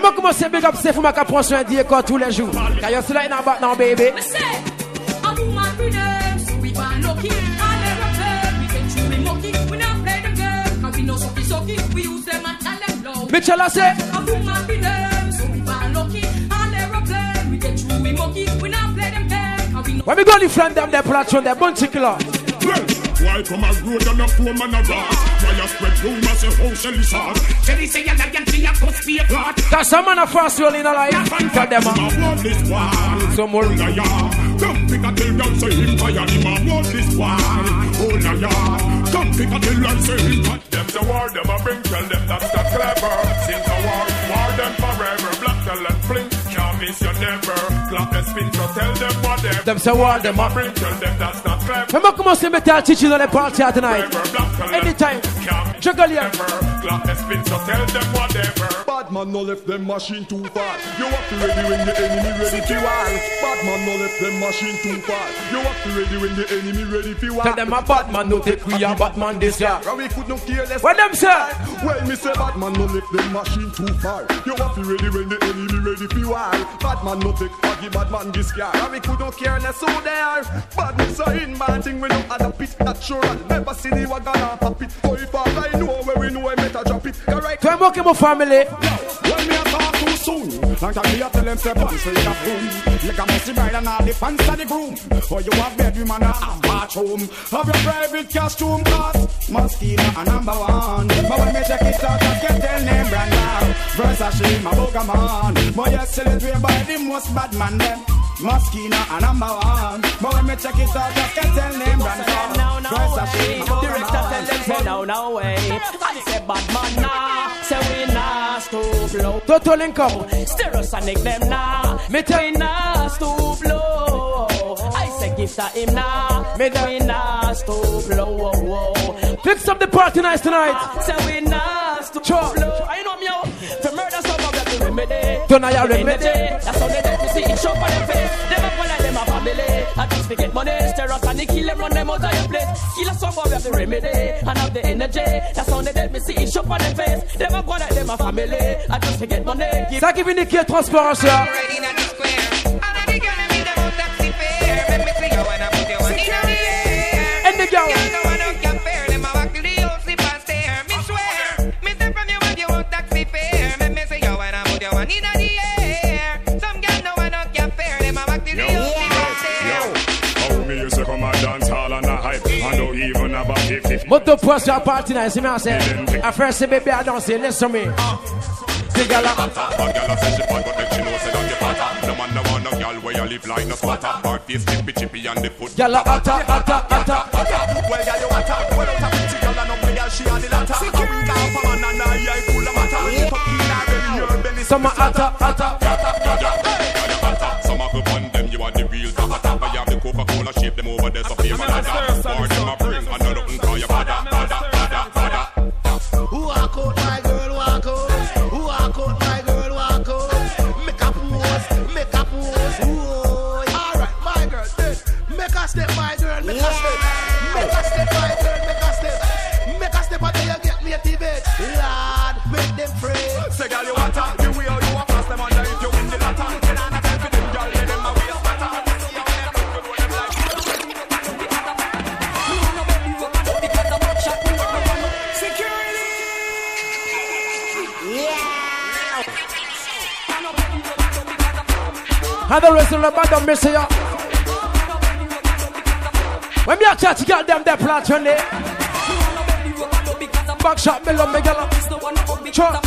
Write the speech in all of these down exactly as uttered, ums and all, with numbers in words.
Fais-moi commencer à big up, c'est pour ma prendre soin d'y école tous les jours. Car y'a cela in a back now, baby. Mitchell, I say. When we go to friend them, they platform, they're bunch killer. Why come a road and a poor man a rat? Why you spread rumors and how shall is hard? Shelly say you're like a cost be a clot. Cause some man a fast roll in a life. Tell them a some more. Come pick a tail down say him fire. Him a want this war. Oh na ya. Come pick a tail down say him fire. Them the war them a bring. Tell them that's not clever. Since the war, war them forever. Black tell and fling. Can't miss you never. Clap and spin so tell them whatever. Them the war them a bring. Tell them that's not clever. Remember come on, see me tell teaching on the party tonight. Anytime. Juggle here. Clap and spin so tell them whatever. Bad man no left them machine too far. You have to ready when the enemy ready to war. Bad man no left them machine too far. You have to ready when the enemy ready to war. Tell them a bad man no take we a bad man this year. We could not care less. What them say? Well me say bad man no left them machine too far. You have to ready when the enemy ready to war. Bad man no take foggy bad man this year. We could not care less who they are. Badness are in man thing we don't add a pit natural. Never see the wagon off a pit. So if I know where we know I better drop it. Correct. So I'm working my family. When me a talk too soon, like I me a tell them say bounce in a room. Like a messy bride and all the pants of the groom. For you have bedroom and a bathroom. Have your private costume cause Mosquito a number one. But when me check it out, I can tell name brand now. Versace, my Pokemon. But you sell it way by the most bad man them. Mosquito a number one. But when me check it out, I can tell name brand now. Versace, my Pokemon. Director tell them say no, no way. I say bad man now. Say we nah stoop low. Total income. Stereosonic them now. Me tell we nah stoop low. I say gift to him now. Me we nah stoop low. Fix up the party nice tonight. Say we nah stoop low. I know me out. To murder some of them to remedy. Don't I remedy? That's how they do to see it show for them face. Them a call like them a family. I just forget money. Stereosonic kill them, run them out of your place. Kill us some of them to remedy. And have the energy. That's how they do to see it show for them face. Them a call like them a family. I just forget money. Ça qui vient qui est transparence là. And the girl. Moto post your party nice, see me I say. I first say baby I don't say listen to me. The girl a girl say she fat but she know say that you fatter. No man no want no girl where you live like no squatter. Her face chippy chippy and the foot. Girl a atta atta atta atta. Well girl you atta. Well out a pretty girl and no girl she a the latter. She can't go for man and I eye full of matter. When you tuck in her belly your belly. Some atta atta atta. Some a go on them you are the real top. I have the Coca-Cola shape them over there so fame and other. Or them a bring and nothing call you father father father father. Who walk out my girl walk out. Who walk out my girl walk out. Make a pose, make a pose. Alright, my girl, make a step, my girl, make a step. Make a step, my girl, make a step. Make a step until you get me a Tibet. Lord, make them pray. Say girl you want her, the way you want pass them under if you win the latter. Can I not tell for them girl, let them a waste matter. And the rest of the band of Messiah. When me a chat, you got them their plans on there. Back shot, me love me girl. Sure.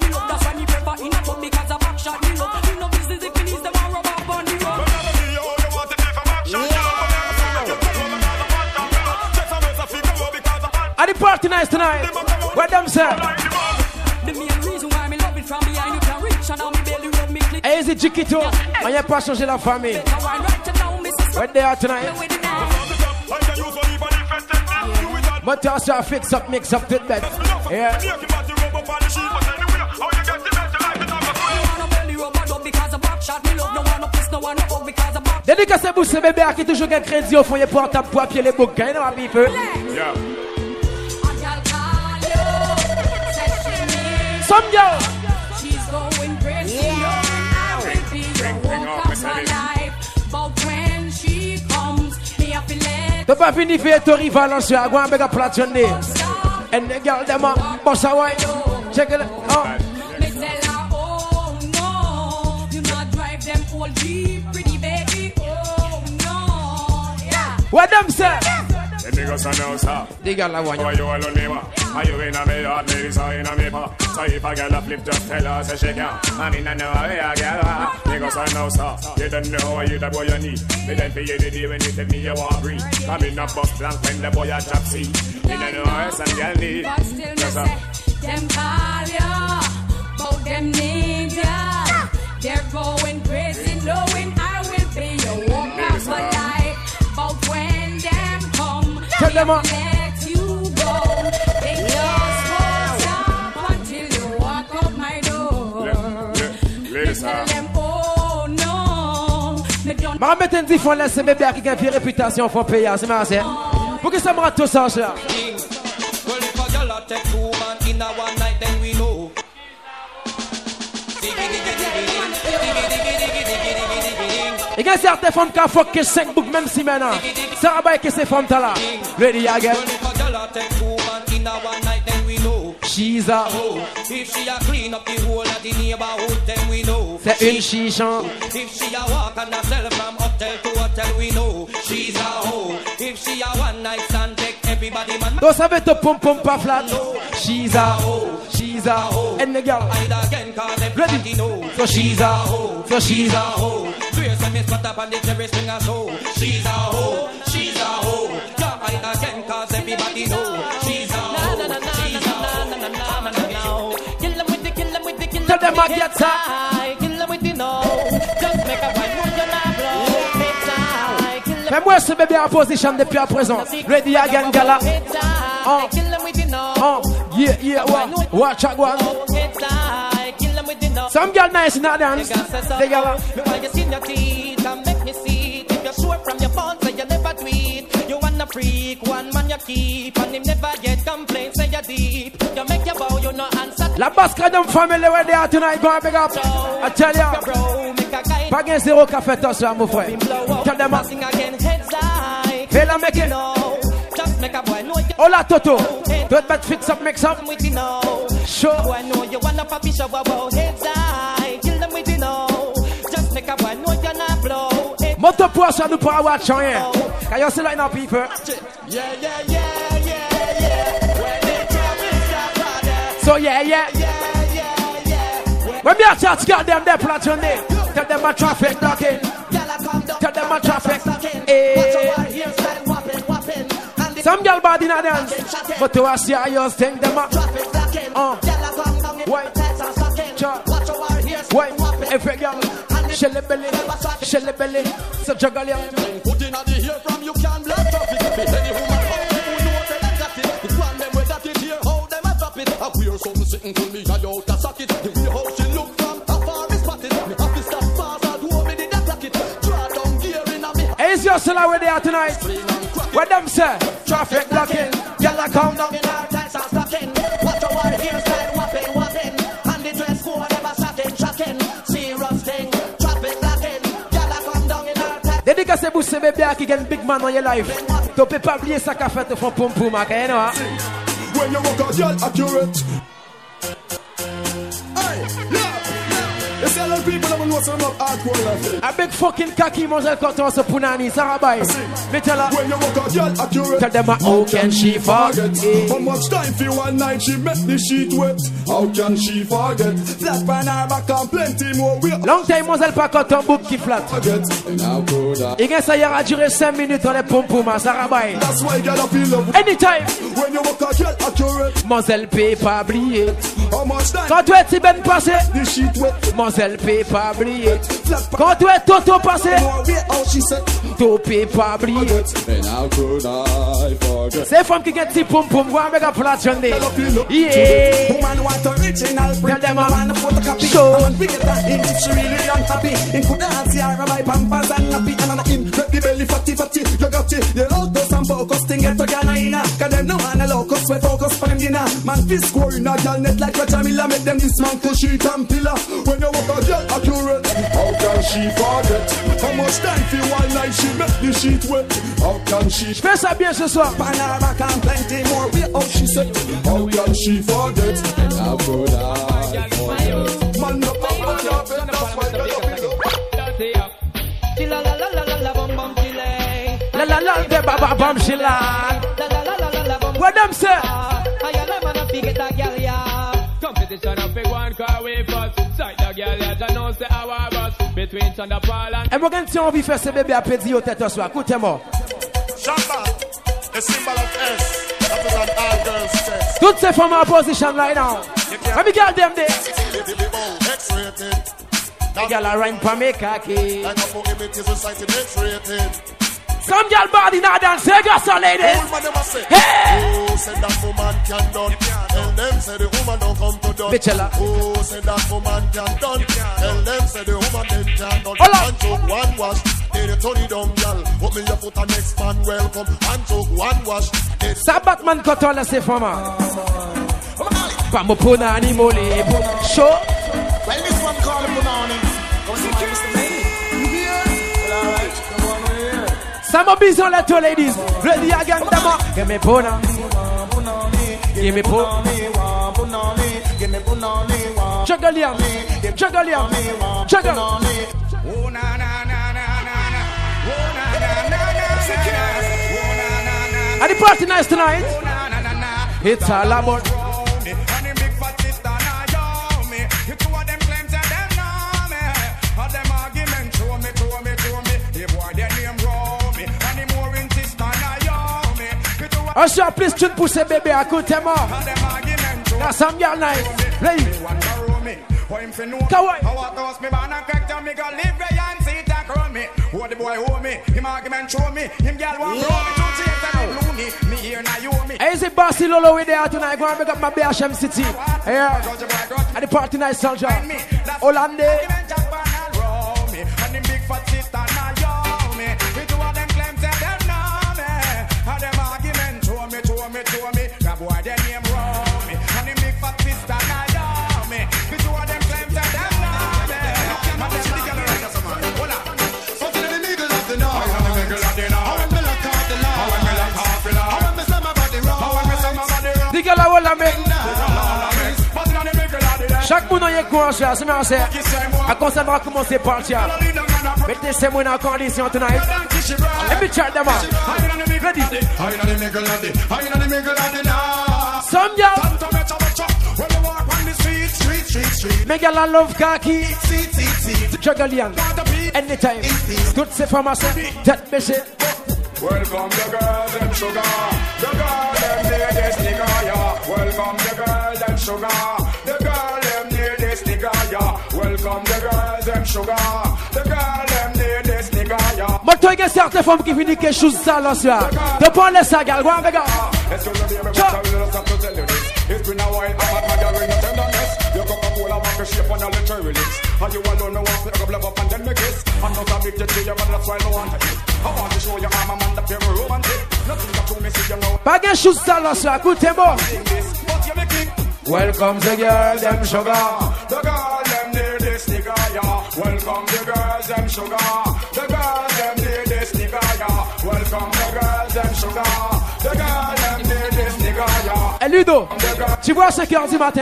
Are the party nice tonight? What them say? The main reason why me love it from behind you can reach and now me barely rub me click. Hey, is it Chiquito? And you're pas changer la famille. Where they are tonight? But also fix up, mix up, fit that. Yeah. Dédicace pour ce bébé qui toujours un crédit au fond, il porte à poids, pied les bouquins, non, à vivre. Yeah. Some girl. She's going crazy. T'as pas fini de faire ton rival en soir. Go and beg a platform day. And the girl them a boss a wine. Check it out. Oh. Me tell her, oh no, you not drive them all deep, pretty baby. Oh no, yeah. What them say? The niggas are now, sir. The girl a wine. Are you alone, neighbor? Are you in a me yard, ladies, or in a me bar? So if a girl a flip, just tell her, say she can. I mean, I know how a girl are. Niggas are now, sir. You don't know how you the boy you need. Me then for you the day when you tell me you want breathe. Come in a bus blank when the boy a drop seat. Me don't know how some girl need. But still me say, them call ya, but them need ya. They're going crazy, knowing I will be your walker for life. But when them come, Tell them up. let you go. They just won't stop until you walk up my door. Ladies, Tell sir. them, oh no, me don't. Ma mettre un différent laisser bébé qui a une réputation faut payer, c'est ma c'est. Pour que ça me rate tout ça ça. Well, if a girl a take two man in a one night, then we know. Il y a certaines femmes qui ont fuck que cinq boucs même si maintenant. Ça va que ces femmes là. Ready again. Well, if a girl a take two man in a one night, then we know. She's a Oh, if she a clean up the whole of the neighborhood, then we know. c'est une chichon. If she a walk and a sell from hotel to hotel, we know. She's a hoe. If she a one night stand, take everybody man. Donc ça veut te pom pom pas flat. She's a she's a and the girl. Hide again, cause everybody know. So she's a hoe. So she's a hoe. Swear some is spot up on the cherry string as hoe. She's a hoe. She's a hoe. Can't hide again, cause everybody know. She's a hoe. She's a hoe. Kill them with the, kill them with the, kill Tell them them I with the get head tie. Kill them with the no. Just make a white move, you're not blow. Head tie. Kill them fais-moi ce bébé en position depuis à présent. Ready again, gala. head tie. Oh. Kill them with the no. Oh, yeah, yeah, what? Watch out, one. Head tie. Kill them with the no. Some girl nice in that dance. They gala. Me want you see your teeth and make me see it. If you're sure from your phone, say you never tweet. You wanna freak, one man you keep, and him never get complaints, say you deep. You make your bow, you no answer. La Basque them family where they are tonight. Go and big up. I tell Your you. bro, make a guy. Pas gain zéro café toi ça mon frère. Tell them up. Sing again, heads high. Fais la make it. No, just make a boy know you Hola Toto. Don't bet fix up mix up. with the no. Show. Boy know you wanna papi show about heads high. Kill them with the no. Just make a boy know you're not blow. Moto pour ça nous pas watch rien. Can you see like now people? Yeah, yeah, yeah, yeah, yeah. When they travel, So yeah, yeah. yeah, yeah, yeah. When me a chat got them there platform day. Tell them my traffic blocking. Tell them my traffic. Eh. Some girl body in a dance. But to us yeah, you think them up. Uh. Wait. Cha. Wait. Every girl. Shelly belly. Shelly belly. So juggle ya. Put in the ear from you can blood traffic. Any woman who knows they got it. The plan them with that it here, how them a drop it. I wear something sitting to me, I out a socket. The way how she look from afar is spotted. Me have to stop fast, I do me did that clock it. Draw down gear in a me. Hey, is your silla where they are tonight? What them say? Traffic blocking. Y'all come down. In our tights are stocking. Watch our hairstyle whopping, whopping. And the dress code never shocking, shocking. Serious thing, traffic blocking. Y'all come down in our tights. Dédicacé pour ce bébé qui gagne big man dans your life. Tu peux pas oublier ça qu'a fait te font pom pom, ok, non? When you walk a girl accurate. Hey, yeah. You see a lot of people that will know some of hardcore life. A big fucking cocky mademoiselle Cotton se punani, ça rabaye. Me tell her. When you walk a girl accurate. Tell them how can she forget? How much time for one night she make the sheet wet? How can she forget? Flat pan her back and plenty more weight. Long time mademoiselle pas Cotton book qui flat. Forget. And how could I? Et que ça y a duré cinq minutes dans les pom pom, ça rabaye. That's why girl I feel love. Anytime. When you walk a girl accurate. Mademoiselle peut pas oublier. How much time? Quand tu es si ben passé. The sheet wet. Mademoiselle peut pas oublier. Flat pan. Quand tu es Toto passé. More weight. How she said. Tu peux pas oublier. And how could I forget? C'est femme qui get si pom pom, go and make a platform day. Girl I feel love. Yeah. Woman want original print. Tell them I I'm- want a photocopy. Show. I want bigger than him if she really unhappy. In could dance here, buy pampers and nappy. And on him, let the belly fatty fatty. You got it. The autos and focus thing get to Ghana. Cause them no man allow cause we focus on them dinner. Man fist scoring a girl net like Roger Miller. Make them dismantle sheet and pillar. When you walk a girl accurate, how can she forget? How much time for one night she make the sheet wet? How can she? Fais ça bien ce soir. Panama can plenty more. We how she said. How can she forget? I could have. Man no power no better. That's why they love it. La la la la la la bum bum chile. La la la de baba bum chile. La la la la la la bum. What them say? I am man a get a girl ya. Competition of big one car way first. Sight the girl ya, I know say our boss. Between Chanda Paul and. Et moi quand tu envie faire ce bébé à pédir au tête au soir. Écoutez-moi. Shamba, the symbol of S. That is an all girls test. Toutes ces femmes en position right now. Let me get them there. X-rated. The girl are rhyme for me khaki. Like a for images recited X-rated. Some girl body now dance. Say go so ladies. Old man never say. Hey. Oh, said that woman can done. Tell them say the woman don't come to done. Bichela. Oh, said that woman can done. Tell them say the woman then can done. Hola. And took one wash. Then you turn it down, girl. Put me your foot and next man welcome. And took one wash. Ça Batman quand on laisse ces femmes. Pas mon punani molé. Show. Well, this one call him Punani. Come see my Mister Baby. Well, all right. Come on here. Some of these are little ladies. Ready again, dama. Give me puna. Give me puna. Give me Punani. Juggle yam. Juggle yam. Juggle. Oh na na na na na na. Oh na na na na na. And the party nice tonight. Oh na na na na. It's all about. And the big fat sister now yo me. You two of them claims that them know me. All them arguments show me, show me, show me. The boy their name roll me. And the more insist now yo me. You two of On se please tu pour ces bébés à côté moi. them arguments show That's some girl nice. Ready? Kawaii. How I toss me ban and crack down me go live where and see it and crown me. Who the boy hold me, him argument show me. Him girl want blow me to chase and blue me. Me here now you me. Hey, is it Bossy Lolo with there tonight? Go and make up my B H M City. Yeah. And the party night soldier. Hollande. And the big fat sister now yo me. The two of them claims that them know me. And them argument show me, show me, show me. That boy their name roll me. And the big fat sister now yo me. The two of them claims that them know me. And the city girl right now, man. Hold on. So to the middle of the night. How when me girl at the night. How when me lock out the light. How when me lock off the light. How when me say my body wrong. How when me say my body wrong. The girl I will make. Chaque monde a un courant, c'est bien c'est. À quoi ça va commencer par tiens. Mettez ces mots en condition tonight. Let me chat them out. Ready? Some girl. Me girl I love khaki. Juggle young. Anytime. Toutes ces femmes tête baissée. Welcome the girls and sugar. The girl them need this nigga, yeah. Welcome the girls and sugar. The girl them need this nigga, yeah. Welcome the girls and sugar. The girl them need this nigga, yeah. Mais toi, il y a certaines femmes qui finissent quelque chose sale là, soir. De prendre les sagas, go on, gars. It's been a while, I'm at my girl in your tenderness. Your Coca-Cola walk a shape on a little release. And you alone know what to love up and then me kiss. I'm not addicted to you, but that's why I want it. I want to show you I'm a man that you're romantic. Nothing that you me see, you know. Pas quelque chose sale là, soir. Écoutez-moi. But you make it. Welcome the girl, them sugar. The girl, them need this nigga, yeah. Welcome the girls, them sugar. The girls, them need this nigga, yeah. Welcome the girls, them sugar. The girl, them need this nigga, yeah. Et Ludo, tu vois à cinq heures du matin.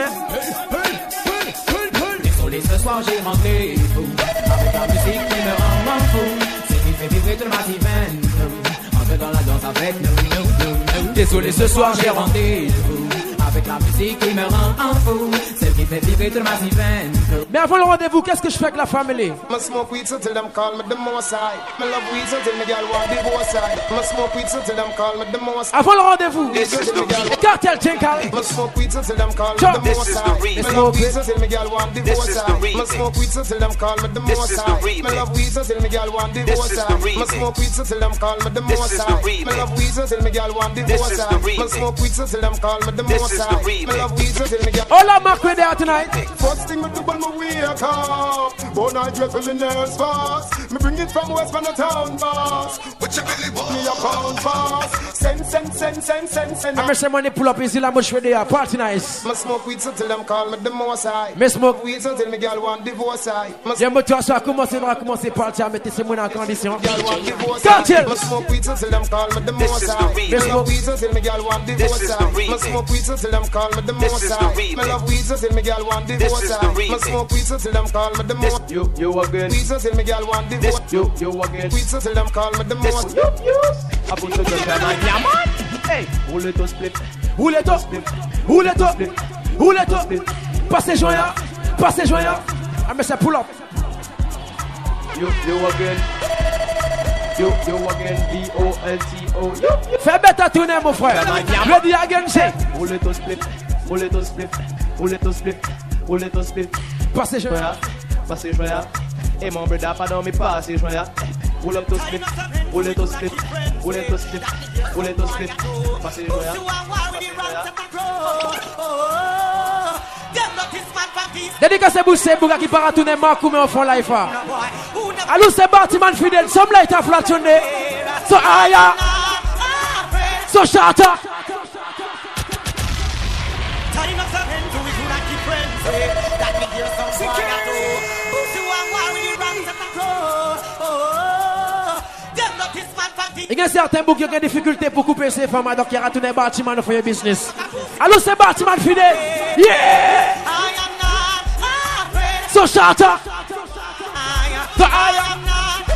Désolé, ce soir j'ai rentré fou. Avec la musique qui me rend fou. C'est qui fait vibrer tout le matin. Entre dans la danse avec nous, nous, nous, nous. Désolé, ce soir j'ai rentré fou. Avec la musique qui me rend fou. Celle qui fait vibrer tout le matin. Mais avant le rendez-vous, qu'est-ce que je fais avec la famille? I smoke weed so till them call me the most high. I love weed so till me girl want divorce side. I smoke weed so till them call me the most high. Avant le rendez-vous, This is the real. cartel tinkal. I smoke weed so till them call me Chuck. the This most is the high. remix. I love weed so till me girl want divorce This is the side. I remix. smoke weed so till them call me the This most is the high. I remix. love weed so till me girl want divorce is the side. I remix. smoke weed so till them call me the This most is the high. I remix. love weed so till me girl want This divorce is the side. I remix. smoke weed so till them call me the This most is the high. I remix. love weed so till me girl. All I mark with there tonight. First thing I do when I wake up, but I dress with the nerves fast. Me bring it from West from the town boss. What you really want? Me a pound fast. Send, send, send, send, send, send. I'm say money pull up easy like much for the party nice. Me smoke weed so till them call me the most high. Me smoke weed so till me girl want divorce I. J'aime toi ça commencer à commencer party à mettre ces mots en condition. Girl want divorce. Cartel. Me smoke weed so till them call me the most high. Me smoke weed so till me girl want divorce I. Me smoke weed so till them call me the most high. Me love weed so till me girl want divorce I. Me smoke weed so till them call me the most. You you again. Weed so till me girl want divorce. You you again. Weed so till them call me the most. I put the gun down like yeah man. Hey, roule it to split. Roule it to split. Roule it to. Roule it to. Passez joyeux. Passez joyeux. I me say pull up. You you again. You you again. B O L T O. Fais bête à tourner mon frère. Ready again say. Roule it to split. Roule it to split. Roule it to split. Roule it to split. Passez joyeux. Passez joyeux. Et mon brother pardon me passez joyeux. Roule up to split. Roule it to split. Roule it to split. Roule it to split. Passez joyeux. Dédicacé Boussé Bouga qui part à tourner Marcou mais on fond life. Allô c'est Bartiman fidèle. Some light a flationné. So aya. So shata. Il y a certains boucs qui ont des difficultés pour couper ces femmes, donc il y a retourné Bartiman pour your business. Allô, c'est Bartiman fidèle. Yeah! So shata. So I am not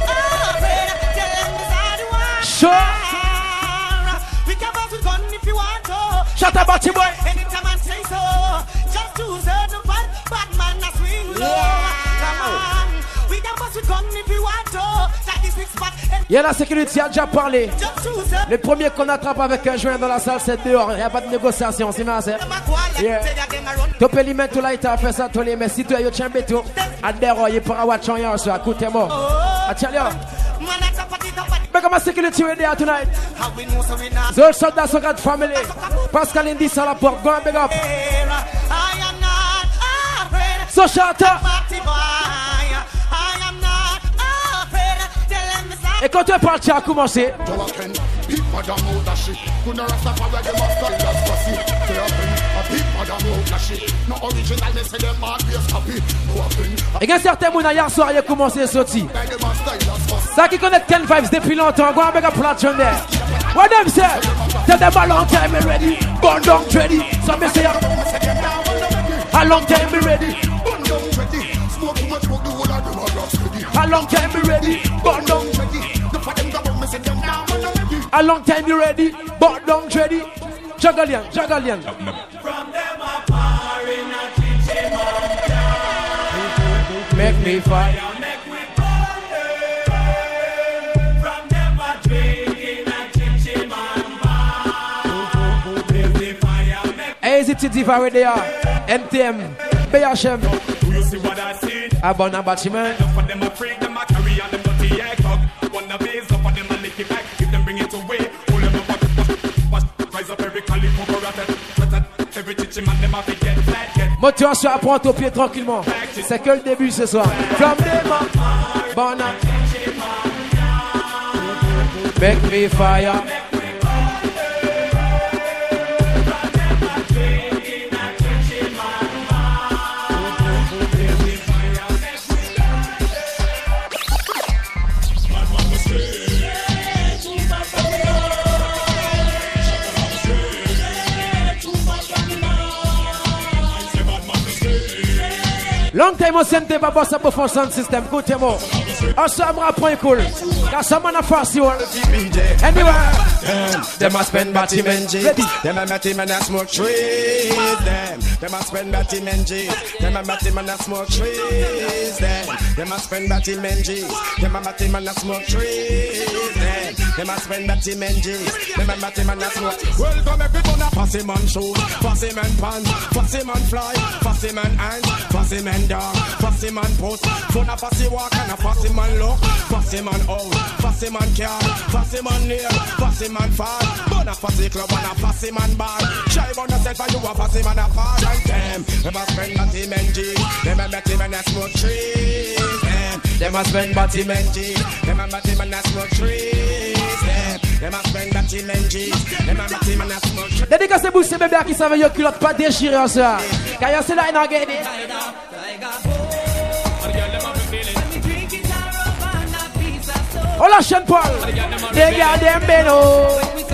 afraid. Sure. We can both with gun if you want to. Shut up, Barty boy. Anytime I say so, just to serve the fun, bad man that's swing low. Come on. We can both with gun if you want to. Il y a la sécurité, a déjà parlé. Le premier qu'on attrape avec un joint dans la salle, c'est dehors. Il n'y a pas de négociation, c'est ma sœur. Yeah. Tu peux lui mettre tout là, il t'a fait ça, tu les mets. Si tu as eu un béto, à dehors, il pourra watch on your show. Écoutez-moi. Attention. Mais comment sécurité est there tonight? The soldats sont grand family. Pascal Indy sur la porte. Go and big up. So shout out. Et quand tu es parti à commencer, et il y a certains gens hier soir qui ont commencé à sortir. Ça qui connaît Ken Vibes depuis longtemps, go and make a platform there. What them say? Tell them a long time be ready, burn down ready. So me say a long time be ready. A long time be ready, burn down ready. A long time you ready, but don't ready. Juggalian, Juggalian. From them a fire in a kitchen man. Make me fire. Make me burn. From them a drink in a kitchen man. Make me fire. Hey, is it Diva where they are? N T M, B H M. You see what I see? Abona Batman. For them a freak, them a carry on them dirty egg dog. One of these, up for them a lick it back. If them bring it away, hold them up, rise up every calico, every chichi man, them a fi get flat, get. Motivation à prendre au pied tranquillement. C'est que le début ce soir. From them a Bona. Make me fire. Long time on sent them about some phone sound system. Good to know. Also, I'm rap point cool. Got someone a fast you. Anyway, them a spend batty menji. Them a batty man a smoke trees. Them, them a spend batty menji. Them a batty man a smoke trees. Them, them a spend batty menji. Them a batty man a smoke trees. Them, them a spend batty menji. Them a batty man a smoke. Welcome everyone a fussy man shoes, fussy man pants, fussy man fly, fussy man hands, fussy man dog, fussy man post, fun a fussy walk and a fussy man look, fussy man out, fussy man car, fussy man nail, fussy man fall, bun a fussy club and a fussy man bar. Shy bun a said for you a pussy man a foreign them. Them a spend batty men G. Them a batty men a smoke trees. Them them a spend batty men G. Them a batty men a smoke trees. Them them a spend batty men G. Them a batty men a smoke trees. Dédicacez vous ces bébés qui savent y'a culotte pas déchirée en ça. Quand y'a c'est là il n'a gagné. Oh la chaîne Paul. They got them beno.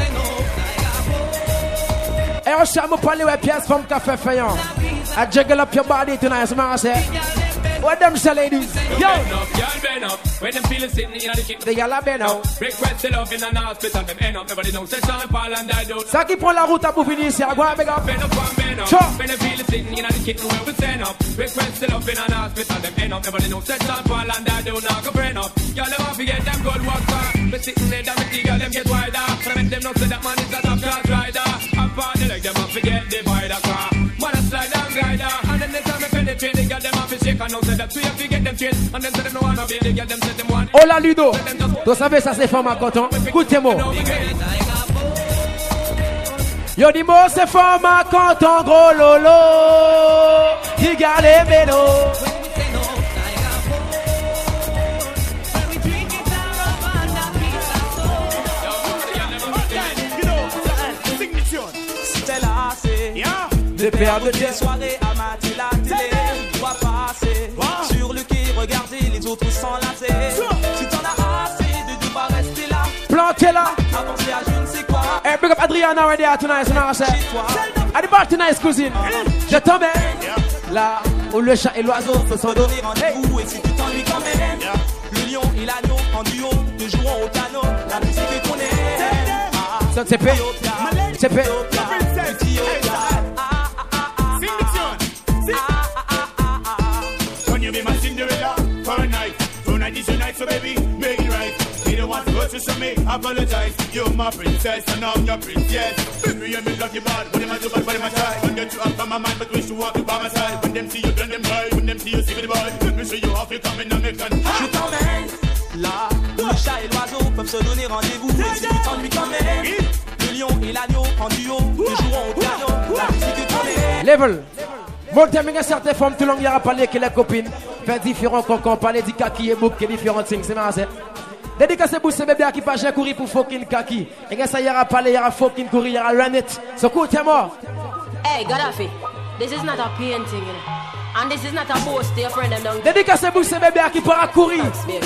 Et on s'est me parler ouais pièce femme café faillant. I juggle up your body tonight, man. Say, what them say, ladies? Yo, when them feeling sitting in the kitchen, they got la beno. request the love in an hospital, them end up. Everybody knows that Sean Paul and I don't. Ça qui prend la route à pour finir ici, à quoi big up? Bend up and bend up. Sure. When them feeling sitting in the kitchen, where we stand up. Request the love in an hospital, them end up. Everybody knows that Sean Paul and I don't. Now go friend up. Y'all never forget them good worker. But sitting there, them girl, them get wider. And I make them know say that man is a top class rider. I'm party like them, I forget the vider car. Man a slide and glider. And then they tell me penetrate, they got them off his shake. And now say that we have to get them chased. And then say them no wanna be, they get them set them one. Oh la Ludo, tu savais ça c'est femme à coton. Écoutez-moi. Yo dis moi c'est femme à coton gros lolo. Regarde les vélos. Des paires de tes soirées à mater la télé. On va passer wow. Sur le quai, regarder les autres s'enlacer. Si t'en as assez de devoir rester là, planté là. Avancer à je ne sais quoi. Hey, big up Adriana already out tonight, man. At the bar tonight, cousine. Je tombe là où le chat et l'oiseau se sont donnés rendez-vous. Et si tu t'ennuies quand même, yeah. Le lion et l'agneau en duo te joueront au piano. La musique est qu'on aime. Ah, ça c'est fait. C'est fait. So baby, make it right. You don't want to go to me, apologize. You're my princess and I'm your princess. Baby, you make love you bad. When them I do bad, when them I try. When get you up on my mind, but wish you walk you by my side. When them see you, then them cry. When them see you, see me the boy. Let me show you how you come in and make an. Je t'emmène là où le chat et l'oiseau peuvent se donner rendez-vous. Et si tu t'ennuies quand même, le lion et l'agneau en duo te joueront au piano. La musique est qu'on aime. Level. Bon, terminer certaines femmes tout le monde y a parlé que les copines fait différents concons, parler du kaki et bouk, qui différents things, c'est marrant. Dédicacé pour ces bébés qui pas j'ai courir pour fucking kaki. Et quand ça y aura parlé, y aura fucking courir, y aura run it. So cool, t'es mort. Hey, Gaddafi, this is not a painting, you know. And this is not a boast to your friend them down. Dédicacé pour ces bébés qui pourra courir.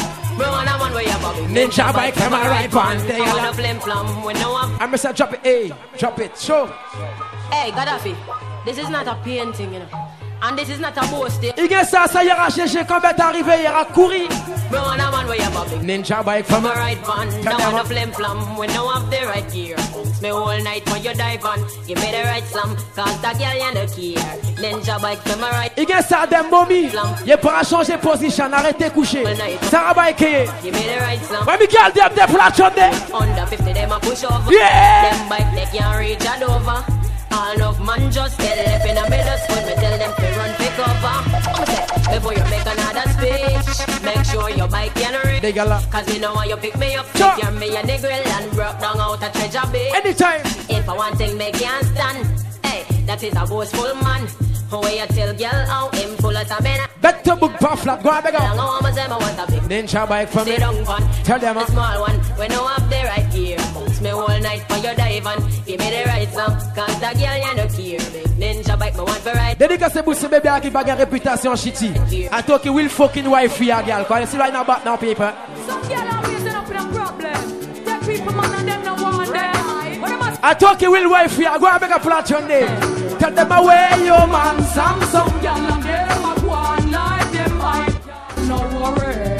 Ninja bike, come on, right on. They are a flim flam when no one. I'm gonna drop it, hey, drop it, show. Hey, Gaddafi. This is not a painting, you know. And this is not a boast. Il y a ça, ça y aura cherché quand bête arrivé, il y aura courir. Ninja bike from a right van. Now on a flim flam when no have the right gear. Me whole night when you dive on. Give me the right slam, cause the girl you no care. Ninja bike from a right. Il y a ça, des momies. Il pourra changer position, arrêtez coucher. Sarah bike. Give me the right slam. When we get them, they flat on there. Under fifty, them a push over. Yeah. Them bike, they can't reach it over. All of man just get left in the middle when me tell them to run pick over. Before you make another speech, make sure your bike can reach. Cause me know when you pick me up, sure. You're me a nigga and broke down out a treasure bay. Anytime. If I want thing make can't stand, hey, that is a boastful man. Where you tell girl how him full of some men. Back to book puff flat, go on, beg up. Ninja bike from me. Tell them a small one, when no have the right gear. Bounce me all night for your dive and give me the right song. Cause the girl you no care. Ninja bike me want for right. Dédicacé pour ce bébé qui a une réputation shitty. I talk you will fucking wife for your girl. Cause you see right now back now paper. Some girl always end up in a problem. Take people man and them no want them. I talk you will wife for your go and make a flat your name. Tell them away your man Samsung. Girl and them a go on like them hype. No worry.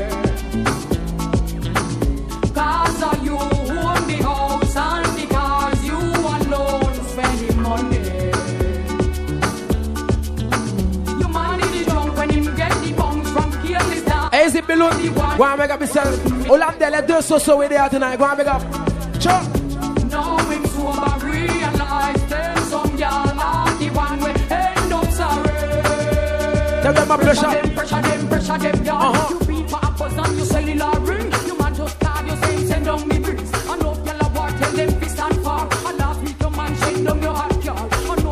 Cause of you own the house and because you alone spending money. You man is drunk when him get the bunk from careless down. Easy below. Go and make up yourself. All of them, let do so so with there tonight. Go and make up. Sure. Now him sober realize them some y'all are the one we end up sorry. Tell them a pressure. Pressure them, pressure them, pressure them down. Uh-huh. You beat for apples and you cellular ring. You man just call you say send down me bricks. I know y'all a war tell them fist and far. I last week your man shake down your hot girl. I know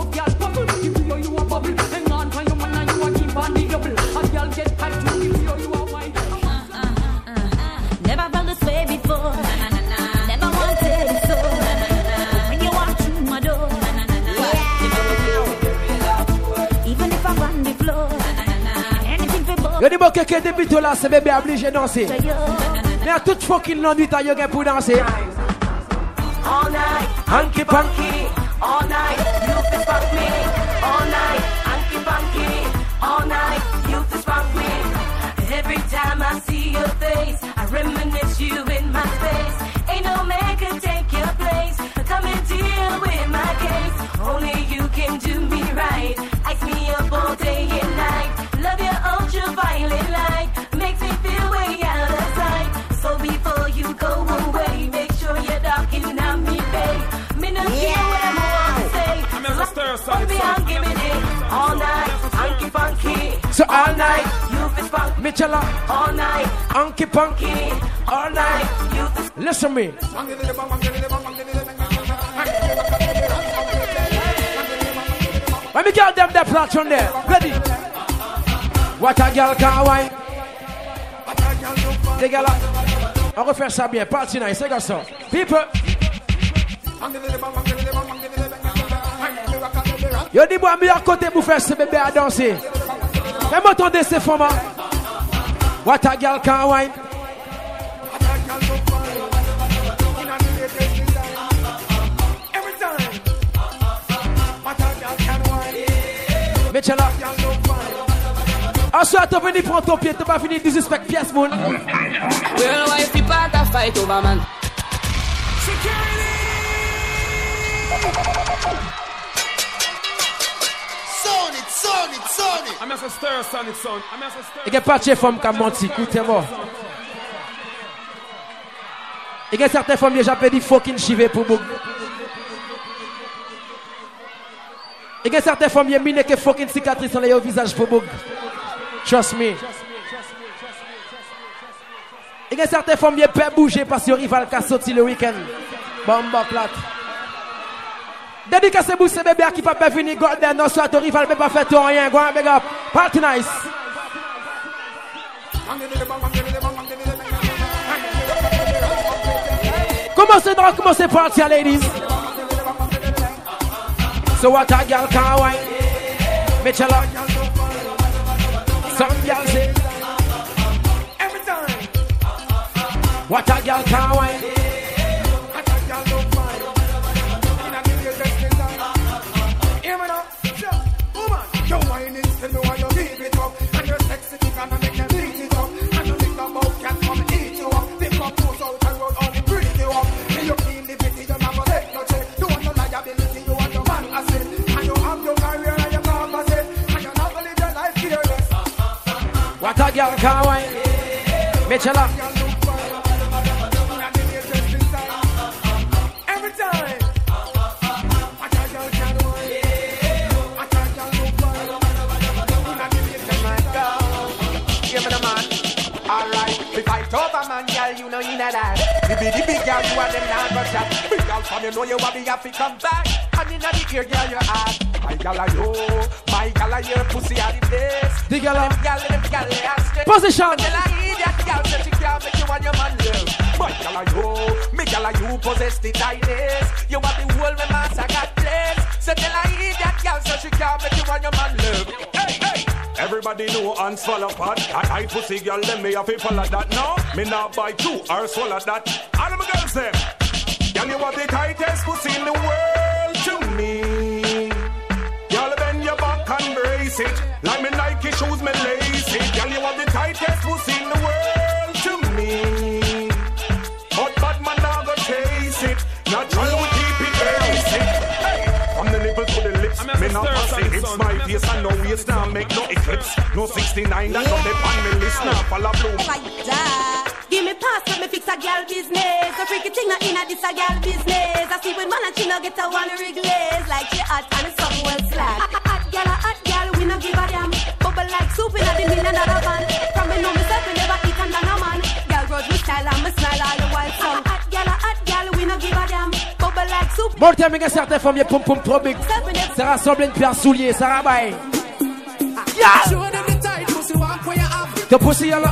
Le niveau quelqu'un débute là, c'est bébé obligé de danser. Mais à toute fucking nuit, t'as yoga pour danser. All night, Hanky panky. all night, you can spark me. All night, hanky panky. All night, you can spark me. Every time I see your face, I reminisce you in my space. Ain't no man can take your place. Come and deal with my case. Only you can do me right. Ice me up all day and night. Love your ultraviolet light. Makes me feel way out of sight. So before you go away, make sure you're darking on me, babe. Me no care what I'm want to say. Hold me on, give me it. All night, hanky funky. So all night, you feel funky. Mitchella. All night, Hanky punky. all night, you feel. Listen me. Let me get them that platform there. Ready? What a girl can wine. Les gars là, on va faire ça bien. Party nice, c'est comme ça. People. Yo dis moi meilleur côté pour faire ce bébé à danser. Fais-moi entendre ces femmes. What a girl can wine. Mitchella. Ensuite, tu venu prendre ton pied, tu pas fini de disrespect pièce, mon. Well, why if you part a fight over man? Sound it, sound it, sound it. I'm as a stir, son, it's son. I'm as a stir. Il y a pas de femme qui a menti, écoutez-moi. Il y a certaines femmes qui ont déjà dit fucking chivé pour vous. Il y a certaines femmes qui ont mis que fucking cicatrice dans le visage pour vous. Trust me. Il y a certaines femmes qui ont pas bougé parce que le rival qui a sorti le week-end. Bomba plat. Dédicace pour ce bébé qui ne peut pas venir golden, non, soit ton rival ne peut pas faire tout rien. Go on, big up. Party nice. Commencez donc, commencez party, ladies. So what a girl can wine. Mitchella. Some girl say. Every time. What a girl can wine. Hear me now. Woman, your wine is to know how you leave it up. And your sexy thing gonna make them leave it up. And you think about can come and eat you up. Pick up those out and roll on and breathe you up. And you clean the pity, you never take no check. You want your liability, you want your man asset. And you have your career and your pharmacy. And you never live your life fearless. What a girl can wine. Mitchella. Every time. What a girl can wine. What a girl look fine. My girl. Give me the man. Alright. If I talk a man, girl, you know you know that. The big, the big girl, you are them not but that. Big girl from you know you want me have to come back. And in the ear, girl, you ask. My girl, I know. My girl, I hear pussy at the place. The girl, them girl, them girl, they ask. Position. Tell I hear that girl, that she can't make you and your man live. My girl, I know. Me girl, you possess the tightness. You want the whole me master got place. So tell I hear that girl, so she can't make you and your man live. Hey, hey. Everybody know and swallow pot. I tight pussy girl, them me have to follow that. No, me not buy two or swallow that. All of my girls them. Girl, you have the tightest pussy in the world to me. Girl, bend your back and brace it. Like me Nike shoes, me lace it. Girl, you have the tightest pussy in the world to me. But bad man now go chase it. Natural we keep it basic. Hey, from the nipple to the lips, me not pass it. It's my face and no waste now make no eclipse. No sixty-nine that don't depend me list now follow bloom. Give me pass, let me fix a girl business. A freaky thing not in a this a girl business. I see when man and she no get a one reglaze. Like she hot and some well slack. Hot girl, a hot girl, we no give a damn. Bubble like soup in a the in another van. From me know myself, we never eat under no man. Girl grudge me style and me smile all the while song. Hot girl, a hot girl, we no give a damn. Bubble like soup. Bon, t'as mis certaines femmes, y'a poum poum trop big. Ça rassemble une pierre soulier, ça rabaille. Ton pussy y'a là.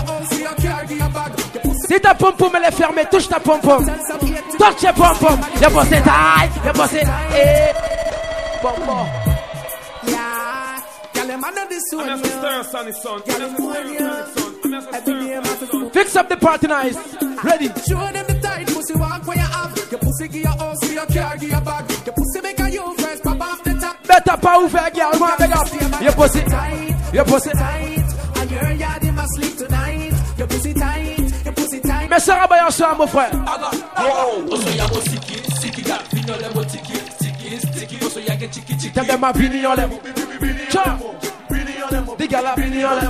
Si ta pom pom elle est fermée, touche ta pom pom. Touche ta pom pom. Y'a bossé taille, y'a bossé. Eh. Pom pom. Yeah, girl, them under this one. I'm stir son, his son. Fix up the party nice. Ready. Show them the tight pussy walk where you have. Your pussy give your house, your car, give your bag. Your pussy make a you first, pop off the top. Better power for a girl, man, beg up. Your pussy tight, your pussy tight. And your yard in my sleep tonight. Your pussy tight, your pussy tight. Mais ça va bien soir, mon frère. Tell them my bini on them. Ciao. Diga la bini on them.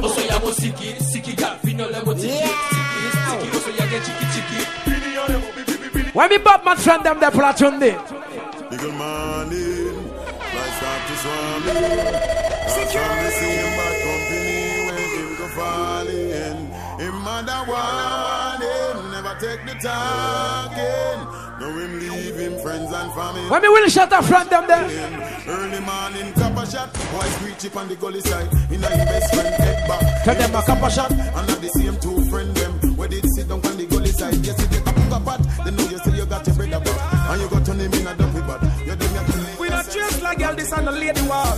When me bop my friend them, they platoon day. Bigger money, lights up to swarming. Security. See him bad company when him go falling. Him mother want him, never take the talking. No him leave him friends and family. When me will shut up friend them there. Early morning copper shot, boy screech up on the gully side. In a him best friend head back. Tell them a copper shot. And not the same two friend them. Where they sit down on the gully side. Yes, they come up pot. They know you still you got your bread about. And you got to name in a dumpy bad. You them you we not dressed like girl, this on the lady war.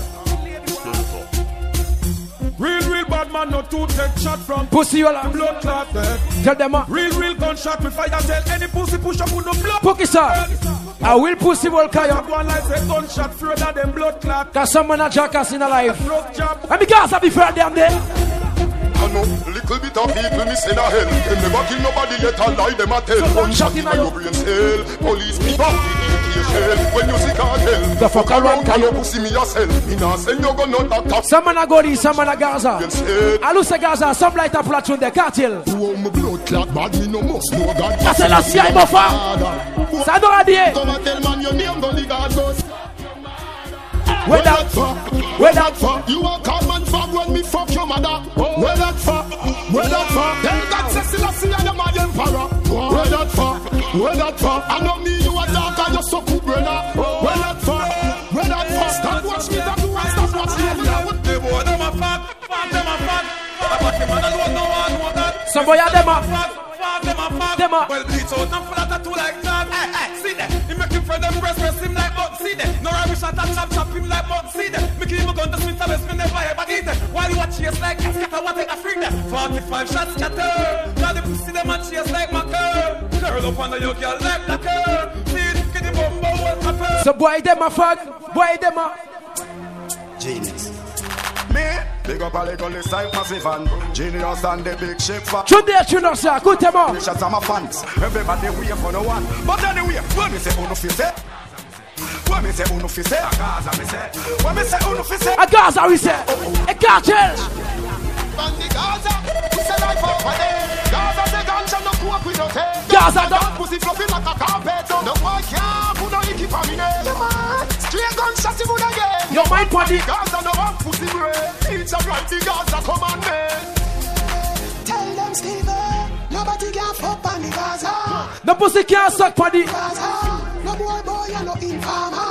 Real, real bad man, no two take shot from pussy all up. Blood clot dead. Tell them a real, real gunshot with fire. Tell any pussy push up with no blood. Pookie sir, I will pussy will carry up. One like say gunshot further than blood clot. Cause someone a jackass in a life. Job. And because I be friend them there. I know little bit of people miss in a hell. Them never kill nobody yet a lie them a tell. Gunshot in your brain cell. Police people when you see cartel. The fuck around can you pussy me yourself? Me nah send you gun no doctor. Someone a go this, someone a Gaza. I lose a Gaza, some light a platoon the cartel. Who my blood clot bad me no must know God. That's a last year buffer. Sadora die. Come and tell man your name go the God goes. Where that fuck? Where that fuck? You a come and fuck when me fuck your mother. Where that fuck? Where that fuck? Then God says still I see I am my emperor. Where that fuck? Where that fuck? I know me you a dog and you so cool brother. Where that fuck? Where that fuck? Stop watch me that do and stop watch me. The boy them a fuck, fuck them a fuck. But the man alone no one know that. Some boy a them a fuck, fuck them a fuck. Them a well bleach out and full of tattoo like that. Hey, hey, see that? He make him friend them breast press him like button. See that? No rubbish shot and chop chop him like button. See that? Make him gun to Smith and West me never ever eat it. While you watch chase like scatter what take a freak there. Forty-five shots scatter. Now the pussy them and chase like my girl. Curl up under your girl like that girl. See it? Get the bumbo what happen. So boy them a fuck. Boy them a genius. Me, big up a little list like massive and genius and the big shape for. Today, Chuno sir, good them up. Shots are my fans. Everybody wait for no one. But anyway, when me say uno fi say, when me say uno fi say, a Gaza me say, when me say uno fi say, a Gaza we say, a cartel. From the Gaza, we say life over there. Gaza say ganja no cook with no tail. Gaza done. Pussy fluffy like a carpet. No boy can't put no icky for me name. Straight gunshot you would again. Your mind body. Gaza no one pussy brain. It's a right the Gaza commandment. Tell them Steven, nobody can fuck on the Gaza. No pussy can't suck body. Gaza, no boy boy and no informer.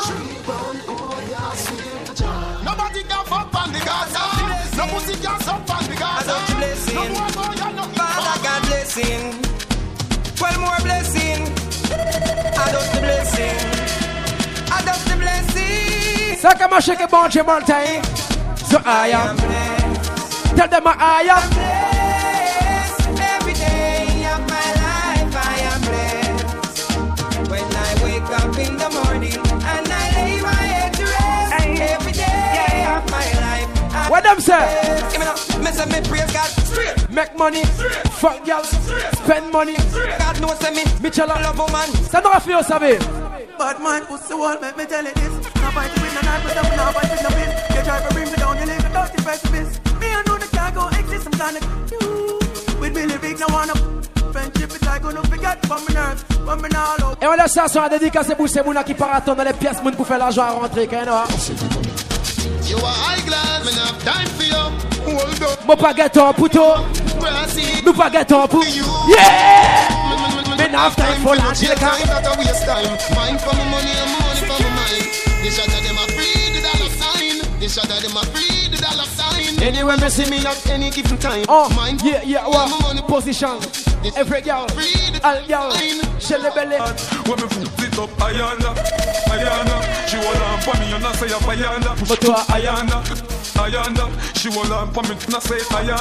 Nobody can fuck on the Gaza. No pussy can suck on the Gaza. I blessing. No boy boy and no Father God blessing. Twelve more blessing. I just the blessing. I just the blessing. So come on, shake it, bunch of time. So I am blessed. Tell them I am blessed. Every day of my life I am blessed. When I wake up in the morning and I lay my head to rest. Every day of my life. What them say? Give me now. Me say me praise God straight. Make money, fuck girl, spend money. God knows me, me chill out. Love woman. Ça doit faire ça, babe. But man, pussy wall, make me tell you this. Now fight with the night, but I'm not fighting the wind. You try to bring me down, you live a dirty precipice. Me, I know the can't go exist, I'm trying to you. With Billy Big, no one up. Friendship is like gonna forget from my nerves, from my all out. Et on laisse ça sur la dédicace pour ces mouna qui paratent dans les pièces moun pour faire l'argent à rentrer, quand même. You are high glass, man, have time for you. Hold up. Mon baguette en pouto. Nous baguette en pouto. Yeah! Men have time for that. Time that I waste time. Mind for my money and money for my mind. The shot of them a free the dollar sign. The shot of them a free the dollar sign. Anywhere me see me at any given time. Oh, yeah, yeah, what? Position. Every girl, all girl, shell the belly. When me foot it up, Ayana, Ayana. She She hold on for me and I say Ayanda. Push to Ayanda, Ayanda. She hold on for me and I say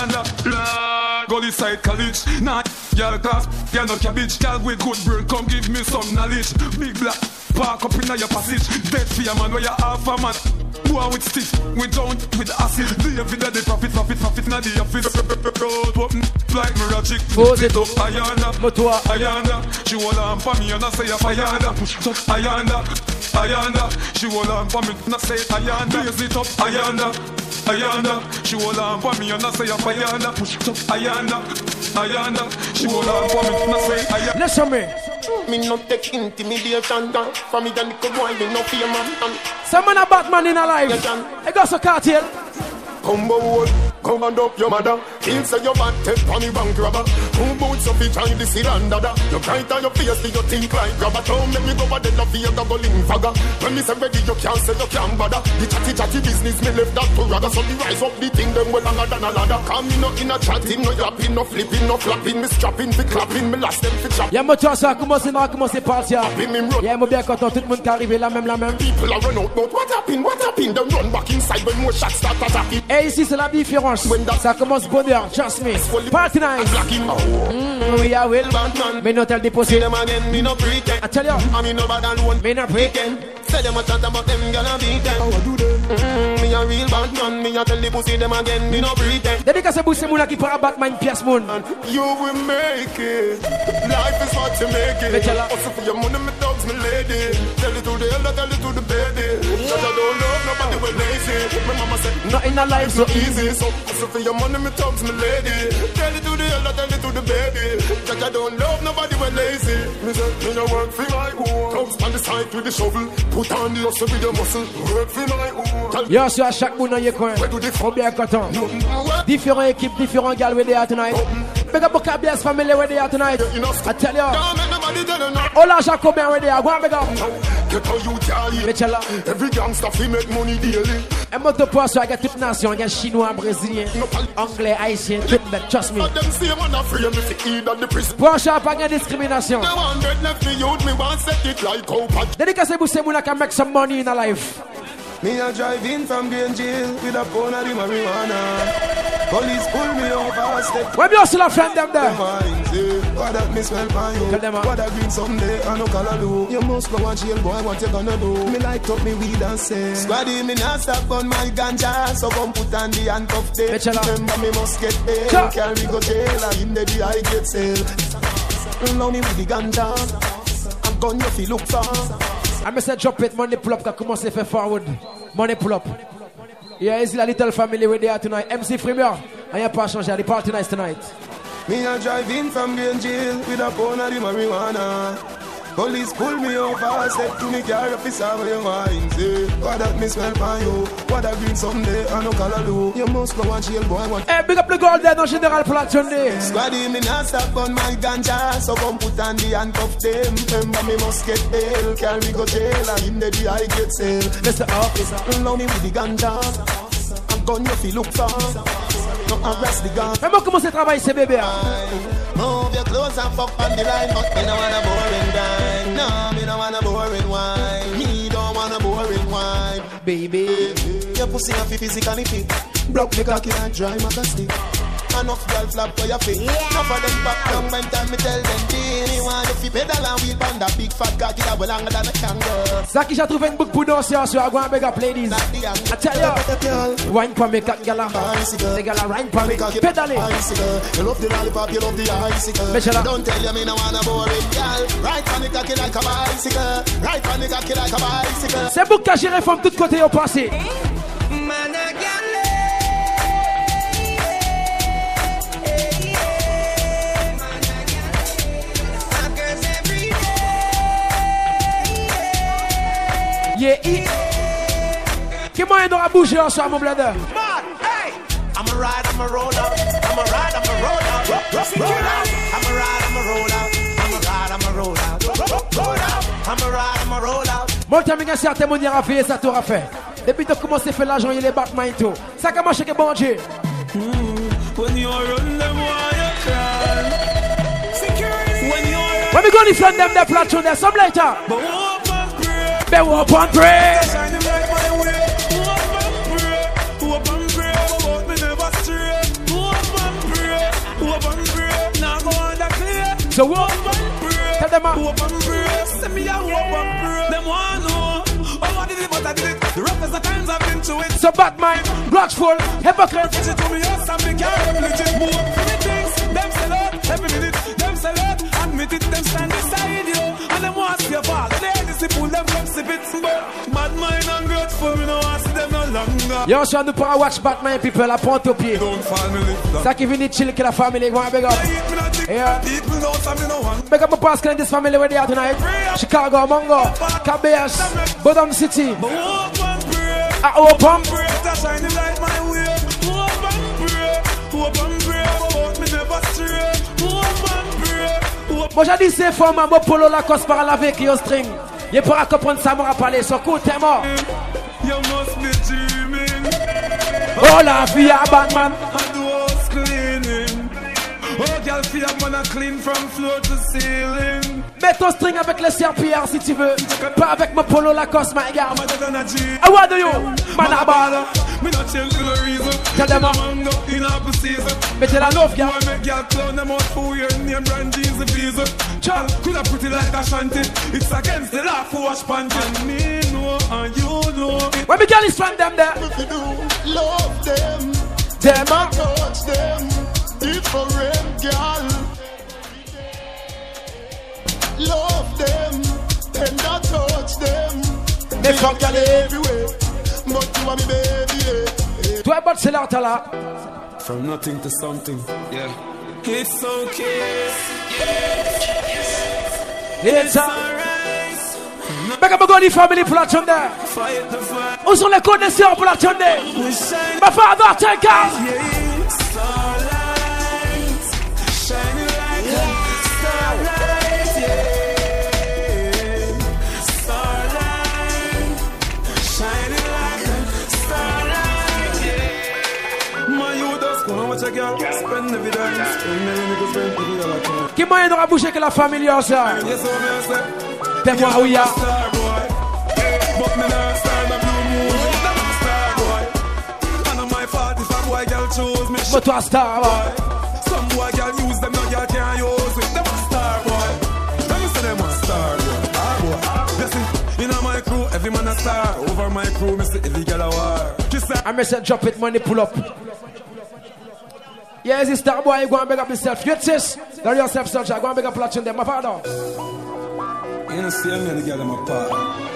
Ayanda. Gully side college, nah, girl class, girl no cabbage. Girl with good brain, come give me some knowledge. Big black, park up in your passage. Dead for your man, where you half a man. Boy with stiff, with down, with acid. The everyday the profit, profit, profit, na the office. Road open like magic. Pose it up, Ayanda, Ayanda. She hold on for me and I say Ayanda. Push it up, Ayanda, Ayanda. She hold on for me and I say Ayanda. Raise it up, Ayanda, Ayanda. She hold on for me and I say Ayanda. Push it up, Ayanda, Ayanda. She hold on for me and I say Ayanda. Listen me. Me no take intimidation down. For me the little boy, me no fear man. Some man a Batman in a life. I got some cartel. Combo wood, come and up your mother. Kill say your bad take on me bank robber. Who boots up each time this is under. You bright on your face, do you think like grabber? Don't make me go over the love for your double in fagger. When me say ready, you can't say you can't bother. The chatty chatty business, me left that to rather. So the rise up the thing, them well longer than a ladder. Come me no in a chatting, no yapping, no flipping, no flapping. Me strapping, fi clapping, me last them fi chop. Y'a mon toi ça commence à commencer partir. Y'a mon bien content, tout le monde qui arrive là même la même. People are run out, but what happened, what happened? Them run back inside when more shots start attacking. Et ici c'est la différence. Ça commence bonheur, trust me. Party night. Mm, we are well. Me not tell the pussy. I tell you. Me not pretend. Say them a chat about them, gonna beat them. How I do them? Mm, me a real bad man. Me a tell the pussy them again. Me no pretend. Dédicace Boussé Mouna qui fera Batman pièce moun. You will make it. Life is what you make it. Also for your money, me dogs, me lady. Tell it to the elder, tell it to the baby. Cause I don't love nobody when lazy. My mama said, not in a life so easy. So also for your money, me dogs, me lady. Tell it to the elder, tell it to the baby. Cause I don't love nobody when lazy. Me say, me no work for my own. Dogs on the side with the shovel. Put on the hustle with the muscle. Work for my own. Yo, sur à chaque monde dans le coin. On bien content. Différentes équipes, différents gars where they are tonight. Big up Boca Bless family where they are tonight. I tell you. All our Jacobin where they are. Go on, big up. Get how you carry. Every gangster fi make money daily. Un moto poisson avec toute nation, il y a chinois, brésilien, anglais, haïtien, tout le monde, trust me. Poisson pas de discrimination. Dédicace Boussé Mouna can make some money in a life. Me a drive in from Green Jail with a pound of the marijuana. Police pull me over, step. Where you still a friend them there? What that me smell pan you? What that green someday I no color do. You must go and jail, boy. What you gonna do? Me light up me weed and say, Squaddy me not stop on my ganja, so come put on the handcuff tape. Remember me must get paid. Carry go jail and in the D I get sale. Now me with the ganja, I'm gone you feel look for. I me say drop it, money pull up, that commence à faire forward. Money pull up. Yeah, it's a little family where they are tonight. M C Premier, I am pas changé, the party night tonight. Me a drive in from Green Jail with a pound of the marijuana. Police pull me over, step to me car, officer, where you mind, say. What that me smell pan you? What that green someday, I no color do. You must go and jail, boy. What? Hey, big up the gold there, no general platform day. Squaddy, me not stop on my ganja, so come put on the handcuff them. Remember me must get bail, carry go jail, and in the D I get sale. Mister Officer, love me with the ganja, I'm gone you feel look for. No arrest the gun. Comment commencer à travailler ces bébés? Move your clothes and fuck on the line, but me no want a boring grind. No, me no want a boring wine. Me don't want a boring wine, baby. Your pussy have physically fit. Block me cocky and dry maca stick. Enough girl flap for your feet. Enough of them back down when time me tell them Dini want you fi pedal and wheel pan that big fat cocky that will longer than a kangaroo. Ça qui j'ai trouvé une boucle pour danser sur I go and beg up ladies. I tell you, wine for me cat gala. The gala wine for me, pedal it. You love the lollipop, you love the icicle. Don't tell you me no want a boring girl. Right on the cocky like a bicycle. Right on the cocky like a bicycle. C'est boucle qui géré from tout côté au passé. Yeah, yeah. Qui moyen d'aura bouger en soi, mon blender? Hey! I'm a ride, I'm a roll up. I'm a ride, I'm a roll up. Roll up. I'm a ride, I'm a roll up. I'm a ride, I'm a roll up. Roll up. I'm a ride, I'm a roll up. Mon temps, il y a certains monde qui a fait ça, t'aura fait. Depuis que tu commences à faire l'argent, il est Batman et tout. Ça commence à bon Dieu. When you run them, why you cry? Security. When you When we go to front them, the platform there, some later. Be up and pray. Shine the light my way. Hope and pray. Hope and pray. About me never stray. Hope and pray. Hope and pray. Now go on the clear. So what? Hope and pray. Tell them hope and pray. Send me a hope and pray. Them want know. Oh, I did it, but I did it. The roughest the times I've been to it. So Batman, grudgeful, hypocrite. She told me yes, I'm big girl, legit. Move three things. Them sell out, every minute. Them sell out, admit it. Them stand beside you, and them want to see your fall. They disciple them from sip it. Bad mind and grateful, me no want to see them no longer. Yo, so on ne pourra watch Batman people à pointe au pied. Ça qui vient chill que la famille go big up. Yeah. Big up my Pascal and this family where they are tonight. Chicago, Mongo, Cabeas, Bodom City. I open. Moi j'ai dit c'est fort, ma polo la cause par la avec yo string. Y'a pas comprendre ça m'aura parlé, so coup t'es mort. You must be dreaming. Oh la vie à Batman. And the house cleaning. Oh girl, feel man a clean from floor to ceiling. Mets ton string avec le serpillard si tu veux. Pas avec mon polo Lacoste, my girl. I want you, Manabala. Me not change for no reason. Tell them up. In apple season. Mettez la love, girl. Boy, make girl clown them out for your name brand Jesus visa. Child, could have put it like a shanty. It's against the law for wash panty. And me know, and you know. When me girl is from them there. Love them. Them up. Touch them. Different girl. Love them. And I touch them. They fuck girl everywhere. But you are me baby, yeah. Toi, but c'est là, t'as là. From nothing to something, yeah. It's okay. It's alright. Make up a good family pour la chonde. Où sont les connaisseurs pour la chonde? Ma father, take out. Qui moyen d'aura bouger que la famille ça? T'es moi où y'a? But toi star boy. Some boy girl use them, no girl can't use it. Them a star boy. Let me say them a star boy. Ah boy. Listen, in my crew, every man a star. Over my crew, me say every girl a war. I me say drop it, money pull up. Yeah, it's star boy, you go and beg up yourself. You sis, they're yourself, soldier. Go and beg up platform them, my father. You know, see me, the girl them apart.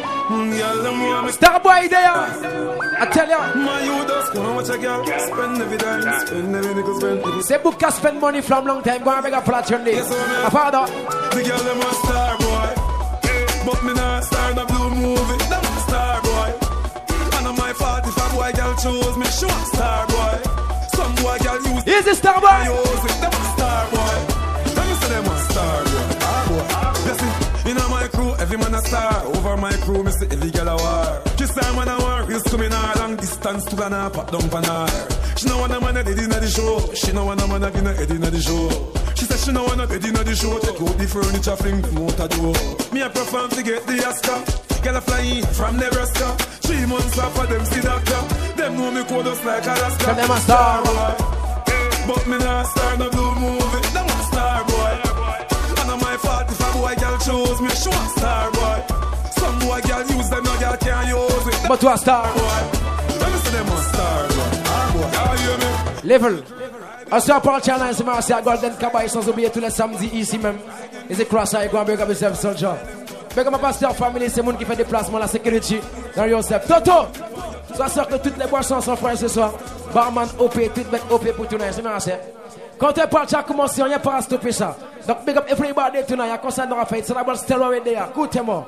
Star boy there. I tell ya. My you just go and watch a girl spend every dime, spend every nickel, spend every. Say book can spend money from long time. Go and beg up platform them. My father. The girl them a star boy, but me not star the blue movie. Them a star boy. And on my forty-five boy girl chose me, show star boy. Some boy girl use. Is this star boy? Them a star boy. Let me say them a star boy. Ah boy. Listen, in my crew, every man a star. Over my crew, me say every girl a war. Kiss her man a war. Reels coming a long distance to gonna pop down pan her. She no want a man a dead inna the show. She no want a man a inna head inna the show. She said she no want a bed inna the show. Take out the furniture, fling them out a door. Me a perform to get the Oscar. Girl a fly in from Nebraska. Three months after them see doctor. Them know me code us like Alaska. Tell them a star boy. But me not star no blue movie. Them a star boy. And on my forty-five boy girl chose me. Show a star boy. Some boy girl use them, no girl can't use it. But to a star boy. Let me say them a star boy. Ah boy, y'all hear me? Level. On se reparle challenge, c'est marqué à Golden Cabaye sans oublier tous les samedis ici même. Et c'est cross à Egon Big Up Yourself Soldier. Big Up ma pasteur family, c'est le monde qui fait déplacement, la sécurité dans Yourself. Toto! Ça sort que toutes les boissons sont frères ce soir. Barman O P, tout bête O P pour tout le monde, c'est marqué. Quand on parle, ça a commencé, on n'y a pas à stopper ça. Donc big up everybody tonight, il y a concert dans la fête, c'est d'abord stéroïde there. Écoutez-moi.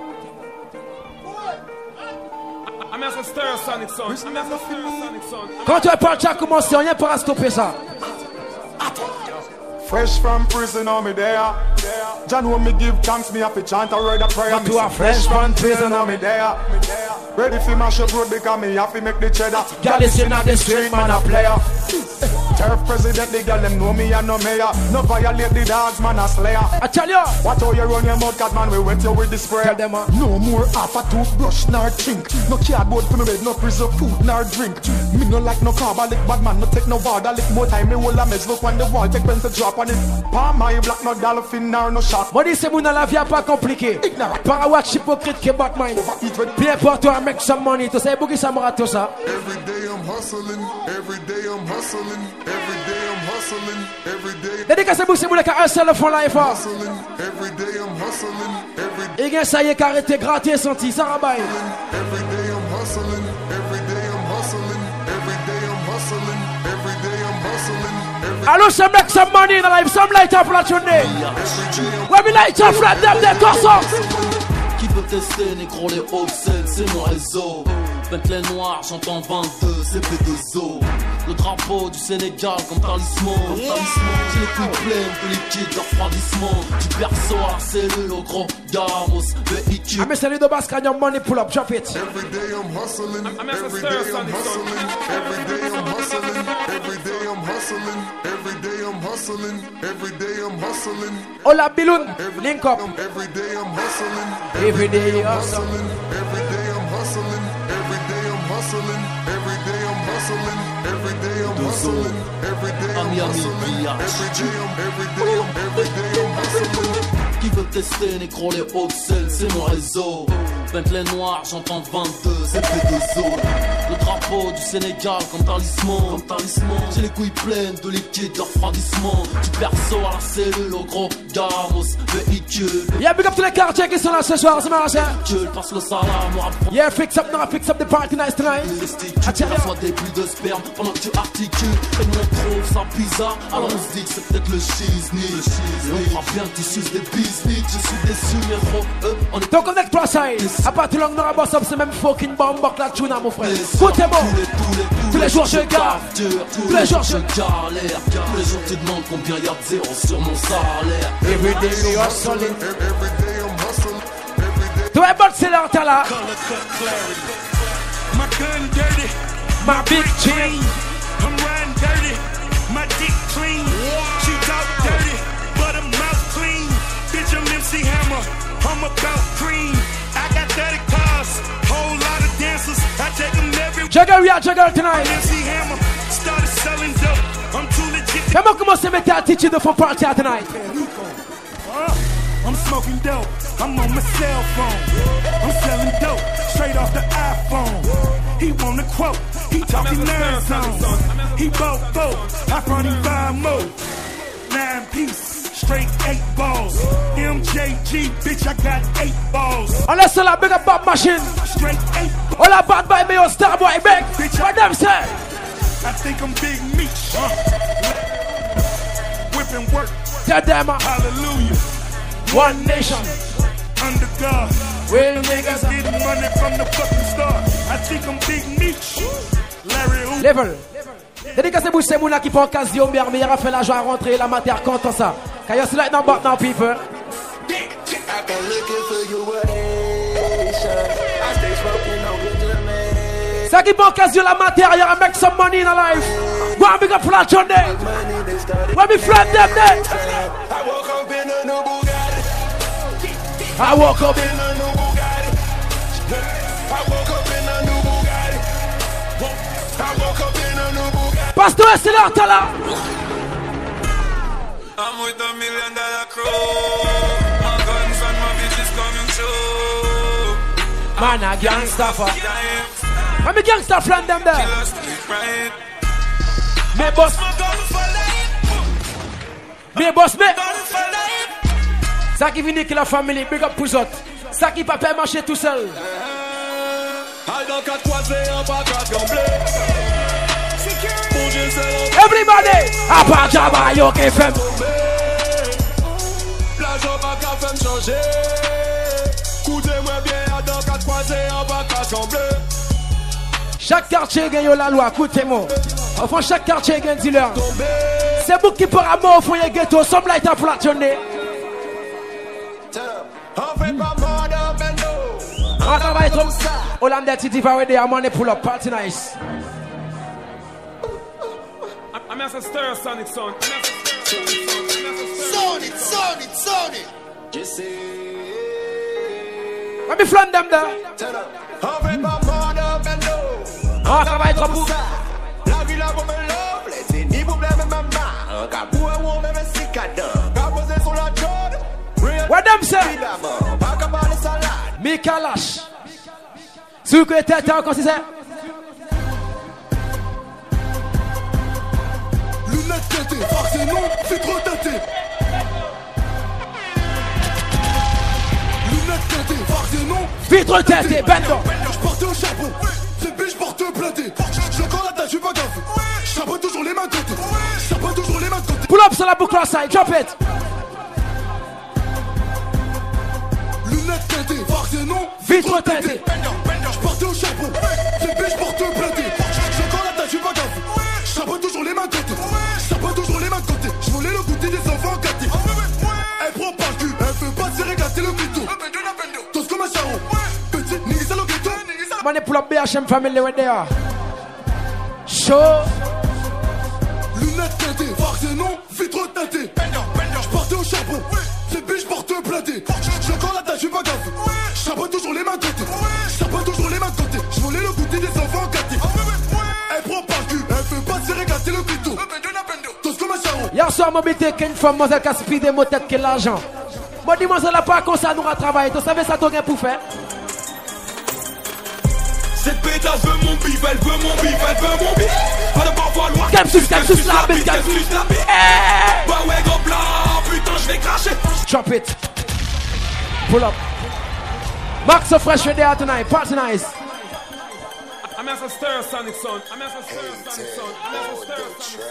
Quand on parle, ça a commencé, on n'y a pas à stopper ça. Fresh from prison, on me there. John, when me give thanks, me have to chant a word of prayer. Me say, fresh from prison, on me there. Ready for mash up road because me have to make the cheddar. Girl is in the street, man a player. Turf president, the girl them know me and no mayor. No violate the dogs, man a slayer. I tell you, watch how you run your mouth, cat man, we wet you with the spray. Tell them, uh. No more half a toothbrush nor chink. No cardboard for me bed, no preserve food nor drink. Me no like no carb, I lick bad man, no take no water. Lick more time, me hold a mess, look on the wall, take pen to drop on it. Palm my black, no dolphin nor no shark. Moi dis c'est mon la vie pas compliqué. Par watch hypocrite que Batman. Bien pour toi, make some money. Tu sais beaucoup ça me rate tout ça. Every day I'm hustling, every day I'm hustling, every day I'm hustling, every day. Dédicace pour c'est mon qui un seul fond life. Every day I'm hustling, every day. Et bien ça y est carrété gratter senti ça rabaille. Every day I'm hustling, every day I'm hustling, every day I'm hustling, every day I'm hustling. Allô, some make some money in the life, some light up la journée. When we light up flat them the courses. Qui peut tester, négro, les wholesale, c'est mon réseau. Bentley noir, j'entends vingt-deux, c'est P deux O. Le drapeau du Sénégal comme talisman. J'ai les couilles pleines de liquide de refroidissement. Du berceau à la cellule au gros gamos, véhicule. Ah mais c'est les deux basques, your money pull up, drop it. Every day I'm hustling, every day I'm hustling, every day I'm hustling, every day I'm hustling, every day I'm hustling, every day I'm hustling. Hola Biloun, link up. Every day I'm hustling, every day I'm hustling, every day I'm hustling, every day I'm hustling, every day I'm hustling, every day I'm hustling, every day I'm hustling, every day I'm, every day I'm, every day I'm hustling. Qui veut tester, négro, les wholesale, c'est mon réseau. Bentley noir, j'entends vingt-deux, c'est P deux O. Le drapeau du Sénégal comme talisman, comme talisman. J'ai les couilles pleines de liquide de refroidissement. Du berceau à la cellule au gros gamos, véhicule. Yeah, big up tous les quartiers qui sont là ce soir, c'est marrant ça. Véhicule, passe le salam, on rapproche. Yeah, fix up, now fix up the party nice tonight. Tu reçois des bulles de sperme pendant que tu articules. Et nous on trouve ça bizarre, alors on se dit que c'est peut-être le shizni. Et on fera bien que tu suces des business. Je suis déçu, mais gros, eux, on est. Don't connect plus side. À partir de là, on boss up, c'est même fucking bomb, la tuna, mon frère. Écoutez-moi. Tous les jours, je garde. Tous les jours, je galère. Tous les jours, tu demandes combien y'a de zéro sur mon salaire. Every day, we hustling. Every day I'm hustling. Tu es bon, c'est là, t'as là. My gun dirty. My big chain. I'm riding dirty. My dick clean. She talk dirty, but her mouth clean. Bitch, I'm M C Hammer. I'm about cream. I got thirty cars, whole lot of dancers. I take them every. Juggle, we are juggle tonight. M C Hammer started selling dope. I'm too legit. Comment commencer à mettre attitude de fond party tonight? Uh, I'm smoking dope. I'm on my cell phone. I'm selling dope straight off the iPhone. He want a quote. He talking nine zones. He bought four. I brought him five more. Nine piece, straight eight balls. M J G, bitch, I got eight balls. On laisse la big up Bob machine. Straight eight. All that bad boy, me your star boy, big. What them say? I think I'm Big Meech. Uh, whipping work. Tell them, uh, hallelujah. One nation. Under God. Real niggas getting money from the fucking start. I think I'm Big Meech. Larry Hoover. Level. Dédicacé pour ces mounas qui font occasion, mais il a fait l'argent à rentrer la matière contre ça. Can you select now but now people? Ça qui font occasion la matière, il y a make some money in a life. Go and big up for that Sunday. When we flat them there. I woke up in a new Bugatti. I woke up in a new Bugatti. I woke up in a new Bugatti. I woke up in a new Bugatti. Pastor, c'est là, t'as là. I'm with a million dollar crew. My guns and my bitches coming through. Man, a gangster for. I'm a gangster friend them there. Me boss. Me boss, me. Ça qui vient que la famille, big up pour autres. Ça qui peut pas marcher tout seul. Everybody, à part Jabba, yo qui fait. La jambe à café me changer. Coutez-moi bien, à dans quatre croisés en bas cassemblé. Chaque quartier gagne la loi, écoutez-moi. Enfin, chaque quartier gagne dealer. C'est vous qui pourra mort au foyer ghetto, some light up la journée. On fait pas mort dans Bendo. On travaille comme ça. Hollandais, Titi, Varede, à money pull up, party nice. I'm as a stir sonic son. Sonic, Sonic, Sonic. Just say. Let me flank them there. Ah, ça va être beau. La vie là comme un love, les ni problème même maman. Car pour un homme même si cadre. Car posé sur la chaude. What them say? Mi Kalash. Sous que tête encore si c'est. Lunettes teintées, farce non, filtre teinté. Lunettes teintées, farce non, filtre teinté, bendo. Je portais au charbon, c'est biche porte platé. J'ai encore la tâche, je suis pas gaffe. Je tape toujours les mains de côté. Je tape toujours les mains de côté. Pull up sur la boucle side, drop it. Lunettes teintées, farce non, filtre teinté. Je portais au charbon, c'est biche porte platé. J'ai encore la tâche, je suis pas gaffe. Je tape toujours les mains de côté. Je tape toujours les mains de côté. Je voulais le goûter des enfants gâtés. Elle prend pas le cul, elle veut pas se régater le couteau. Tous comme un charron. Petit, nigga, le ghetto. Money pull up B H M family right there. Show. Lunettes teintées, farce non, vitre teintée. Je partais au charbon, c'est biche porte platé. J'ai encore la tâche, je suis pas gaffe. Je tape toujours les mains de côté. Je tape toujours les mains de côté. Je voulais le goûter des enfants gâtés. Elle prend pas le cul, elle veut pas se régater le couteau. Tous comme un charron. Hier soir, mon bête qu'une femme, moi, qui a speedé mon tête que l'argent. Moi, dis-moi, ça n'a pas comme ça, nous, à travailler. Tu savais ça, t'as pour faire? Cette pétasse veut mon bif, elle veut mon bif, elle veut mon bif. Pas de pas vouloir. Qu'elle suce, qu'elle suce la bite, qu'elle suce la bite. Bah ouais, go blanc, putain, je vais cracher. Drop it. Pull up. Max so fresh there tonight, party nice. I'm as a stir sonic son. I'm as a stir sonic son. I'm as a stir sonic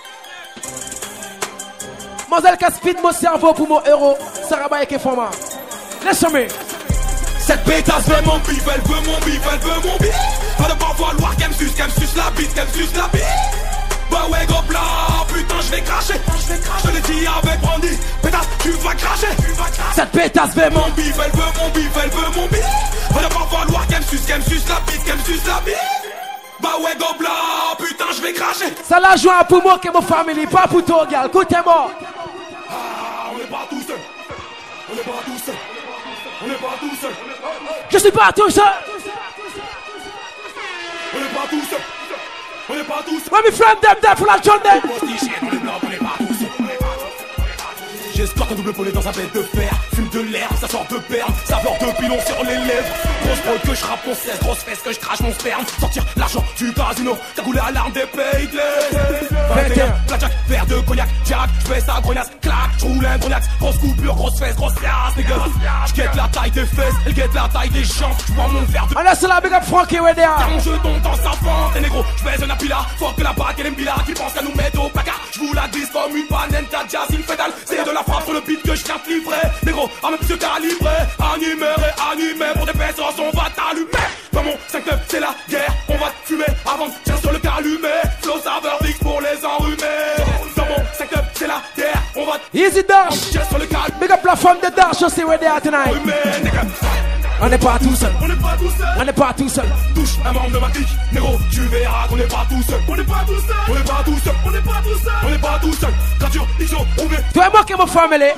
son. Mademoiselle qui speed mon cerveau pour mon euro. Sarah Baye qui format. Laisse-moi. Cette pétasse veut mon bif, elle veut mon bif, elle veut mon bif. Pas de pas vouloir qu'elle me suce, qu'elle me suce la bite, qu'elle me suce la bite. Bah ouais, go blanc, putain, je vais cracher. Je te l'ai dit avec Brandy, pétasse, tu vas cracher. Cette pétasse veut mon bif, elle veut mon bif, elle veut mon bif. Pas de pas vouloir qu'elle me suce, qu'elle me suce la bite, qu'elle me suce la bite. Bah ouais, go blanc, putain, je vais cracher. Ça la joue pour moi que mon famille, pas pour toi, gars. Écoutez-moi. Ah, on est pas tout seul. On est pas tout seul. On n'est pas tout seul. Je suis pas tout seul. On n'est pas tout seul. On n'est pas tous. Let me friend them there pour la journée. J'escorte un double poney dans un bête de fer. Fume de l'air, ça sort de perles. Saveur de pilon sur les lèvres. Grosse prod que je rappe mon cesse. Grosse fesse que je crache mon sperme. Sortir l'argent du casino. Cagoulé à l'arme des pays de l'Est. vingt et un, blackjack, verre de cognac. Jack, j'fais ça grognasse, clac. J'roule un grognax. Grosse coupure, grosse fesse, grosse fiasse, nigga. J'guette la taille des fesses. Elle guette la taille des champs. J'prends mon verre de. On laisse la big up Frankie right there. Mon jeton dans sa fente. Et négro, j'fais un apila. Fuck la bague et l'embila. Qui pense qu'à nous mettre au placard. J'vous la glisse comme une banane. T'as jazz, il fait dalle. C'est de la frappe sur le beat que je viens de livrer. Négro, arme plus calibré. Animé et animé. Pour des pesos, on va t'allumer. Dans mon cinq neuf, c'est la guerre. On va te fumer avant de tirer sur le calumet. Flow saveur X pour les enrhumés. Dans mon cinq neuf, c'est la guerre. On va te Easy Dash. sur le calumet. Big up la femme de Dash aussi right there tonight. On n'est pas tout seul. On n'est pas tout seul. On n'est pas tout seul. Touche un membre de ma clique. Négro, tu verras qu'on n'est pas tout seul. On n'est pas tout seul. On n'est pas tout seul. On n'est pas tout seul. On n'est pas tout seul. Gradure, X O, on est. Toi et moi qui est mon famille.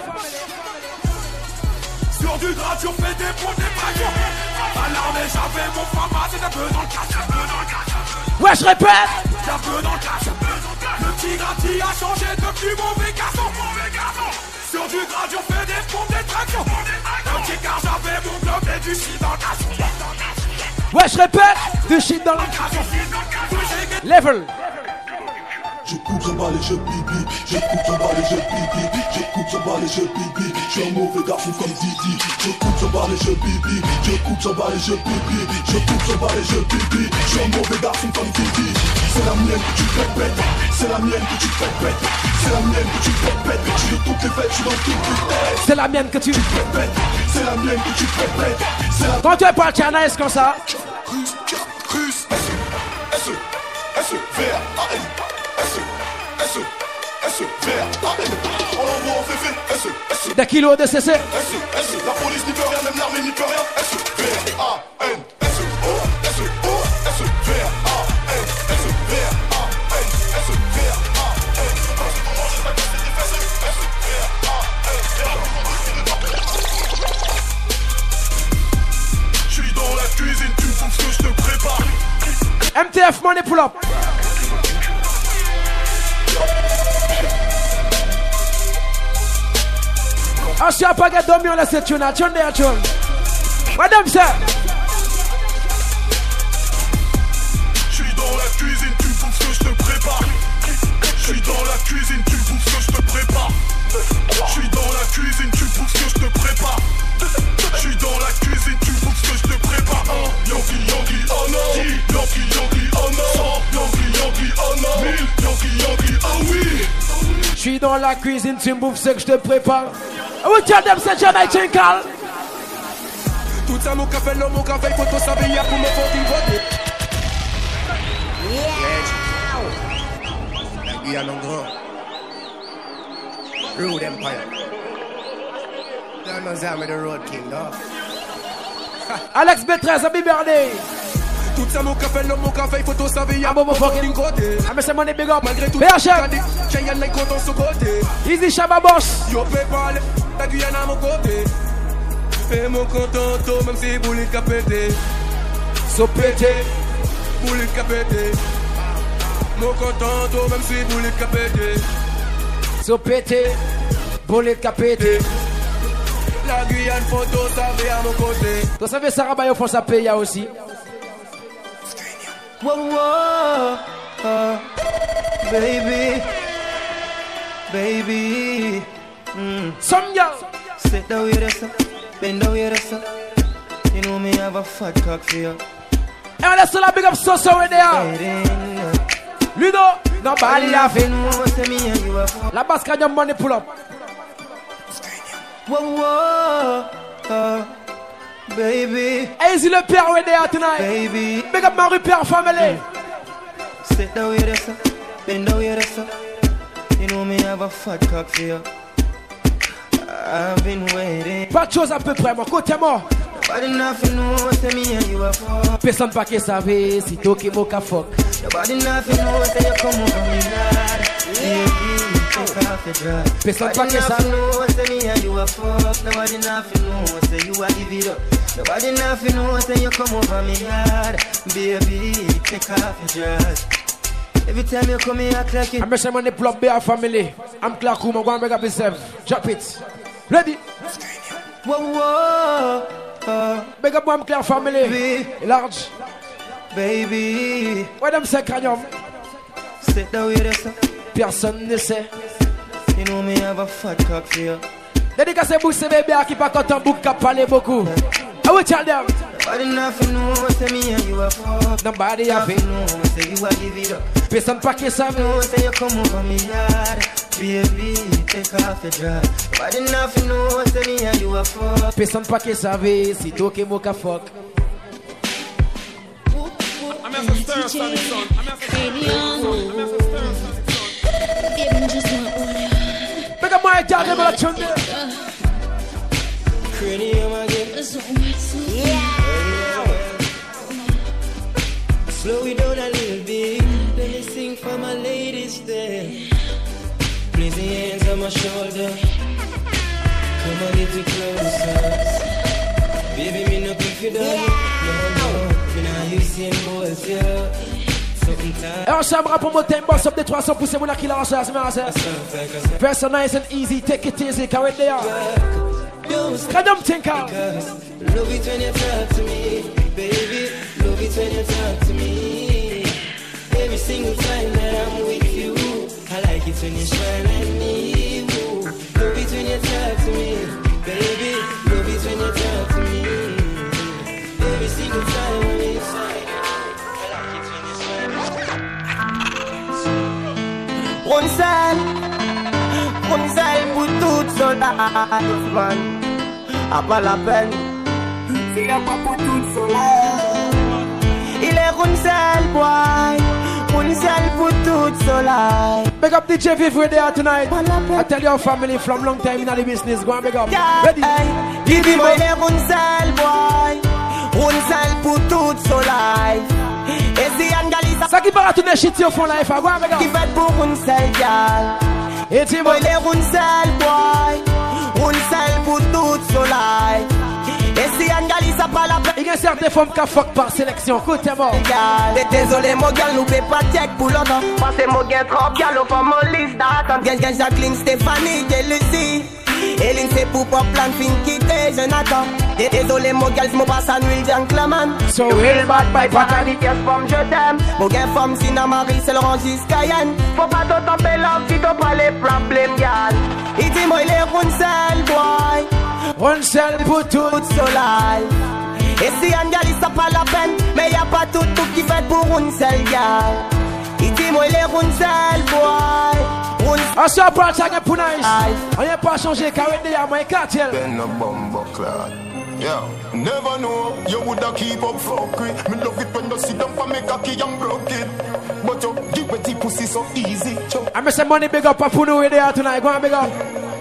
Sur du gradure, fais des points, des braqueurs. À l'armée, j'avais mon format, c'est un peu dans le cash. Un peu dans le cash. Ouais, je répète. Un peu dans le cash. Le petit grati a changé depuis mauvais garçon. Mauvais garçon. Sur du gradure, fais des pompes, des tractions. Un petit car j'avais mon globe et du shit dans le cash. Ouais, je répète. Du shit dans le cash. Level. Je coupe son balai, je bibi. Je coupe son balai, je bibi. Je coupe son balai, je bibi. Je suis un mauvais garçon comme Didi. Je coupe son balai, je bibi. Je coupe son balai, je bibi. Je coupe son balai, je bibi. Je suis un mauvais garçon comme Didi. C'est la mienne que tu fais pète. C'est la mienne que tu fais pète. C'est la mienne que tu fais pète. Je suis de toutes les fêtes, je suis dans toutes les têtes. C'est la mienne que tu fais pète. C'est la mienne que tu fais pète. Quand tu es parti à Nice comme ça. Cruise, cruise, S E, S E, S E, V R A N. S E, S E, S E, V R A N. On l'envoie en féfé, S E, S E. Des kilos de C C. S E, S E, la police n'y peut rien, même l'armée n'y peut rien. S E, V R A N. S E, O, S E, O, S E, V R A N. S E, V R A N. S E, V R A N. money pull up. I see a paquet d'hommes on laisse tune, tune there, tune. What them say? J'suis dans la cuisine, tu bouffes ce que je te prépare. J'suis dans la cuisine, tu bouffes ce que je te prépare. J'suis dans la cuisine, tu bouffes ce que je te prépare. J'suis dans la cuisine, tu bouffes ce que je te prépare. Yankee, Yankee, oh no. Yankee, Yankee, oh no. Yankee, Yankee, oh no. Yankee, Yankee, oh oui. J'suis dans la cuisine, tu me bouffes ce que je te prépare. I will tell them c'est Jamaican Carl. Tout ça mon café, l'homme, mon café, faut tout s'habiller pour me fucking voter. La Guyane en grand. Rude Empire. Don't know I'm the road king, dog. Alex Betrez, happy birthday. Tout ça mon café, l'homme, mon café, faut tout s'habiller pour me fucking voter. I miss money big up. Malgré tout, B H M. Cheyenne n'est content sur côté. Easy Shabba Boss. Yo peux parler, la Guyane à mon côté. Et mon content, même si boulet qu'a pété. So pété. Boulet qu'a pété. Mon content, même si boulet qu'a pété. So pété. Boulet qu'a pété. La Guyane photo, ça va à mon côté. Tu savais, Sarah Bayo font sa paye aussi. Whoa, whoa, uh, baby, baby. Mm. Some girl. Sit down with us, bend down with us. You know me have a fat cock for you. And let's still a big up so so right there. Ludo, nobody laughing. La basse can your money pull up. Whoa, whoa, uh, baby. Easy le père right there tonight. Baby. Big up my repair family. Sit down with us, bend down with us. You know me have a fat cock for you. I've been waiting. Pas de choses à peu près, mon côté moi. Nobody nothing knows say me and you are fuck. Personne pas qui savait si toi qui m'au fuck. Nobody nothing knows say you come over me mad. Baby, take off your dress. Personne pas qui savait. Nobody knows say me and you are fuck. Nobody nothing knows say you are give it up. Nobody nothing knows say you come over me mad. Baby, take off your dress. Every time you come here, I crack it. I'm messing on the block bear family. I'm Clark Room, I'm going to make up myself. Drop it. Ready? Whoa, whoa. Uh, Big up one Claire family. Baby. Large. Baby. Where them say cranium? Sit down with us. Personne ne sait. You know me have a fat cock for you. Dédicace Bousse bébé à qui pas content bouc qui parler beaucoup. I will tell them. Nobody nothing knows say me and you are fuck. Nobody have it. Knows say you are give it up. Personne pas qui savait. Knows say you come over me yard. Baby, take off your dress. Nobody nothing knows say me and you are fuck. Personne pas qui savait si toi qui m'au fuck. I'm as a stir, son, son. I'm as a stir, I'm as a stir, son. Big up my dad, never let you there. Cranium again. Yeah. Slow it down a little bit. Let me sing for my ladies there. Place your hands on my shoulder. Come a little closer. Baby, me no pick you down. No, no. Me nah use him boys, yeah. Et on s'aimera pour monter un boss up de trois cents pouces. Vous n'a qui l'a reçu à ce moment-là. Person nice and easy. Take it easy. Carry it there. Can you think out? Love it when you talk to me, baby. Love it when you talk to me. Every single time that I'm with you, I like it when you smile at me. Ooh. Love it when you talk to me, baby. Love it when you talk to me. Every single time I'm inside, I like it when you smile. One side, one side, put tout sur la man. A pas la peine. Il a pas pour tout soleil. Il est une seule boy. Une seule pour tout soleil. Big up D J Viv there tonight. I tell your family from long time in the business. Go and big up. Ready? Give him il est une seule boy. Une seule pour tout soleil. Et si Angalisa. Ça qui va retourner shit au fond life. Go and big up. Qui fait pour une seule gal. Et si il est une seule boy. Une seule pour tout soleil. Et si un gal il s'appelle la peine. Il y a certaines femmes qui fuck par sélection. Écoute, t'es mort. Désolé, mon gal, nous paie pas check pour l'autre. Parce que mon gal trop gal, on fait mon liste d'attente. Gen, gen, Jacqueline, Stéphanie, Lucie. Eline, c'est pour pop plan, fin quitter, Jonathan. Désolé, mon gal, mon passe à nuit, Jean Clement. So real bad by Patani, yes, femme, je t'aime. Mon gars, femme, si n'a Marie, c'est le rangis Cayenne. Faut pas te taper l'homme si t'as pas les problèmes, gal. Il dit, moi, il est Runsel, boy. Runsel pour tout soleil. Et si un gal, ça pas la peine, mais y a pas tout tout qui fait pour Runsel, gal. Il dit, moi, il est Runsel, boy. I saw a part again for nice. I ain't pas changé car with the my cartel. Ben a bumbo clad. Yeah, never know you woulda keep up fuckery. Me love it when you sit down for me cocky and broke it. But you give me the pussy so easy. I miss some money big up a Puno with there tonight. Go on big up.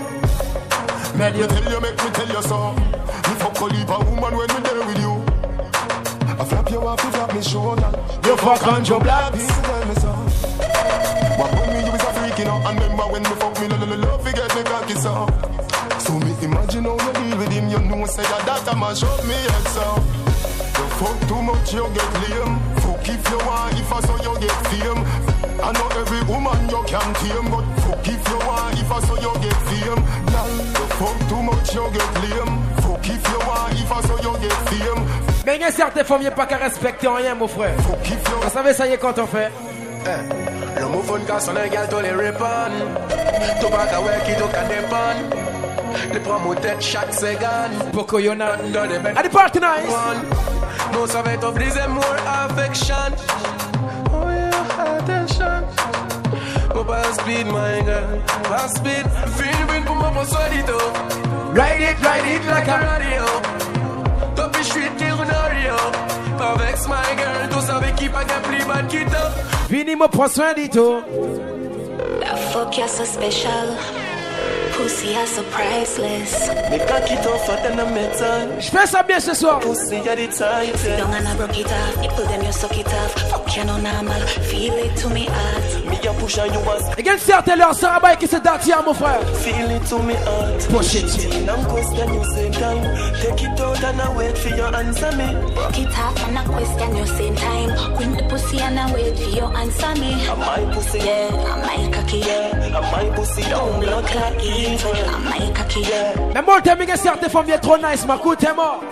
Man, you tell you make me tell you so. Me fuck a leap a woman when me there with you. I flap you off, you flap me shoulder. You fuck on your black. Tell me so. What when me you is a freak, you know. And remember when me fuck me, love, love, forget me cocky so. So me imagine how you deal with him. You know say that that a mash up me head so. You fuck too much, you get lame. Fuck if you want, if I saw you get fame. I know every woman you can tame, but fuck if you want, if I saw you get fame. You fuck too much, you get lame. Fuck if you want, if I saw you get fame. Mais il y a certaines femmes qui n'ont pas qu'à respecter rien, mon frère. Vous savez, ça y est quand on fait. Le mouvement de casse, on a égal tous les répondre. Tout pas qu'à ouais qui doit dépendre. Les promos tête chaque seconde. Pourquoi y'en a dans les mecs? À des party nice. Nous ça va t'offrir more affection. Oh yeah, attention. Go by speed, my girl. By speed. Feeling pour moi pour soi dit tout. Ride it, ride it like a radio. Top street till Norio. Avec my girl, tout ça avec qui pas qu'à plus bad qui top. Vini me prend soin dit tout. That fuck you're so special. Pussy you're so priceless. Mais quand qui t'en fait un métal. Je fais ça bien ce soir. Pussy y'a des tailles. Sit down and I broke it off. Nipple them you suck it off. Fuck you no normal. Feel it to me heart. Me a push on you once. Et quel certain leur ça va qui se date hier mon frère. Feel it to me heart. Push it. I'm question you same time. Take it out and I wait for your answer me. Broke it off and I question you same time. Queen the pussy and I wait for your answer me. I'm my pussy. Yeah, I'm my cocky. Yeah, I'm my pussy. Don't blood clot evil. I'm my cocky. Yeah. Mais moi t'aimes que certaines femmes viennent trop nice, ma coute t'es mort.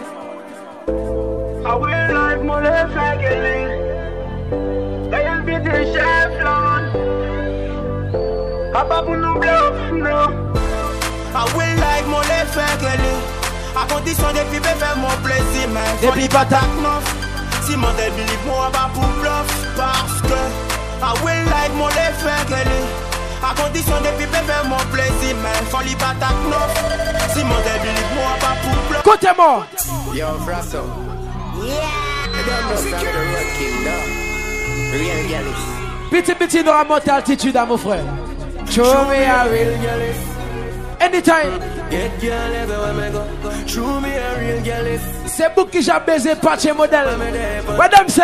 I will like my left again. I am beating chef long. Papa pour nous bluff, no. I will like my left again. À condition de vivre faire mon plaisir, mais depuis pas ta neuf. Si mon débile moi va pour bluff, parce que I will like my left again. À condition de vivre faire mon plaisir, mais faut lui pas ta neuf. Si mon débile moi va pour bluff. Côté moi. Yo, Frasso. Yeah. Petit petit dans la montée altitude à mon frère. Show me a real girl. Anytime. Get girl everywhere me go. Show me a real girl. C'est vous qui j'ai baisé patch modèle. Madame ça.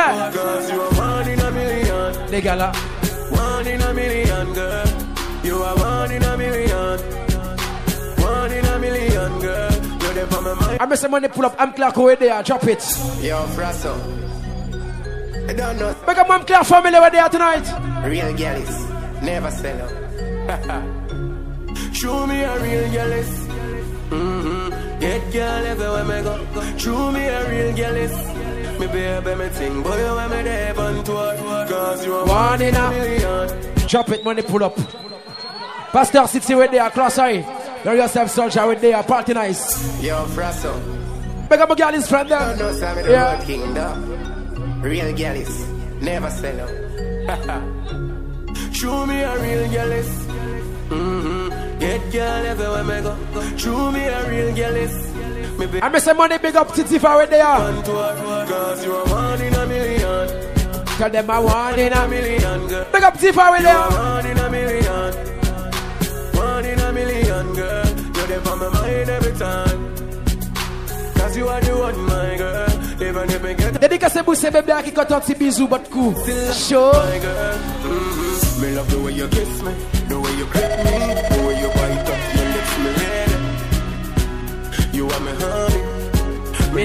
Les gars là. One in a million girl. You are one in a million. One in a million girl. You're there for my mind. I'm some money pull up. I'm Clark over there. Drop it. Yo, Frasso. I don't know. Make a mom Clark family over there tonight. Real girls never sell out. Show me a real girl. Mm-hmm. Get girl everywhere me go. Show me a real girl. Me baby me ting, boy you want me there on tour. Cause you are one in a million. Drop it, money pull up. Pastor City with there, class I. Know yourself soldier with there, party nice. Yo, Frasso. Make up a girl his friend there. No, no, the yeah. Kingdom. Real girls never sell out. Show me a real girl. Mm-hmm. Get girl everywhere me go. Show me a real girl. I miss some money big up Titi for where they are. Cause you are one in a million. Tell them I one in a million girl. Big up Titi for where they are. One in a million. One in a million girl. You're there for my mind every time. Cause you are the one my girl. Even if I get Dédicace Bousse bébé qui compte un petit bisou but coup. Show. My girl. Mm-hmm. Me love the way you kiss me, the way you grip me, the way you bite up your lips, me lady. You are my honey,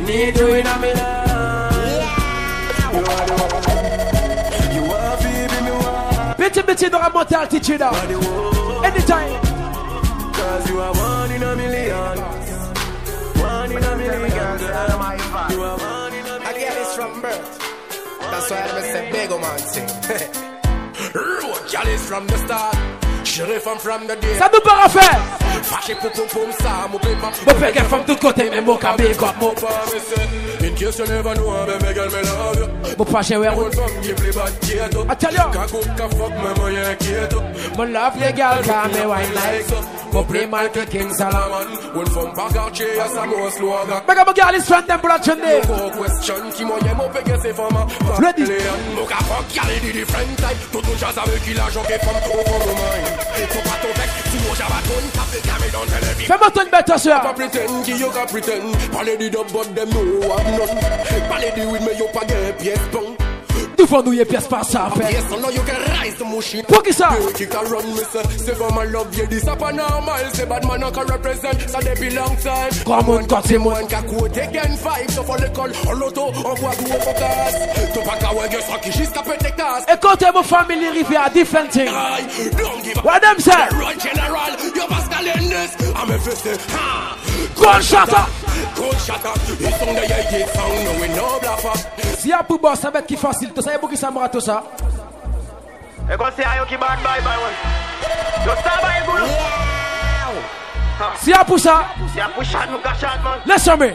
Bitty bitty don't have more altitude now. Anytime. Cause you are one in a million. One in a million. You are one in a million. I get this from birth. That's why I say big man sing. Road girl is from the start. Sheriff I'm from the day. Ça nous part à faire. Fâché pour pour pour ça, mon père m'a. Mon père from tout côté, mais mon cabé comme mon. In case you never know, baby girl, me love you. Mon pas chez ouais. I tell you. Ka cook ka fuck me moyen keto. Mon love les gars, car me wine like. Mon play mal que King Solomon. When from Bagache, yes I'm more slogan. Mega mon girl is from them pour la journée. No question qui moyen mon père c'est femme. Ready. Mon ka fuck girl is different type. Tout le jazz avec qui l'argent qui femme trop pour mon mind. Faut pas ton bec, si moi j'avais ton tape, camé dans télévision. Fais-moi ton bête, soeur. Pas pretend, qui yo ka pretend. Parlez du dub, but them no have none. Parlez du weed, mais yo pas gain pièce bon. Nous faut nous y pièce pas ça, fait. Yes, I know you can rise the machine. Pour qui ça? Qui can run, me say. C'est for my love, yeah, this up and normal. C'est bad man, I can represent. Ça depuis long time. Come on, quand c'est moi. One ka quote again five. So for l'école, en l'auto, on voit tout au focus. T'as pas qu'à ouais, ça qui jusqu'à péter casse. Écoutez, mon famille rivier à different thing. Don't give up. What them say? Run general, you Pascal in this. I'm a fist. Ha! Gun shatter. Gun shatter. Ils sont des yéyés, sang, no we no blaffer. Si y'a pour boss, ça va être qui facile. Tu sais pour qui ça me rate tout ça? Et quand c'est Ayo qui bat bye bye one. Yo ça va égoulou. Si y'a pour ça. Si y'a pour chat nous cachat man. Laisse-moi.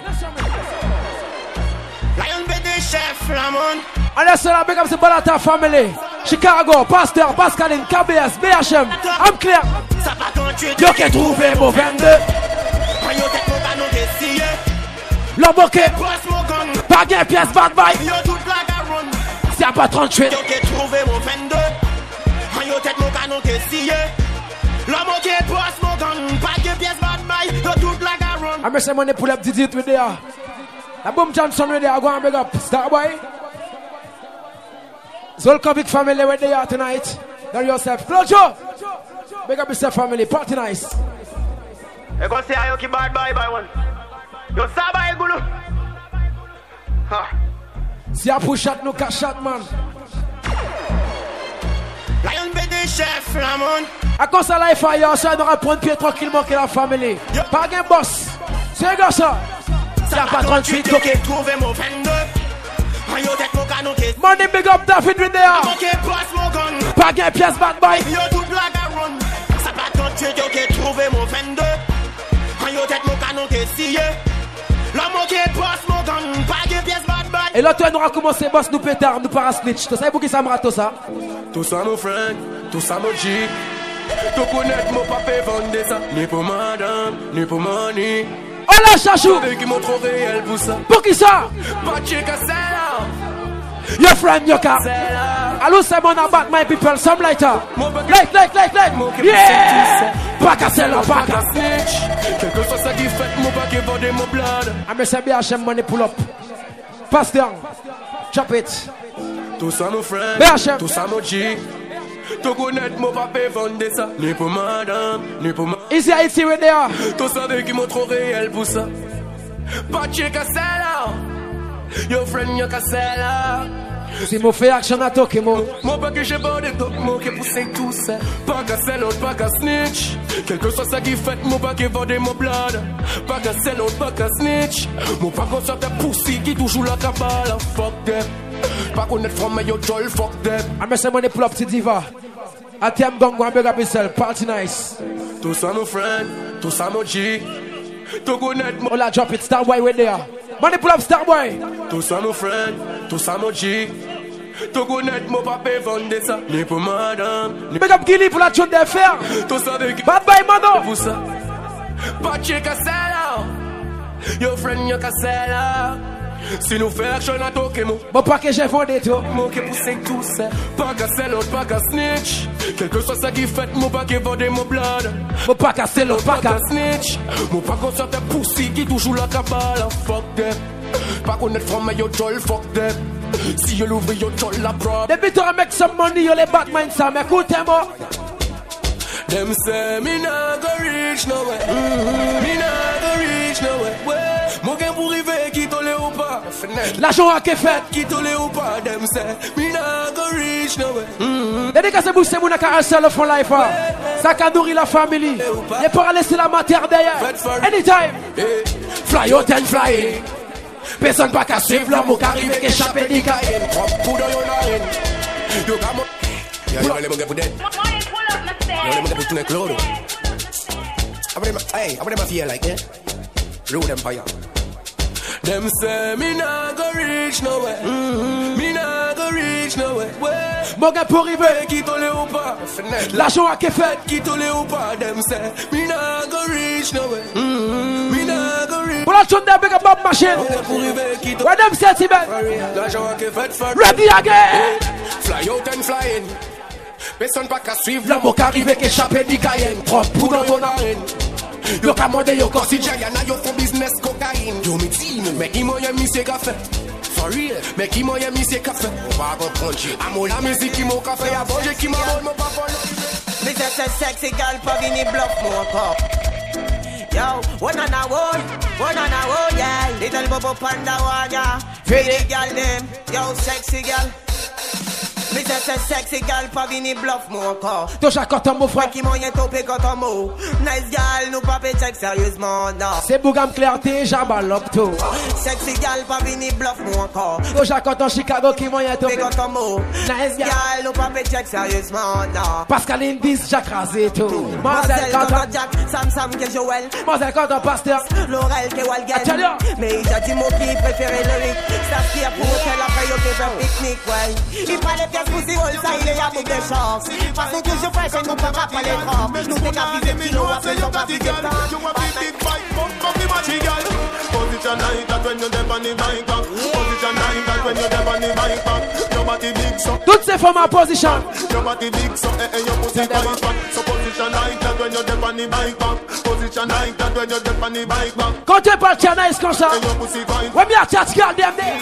Lion B D chef Lamon. Allez, c'est la big up, c'est Balata Family. Chicago, Pasteur, Pascaline, K B S, B H M. I'm clear. Ça va continuer. Yo qui trouvé mon vingt-deux. Yo tête mon canon qui scie. Le bokeh. Boss mon gun. Pas gain pièce bad bye. Yo toute la garonne. Si y'a pas trente-huit. Yo qui trouvé mon vingt-deux. Yo tête mon canon qui scie. L'homme qui est boss mon gun. Pas gain pièce bad bye. Yo toute la garonne. I'm say money pull up the it with there. La Boom Johnson with there. Go and big up. Starboy. Zolkovic family where they are tonight. Now yourself. Flojo. Big up yourself family. Party nice. Et quand c'est Ayo qui bad bye bye one. Yo ça va égoulou. Ha. Si y'a pour chat nous cash chat man. Lion B D chef Lamon. A cause ça life ailleurs, ça on aura prendre pied tranquillement que la famille. Pas gain boss. C'est un gars ça. Si y'a pas trente-huit. Yo qui trouvé mon vingt-deux. Yo tête mon canon qui. Money big up David with there. Yo qui boss mon gun. Pas gain pièce bad boy. Yo toute la garonne. Ça pas trente-huit. Yo qui trouvé mon vingt-deux. Yo tête mon canon qui scie. L'homme qui est boss mon gun. Pas de pièce bad bad. Et là toi nous a commencé boss nous pétard nous para snitch. Tu sais pour qui ça me rate tout ça? Tout ça mon frère, tout ça mon G. Tu connais mon papa vendre ça. Ni pour madame, ni pour money. Oh là chachou. Avec qui montre trop réel pour ça. Pour qui ça? Pas de chica c'est là. Your friend your car. Allô c'est mon about my people some lighter. Light light light light. Yeah. Pas qu'à celle là, pas qu'à snitch. Quelque chose ça qui fait mon paquet vendre mon blood. I'm a B H M money pull up. Pass down. Chop it. Tout ça mon frère. B H M. Tout ça mon G. Tu connais mon papa vendre ça. Ni pour madame, ni pour ma. Ici Haïti where they are. Tout ça avec qui montre trop réel pour ça. Pas de chica c'est là. Your friend yo ka c'est là. Si mon fait action à toquer mon. Mon pas que j'ai pas de top, mon qui pousse tout ça. Pas qu'à sell out, pas qu'à snitch. Quelque chose ça qui fait, mon pas qui vende mon blood. Pas qu'à sell out, pas qu'à snitch. Mon pas qu'on sorte poussi qui toujours la cabale. Fuck them. Pas connaître from your joy, fuck them. I'm a money pull up to diva. A T M gongo and big up yourself. Party nice. Tout ça mon friend, tout ça mon G. Tu connais mon. Oh la drop it, Starboy where they are. Money pull up Starboy. Tout ça mon friend, tout ça mon G. Tu connais mon papa vendre ça. Ni pour madame. Big up Gilly pour la tune de fer. Tout ça avec. Bad bye mano. Pour ça. Pas de chica c'est là. Your friend yo ka c'est là. Si nous fait action à toquer mon. Bon pas que j'ai fondé tout. Mon qui pousse tout ça. Pas qu'à sell out, pas qu'à snitch. Quelque chose ça qui fait, mon pas qui vende mon blood. Mon pas qu'à sell out, pas qu'à snitch. Mon pas qu'on sorte poussi qui toujours la cabale. Fuck them. Pas connaître from your joy, fuck them. Si you l'ouvre your joy la prod. Depuis tu make some money, you les Batman ça. Mais écoutez-moi. Them say me not go reach nowhere. Mm-hmm. Me not go reach nowhere. Mon gain pour river qui tole ou pas. L'argent a été fait. Qui tous les ou pas them say, me nah go reach nowhere. Dédicace pour ces mouna qui restent le fond life. Ça qui nourrit la famille. Et pour laisser la matière derrière. Anytime. Fly out and fly in. Personne pas qu'à suivre l'amour qui arrive et échapper des caïns. Pour dans yon line. Yo come on. Yeah, you let me get for dead. You let me get for tonight clothes. Hey, I want them feel like it. Rude empire. Them say me nah go reach nowhere. Mm-hmm. Me nah go reach nowhere. Mon gars pour arriver. Qui tous les ou pas. L'argent a été fait. Qui tous les ou pas. Them say me nah go reach nowhere. Mm-hmm. Me nah go reach. Pour la tune de big up Bob Machine. Where them sentiment. L'argent a été fait. Ready again. Fly out and fly in. Personne pas qu'à suivre l'amour qui arrive et échapper des caïens. Propre pour dans ton arène. Yo ka mande yo consider yana yo for business cocaine. Yo me team, mais qui moyen mi c'est café. For real, mais qui moyen mi c'est café. Pas bon puncher. Amo la musique qui mon café a bonger qui m'a bon mon papa. Me say say sexy girl pa vini bluff mo encore. Yo, one on a one, one on a one, yeah. Little bubble panda one, yeah. Pretty girl them, yo sexy girl. Me say say sexy girl pa vini bluff mo encore. Touche à quand mon frère. Qui moyen topé quand on mot. Nice girl, nous pas check sérieusement, non. C'est Bougam Clarté, Jabalop tout. Sexy girl pa vini bluff mo encore. Touche à quand Chicago qui moyen topé quand on mot. Nice girl, nous pas check sérieusement, non. Pascal Indis, Jacques Razé tout. Marcel quand Jack, Sam Sam que Joël. Marcel quand Pasteur. Laurel que Walgen. Mais il a dit mon qui préféré le ric. Ça qui a pour qu'elle a payé au faire pique-nique, ouais. Il fallait faire pousser all ça il est à bout de chance. Parce que toujours fresh et nous pas pas les corps. Nous t'es qu'à viser petit nous après nous pas viser temps. You want big big bike, bump up the matchy girl. Position like that when you dip on the bike back. Position like that when you dip on the bike back. Your body big so. Toutes ces femmes en position. Your body big so, eh eh your pussy bike back. So position like that when you dip on the bike back. Position like that when you dip on the bike back. Quand tu parles Chanaïs comme ça. Your pussy bike. When me a chat girl them there.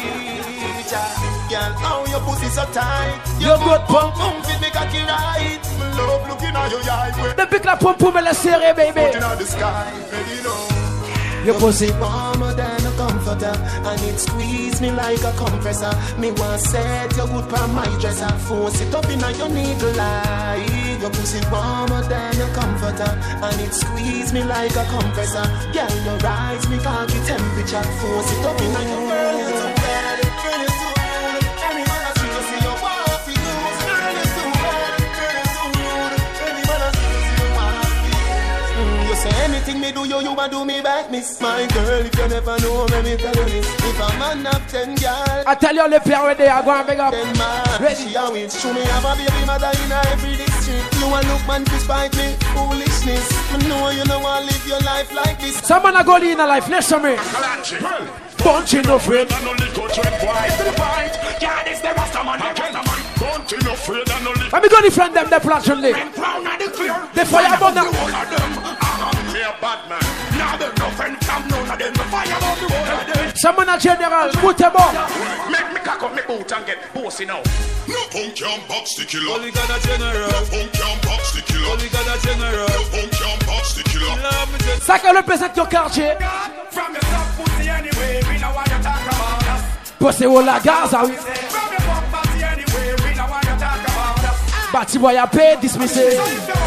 Girl, how your pussy so tight. Your good pump, pump fit me cocky right. Love looking at your eye. The big la pump pump me la serré, baby. Looking at the sky, baby, know. Your pussy warmer than a comforter, and it squeeze me like a compressor. Me want set your good pa my dresser. Force it up in your niggle eye. Your pussy warmer than a comforter, and it squeeze me like a compressor. Girl, your rise me cocky temperature. Force it up in your girl, you too bad. Girl, you too rude. Any man I see you see your wife for you. Girl, you too bad. Girl, you too rude. Any man I see you see your wife for you. You say anything me do you, you a do me back, miss. My girl, if you never know, let me tell you this. If a man have ten girls, I tell you the pair where they are going big up. Ten man, ready she a win. Show me have a baby mother in a every district. You a look man to spite me, foolishness. I know you know want live your life like this. Some man a go in a life, listen to me. Bunch in no friend. Let me go defend them, the platform. The fire burn them. Someone a general, put them up. Make me cock up my boot and get bossy now. No punk can box the killer. Only got a general. No punk can box the killer. Only got a general. No punk can box the killer. Ça qu'elle représente ton quartier. From the top pussy anyway, we know what you talk about us. Pussy ou la Gaza, oui. From the pop party anyway, we know what you talk about us. Bati boy a paid, dismissé.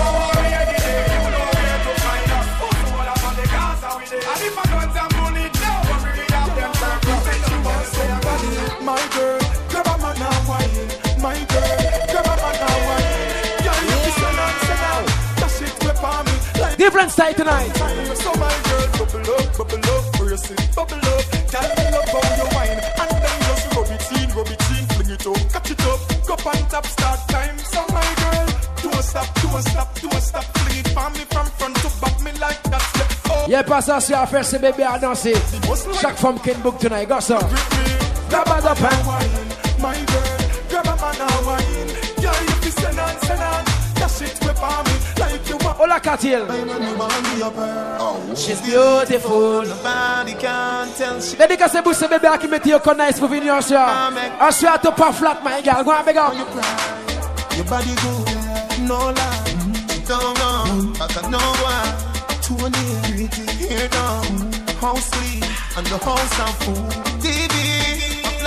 My girl, grab a man and wine. My girl, grab a man and wine. Yeah, you be sell out, sell out. That shit whip on me like different style tonight. So my girl, bubble up, bubble up, brace it, bubble up. Tell me love how you wine, and then just rub it in, rub it in, fling it up, catch it up, go on top, start time. So my girl, don't stop, don't stop, don't stop, fling it for me from front to back, me like that step up. Y'a pas ça, c'est à faire ces bébés à danser. Chaque femme qui book tonight, go ça. Grab a up and my girl, grab a man and wine. Yeah, if you send on, send on. That shit whip on me like you want. Hola, Katil. She's beautiful, nobody can tell she. Dédicace pour ces bébés qui mettent yo connaissent pour venir en soir. En soir, t'es pas flat, my girl. Go on, big up. Your body good, no lie. Don't run, I can know why. twenty, here down, house sleep, and the house of food. T V.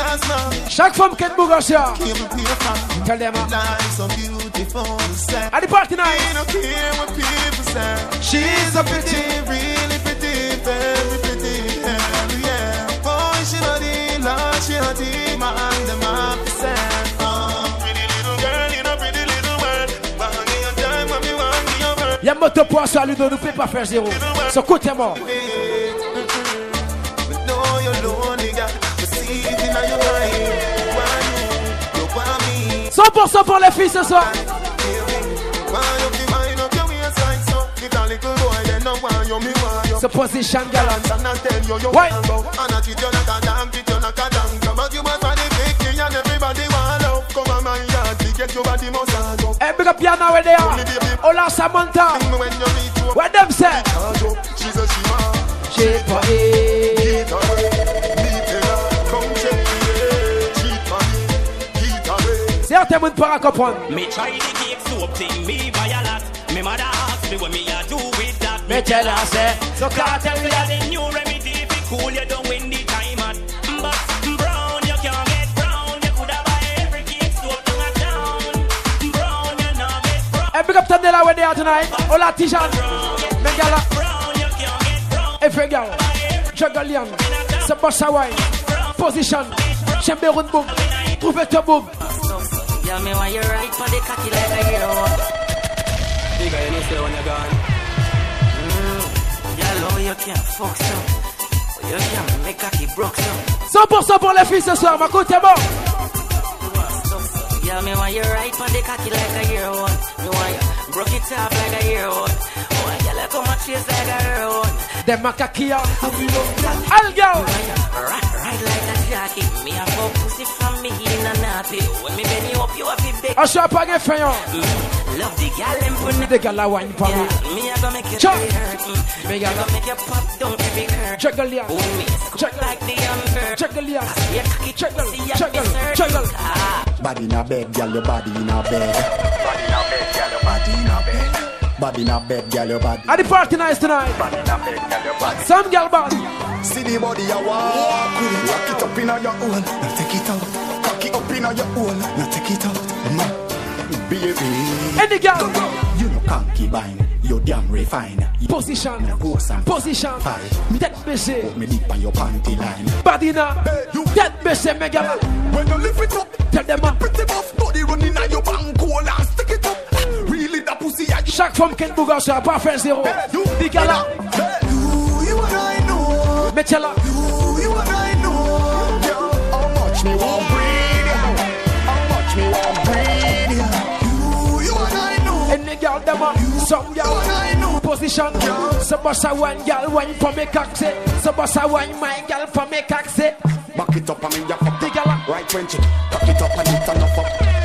Chaque femme qui est Bougasia, tell them at the party night. She's a pretty, really pretty, very pretty, yeah. Boy, she not in love, she not in my hand, them have to send. Pretty little girl in a pretty little world. But honey, your time when me want me over. Y'a moto pour ça, Ludo, nous fait pas faire zéro. So côté moi. cent pour cent pour les filles ce soir. Ce position galant. Ouais. Hey, big up Yana where they are. Ola Samantha. Where them say? Cheat for it. Certains moun para comprendre. Me try to keep soap thing, me buy a lot. Me mother ask me what me a do with that. Me tell her say, so can't tell me that the new remedy if it cool you don't win the time at. But brown you can't get brown. You coulda buy every keep soap down a town. Brown you not get brown. Hey, big up Tandela where they are tonight. Ola Tijan. Megala. Brown you can't get brown. Every girl. Jagalian. Sabasa wine. Position. Chamberon boom. Trouve ton boom. Yeah, me want you right for the cocky like a hero. Bigger you know say when you're gone. Mm. Yeah, low you can't fuck some. You can't make cocky broke some. cent pour cent pour les filles ce soir, ma côté bon. Yeah, me want you right for the cocky like a hero. Me want you broke it up like a hero. Oh, you like how much is like a hero. Them macaquia. All girl. Right, right like a jockey. Me a fuck pussy from me in a nappy. When me bend you up, you have to beg. I show up again for you. Love the gal and put the gal a wine for me. Me a go make you hurt. Me a go make you pop down every curve. Juggle Oh, me scoop like the amber. Juggle ya. Juggle, juggle, juggle. Body in a bed, girl, your body in a bed. Body in a bed, girl, your body in a bed. Body in a bed, girl, your body. At the party nice tonight. Body in a bed, girl, your body. Some girl body. See the body you walk with it. Rock it up in your own. Now take it out. Cock it up in your own. Now take it out. Man, baby. Any girl. You know concubine. You damn refine. Position. Position. That busy. Put me deep on your panty line. Body now. That busy, me girl. When you lift it up, tell them up. Pretty buff body running on your bank hole and stick it up. Really that pussy. Chaque femme qui est bouga sur pas faire zéro. Big gala. You, you and I know. Me tell her. You, you and I know. Girl, how much me want breed ya? How much me want breed ya? You, you and I know. Any girl them up. Some girl. Position. Some boss a one girl wine for me cocksy. Some boss a one my girl for me cocksy. Back it up and me ya fuck. Big gala. Right when chick. Cock it up and it a nuff up.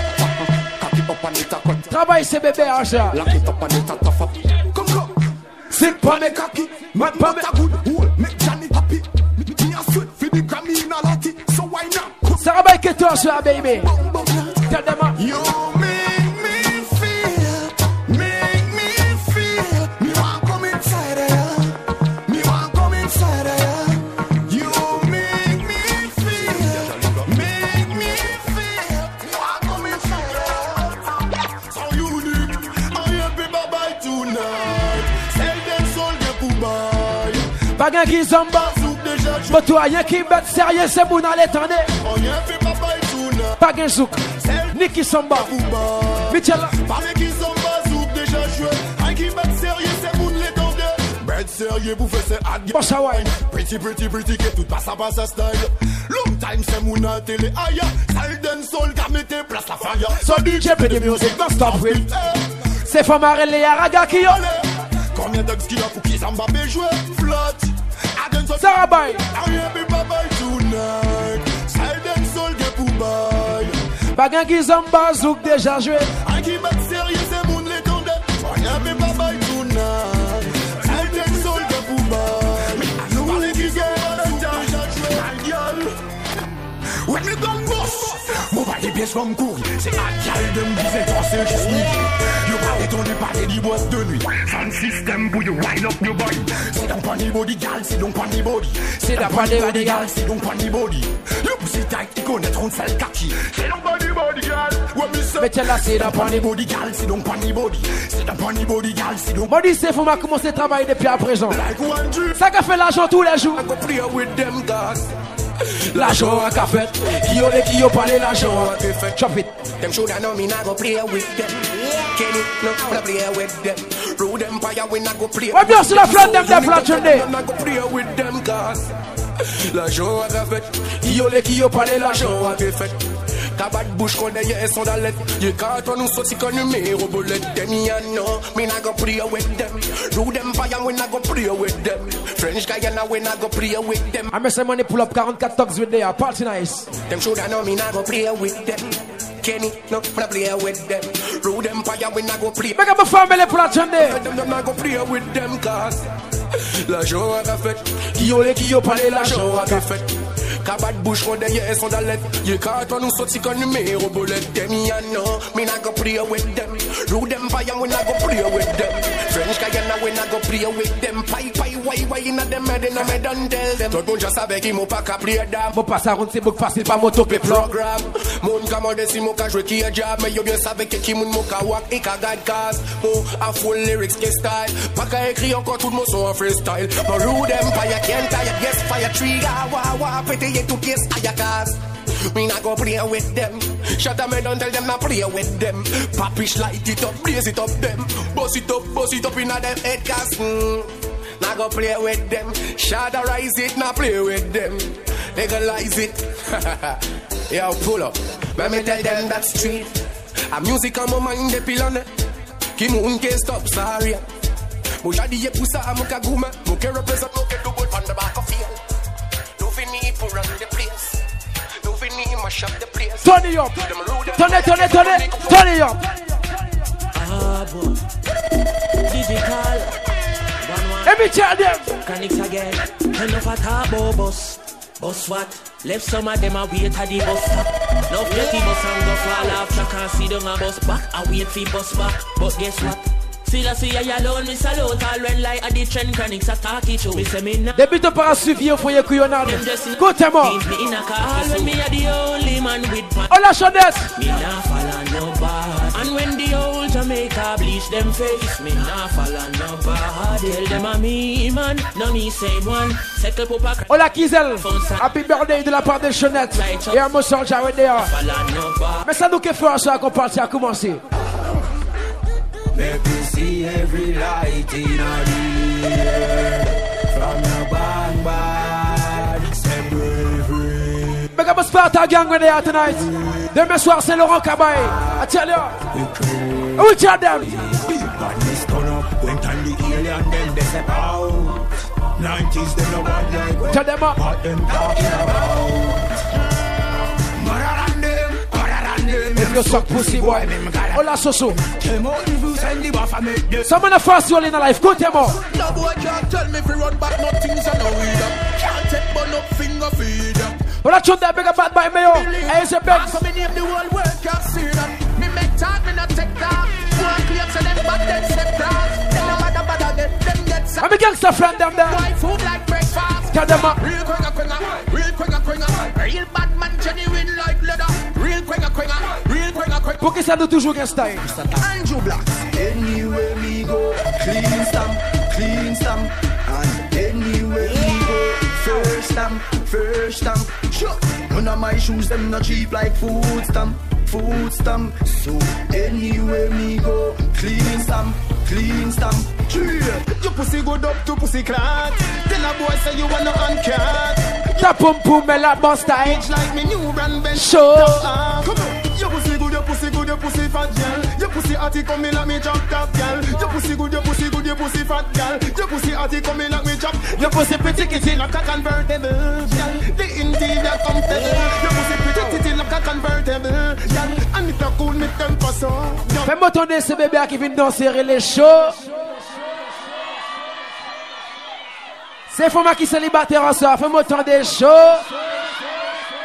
Cock it up and it a cut. Travaille ce bébé à ça. Lock it up and it a tough up. Come come. Sit for me cocky. Man for me a good hole. Make Johnny happy. Me a sweat for the Grammy in a lottie. So why not? Sarah Bay que toi ça baby. Tell them up. You make me feel. Make me feel. Me want come inside of ya. Me want come inside of ya. You make me feel. Make me feel. Me want come inside of ya. So unique. I happy bye bye tonight. Sell them soul de Poubaï. Bagan qui zamba. But toi y'a qui bête sérieux c'est bon à l'étendre. On y happy bye bye tonight. Bagan zouk. Niki Samba. Michel. Parlez qui Samba zouk déjà joué. Un qui bête sérieux c'est bon l'étendre. Bête sérieux pour faire ses ad. Bossa wine. Pretty pretty pretty que tout passe à passe à style. Long time c'est mon à télé aïe. Sale den soul car mettez place la fire. So D J play the music don't stop with. C'est femme arrête les Araga qui ont. Combien d'ogs qu'il a pour qu'ils en va jouer flotte. Sarah Bay. Bagan qui zamba zouk déjà joué. Un qui bat sérieux c'est mon l'étendue. On y avait pas bail tonight. Elle t'aime sol de Poubaï. Parlez qui zamba zouk déjà joué. Un gueule. When me gun bust, move all the bass from cool. Say a girl them busy tossing she sneaky. You party to the parler du boss de nuit. Sound system pour you wind up your body. Sit down on the body, gal, sit down on the body. Sit down on the body, gal, sit down on the body. You pussy tight, tu connais trop de sale kaki. Sit down on the body, gal. What me say? Mais tiens là, sit down on the body, gal, sit down on the body. Sit down on the body, gal, sit down. Body c'est faut m'a commencer à travailler depuis à présent. Ça qu'a fait l'argent tous les jours. L'argent a qu'a fait. Qui yo les qui yo parlé l'argent a fait. Chop it. Them shoulda know me not go play with them. Kenny no wanna play with them. Road Empire we not go play. Ouais bien sûr la flamme them des flat journée. Not go play with them cause l'argent a qu'a fait. Qui yo les qui yo parlé l'argent a fait. Tabac bouche qu'on est son dalet. You can't on nous sorti comme numéro bullet. Them ya know me not go play with them. Road Empire we not go play with them. French Guyana we not go play with them. I miss money pull up forty-four thugs with there. Party nice. Them shoulda know me not go play with them. Kenny no wanna play with them. Road Empire we not go play. Make up a family pour la journée. Them not go play with them cause l'argent a fait. Qui yo les qui yo parlé l'argent a fait. Cabat bouche qu'on est son dalet. You can't on nous sorti comme numéro bullet. Them ya know me not go play with them. Road Empire we not go play with them. French Guyana we not go play with them. Pai pai why why in them head in me don't tell them. Tout le monde just savait qu'il m'a pas qu'à play d'âme. Mon passe à rond c'est beaucoup facile pas mon topé programme. Mon commande si mon ka jouer qui a job. Mais yo bien savait que qui moun mon ka walk et ka guide cause. Oh a full lyrics qui style. Pas qu'à écrire encore tout le monde son freestyle. No Road Empire can't tire. Yes fire trigger. Wah wah pété to kiss ayakas. Me not go play with them. Shut up, me don't tell them not play with them. Papish light it up, blaze it up them. Bust it up, bust it up in a them head cast. Mm. Not go play with them. Shatterize it, not play with them. Legalize it. Yo, pull up. Let me tell them that street. A music on my mind, the pillar. Ki moun ke stop, sorry. Mo jadi ye poussa a mo kaguma. Mo ke represent, mo ke do good on the back of field. For run the place. No Vinny mash up the place. Turn it up. Turn it, turn it, turn it. Turn it up. Ah, boy. Digital. Let me tell them. Mechanics again. Enough at a boss. Boss what? Left some of them a wait at the bus stop. No plenty bus and go fall off. I can't see them a bus back. I wait for bus back. But guess what? See, I see I alone, me salute all when like at the trend chronics I talk it show. Me say me now. Début de par suivre faut y couillonnade. Écoutez-moi. All me are the only man with fun. Oh la Jeannette. Me nah follow no bad. And when the old Jamaica bleach them face, me nah follow no bad. Tell them a me man, no me same one. Settle papa. Oh la Kizel. Happy birthday de la part de Jeannette. Et un mot sur Jared there. Mais ça nous fait fort ça qu'on partit à commencer. Make me see every light in the air. From your bang bang, say bravery. Make up a Sparta gang when they are tonight. Demain soir c'est Laurent Cabaye. I tell you. Who tell them? When this turn up, when time the alien them they step out. Nineties them no bad like tell them up. What them talking about? If you suck pussy boy, hola Soso. Someone a fast roll in a life, go tell more. No boy can't tell me if you run back, no things I know either. Can't take but no finger feed up. But I shot that big bad by me, I is a big. So me name the whole world can't see that. Me make talk, me not take talk. One clear so them back then step cross. Then them bada bada get them get some. I'm a gangster friend them there. White food like breakfast. Tell them up. Real quenga quenga, real quenga quenga. Real bad man genuine like leather. Real quenga quenga, real quenga quenga. Pour que ça nous toujours un style. Andrew Black. Anywhere we go, clean stamp, clean stamp. And anywhere we go, first stamp, first stamp. Sure. None of my shoes them not cheap like food stamp, food stamp. So anywhere we go, clean stamp, clean stamp. Sure. Your pussy good up to pussy clat. Tell a boy say you wanna uncat. Ta pum pum me la boss style. Like me new brand bench. Sure. Come on. Your pussy good, your pussy good, your pussy fat girl. Your pussy atty come in like me chop top girl. Your pussy good, your pussy good, your pussy fat girl. Your pussy atty come in like me chop. Your pussy pretty kitty like a convertible girl. The interior comfortable. Your pussy pretty kitty like a convertible girl. And if you cool me temper so. Fais-moi tourner ce bébé qui vient danser les shows. C'est Foma qui célibataire en soir. Fais-moi tourner chaud.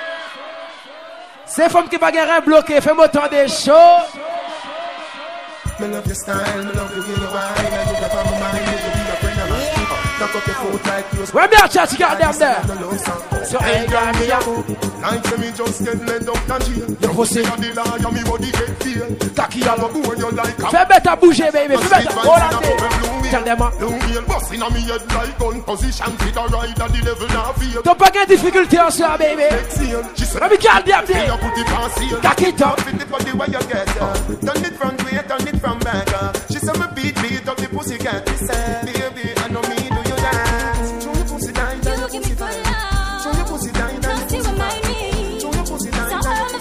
C'est femme qui va gagner bloqué, fais-moi tant des shows. Me love your style, me love the way you whine. I look up on my mind, you be a friend of mine. Knock up your foot like yours. Where me a chat, you got them there. So hey, girl, me a like me just get led up and chill. Your pussy on the line, and me body get feel. Cocky all over you like. Fais better bouger, baby. Fais better. Hold on there. Tell them. Long heel busting on me head like gun position. Fit a ride at the level now feel. T'as pas de difficulté en ça, baby. Let me get them there. Cock it up. Fit it for the way you get. Turn it from way, turn it from back. She said me beat beat up the pussy cat. She said, baby, I know me do you dance. Show your pussy down, show your pussy down. Show your pussy down, show your pussy down.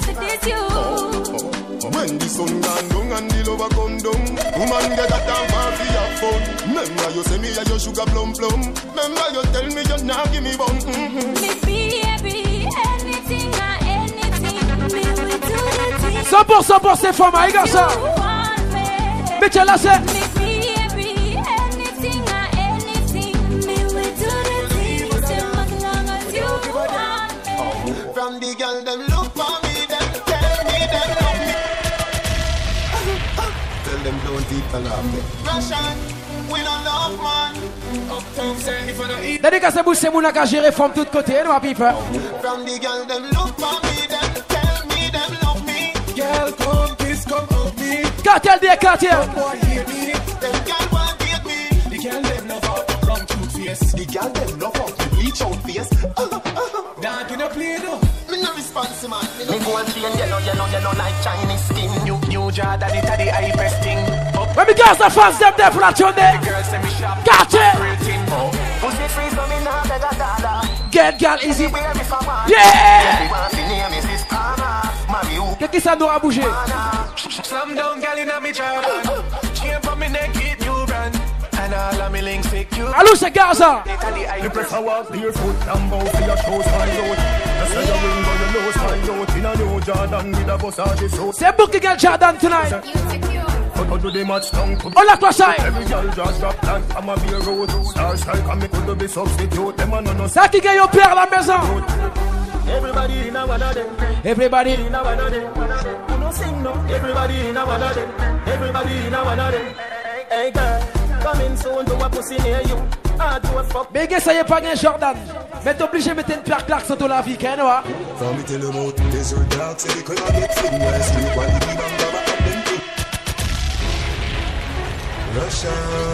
When the sun gone down and the lover come down, woman get a damn party have fun. Remember you say me a your sugar plum plum. Remember you tell me you not give me bun. Me baby, anything or anything, me will do the thing. cent pour cent pour ces femmes, les gars, ça. Mais tu l'as, c'est. Me baby, anything or anything, me will do the thing. As long as you want me. From the girl them look for me, them tell me them love me. Tell them don't even love me. Russian, we don't love man. Uptown say if I don't eat. Dédicace à vous, c'est mon à gérer from tous côtés, nous à pipe. From the girl them look for me, them tell me them love me. Girl come kiss, come hug me. Cartel des cartel. Boy hear me, them girl want hate me. The girl them love out the wrong cute face. The girl them love out the bleach out face. That in a play though. Me no response man. Me go and feel yellow, yellow, yellow like Chinese skin. New, new Jordan, it a the high press thing. When me girls are fans, them there for that tune there. Got it. Pussy freeze for me now, better dada. Get girl easy. Yeah. Qu'est-ce que ça nous a bougé? Slam down, girl in a me Jordan. Chain for me neck, it new brand. And all of me links secure. Allô, c'est Gaza. You prefer walk barefoot and bow for your shoes find out. I say your ring or your nose find out. In a new Jordan with a bus of the soul. C'est booking girl Jordan tonight. Do the match down to on la cross side. Every girl just drop down. I'm a beer road. Star strike and me could be substitute. Them a no no. Ça qui gagne au père à la maison. Everybody in a one of them. Everybody in a one of them. You no sing no. Everybody in a one of them. Everybody in a one of them. Hey girl, come in soon to a pussy near you. Ah, do a fuck. Mais gars, ça y est pas gain Jordan. Mais t'es obligé de mettre une paire claque sur ton la vie, qu'est-ce que From me tell them out, desert dark, say they could not get fling where street while the big bang grab up them quick. Russian,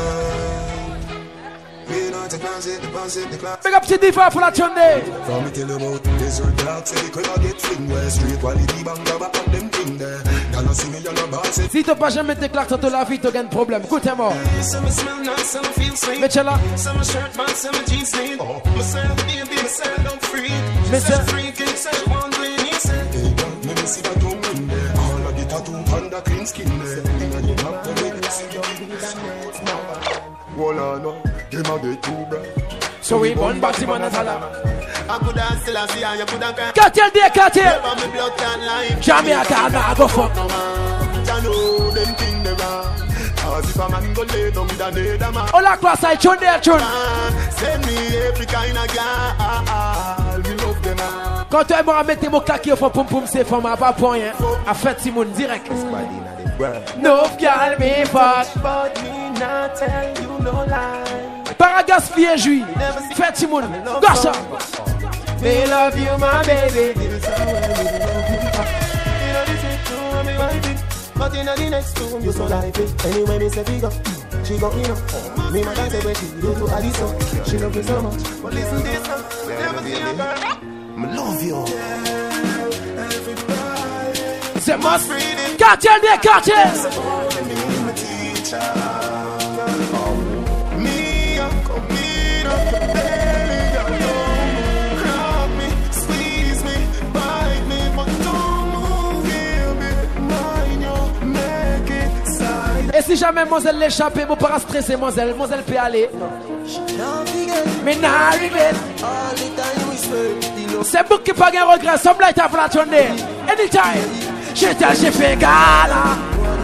me not a class it, the pass it, the class. Big up petit diva pour la tournée. From me tell them out, desert dark, say they could not get fling where street while the big bang grab up them king there. Y'all see me, y'all boss it. Si t'as pas jamais tes claques sur ton la vie, t'as un problème. Écoutez-moi. Some smell nice, some feel sweet. Mais là. Some shirt box, some jeans sleeve. Myself, baby, myself, don't free. Myself, free, can say one way, he said. Hey, God, let me see that tongue in there. All of the tattoo on the clean skin there. Inna the mouth, the way you see your Walla no, them a get too bra. So we born back to Manatala. I could have still see how you could have got. Cartel there, cartel. Never me blood can lie. Jamaica, nah, go fuck no man. I know them thing they wrong. Cause if a man go lay down with another man. All across I tune there, tune. Send me every kind of girl. We love them all. Quand tu aimeras mettre tes mots claqués au fond, poum poum, c'est femme à pas point, hein. À fait Simone direct. No girl me fuck. But me not tell you no lie. Paragas fille juif. Fait Simone. Gossa. Me love you, my baby. But in the next room, you so like it. Anyway, me say we go, she go in up. Me mother say when she go to Addison, she love me so much. But listen this now, never see a girl. I love you. C'est moi. Cartel des cartels. Me, come in up, baby, girl. Grab me, squeeze me, bite me, but don't move, baby. Mind you, make it side. Et si jamais Moselle l'échappe, mon pas stressé, Moselle, Moselle peut aller. Mais n'a regret. C'est beaucoup qui pas de regret. Some light of la tournée. Anytime. Je t'ai j'ai fait gala.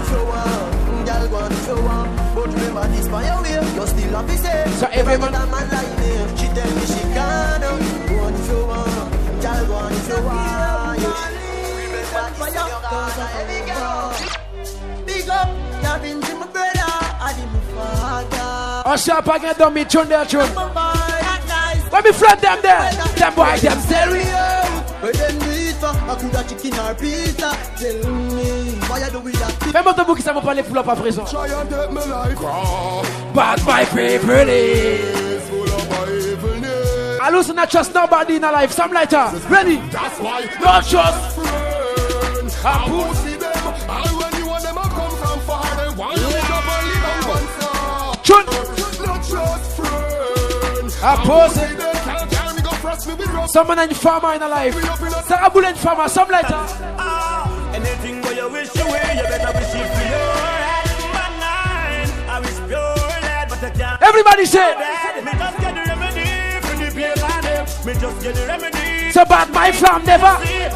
So everyone. She tell me she can't. Go on if you want. Girl, go on if you want. Big up, loving to my brother, I did my father. Oh, sharp again, don't me tune there, tune. Let me flat them there. Them boy, them serious. But then we for I could have chicken or pizza. Tell me why I do we that? Même autre bout qui ça m'a parlé full up à présent. Try and take my life. But my favorite is I lose not trust nobody in a life. Some lighter. Ready? That's why. No trust. I pussy them. I when you want them I come from far. They want you to believe them once. Chun. No trust friend. I pussy. Someone in farmer in a life. Sarah Bullen farmer. Some lighter. Anything where you wish you way, you better wish it for your head. I wish pure lad, but I can't. Everybody say. Me just get the remedy for the pain and them. Me just get the remedy. So bad my flam never.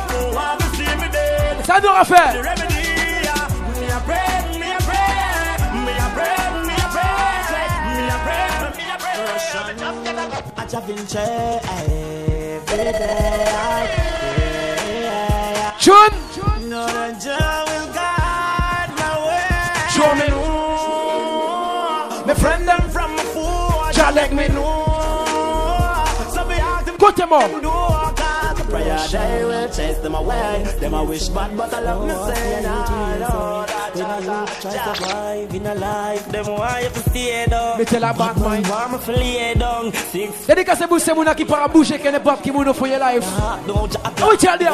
Ça nous refait. Me a pray, me a pray, me a pray, me a pray, me a pray, me a pray. I just been chair every day. Chun. No, the joy will guide my way. Show me. My friend them from my food. Jah let me know. So me ask them. Cut them up. Prayer they will chase them away. Them I wish bad, but I love me say no, no. Try to survive in a life. Them why you stay down. Me tell a bad mind. Warm flee down. Six. Dédicace pour ces mouna qui para bouger qui n'est pas qui mouna for your life. Oh we tell them.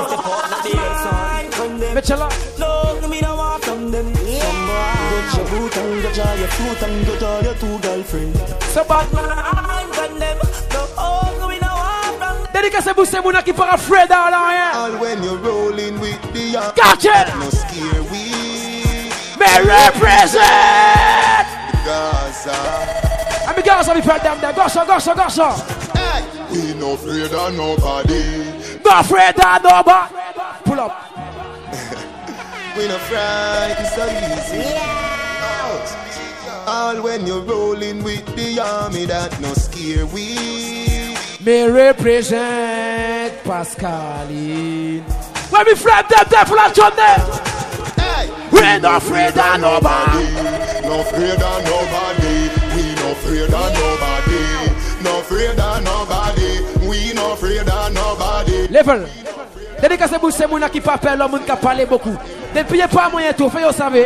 Me tell her. No, me no want from them. Get your boot and get your fruit and get your two girlfriend. So bad man from them. No, me no want from them. Dédicace pour ces mouna qui para Fred dans rien. All when you're rolling with the young. Gotcha. No scare we. Me represent Gaza. I'm a Gaza, we felt them there. Gaza, Gaza, Gaza. Hey, we no afraid of nobody. No afraid of nobody. Pull up. We no frightened so easy. Yeah. All when you're rolling with the army that no scare we. Me represent Pascaline. When we flap them there, pull up John there. We ain't no afraid of nobody. No afraid of nobody. We no afraid of nobody. No afraid of nobody. We no afraid of nobody. Level. Dédicace pour ces mouna qui pas peur, l'homme qui a parlé beaucoup. Depuis y'a pas moyen tout, fait vous savez.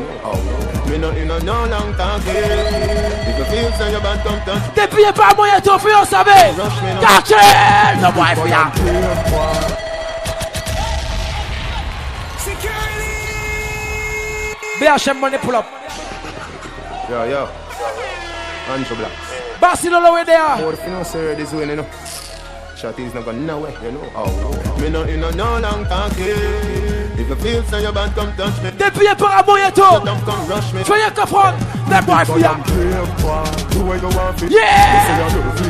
Depuis y'a pas moyen tout, fait vous savez. Gotcha! No boy for ya. B H M money pull up. Yo, yo. Andrew Black. Barcelona way there. More if you know, sir, this way, you know. Shotty's not going nowhere, you know. Oh, me no, you know, no long talking. If you feel so, you bad, come touch me. Depuis y'a pas moyen tout. Come rush me. Fais y'a qu'à prendre. That boy for ya. Yeah.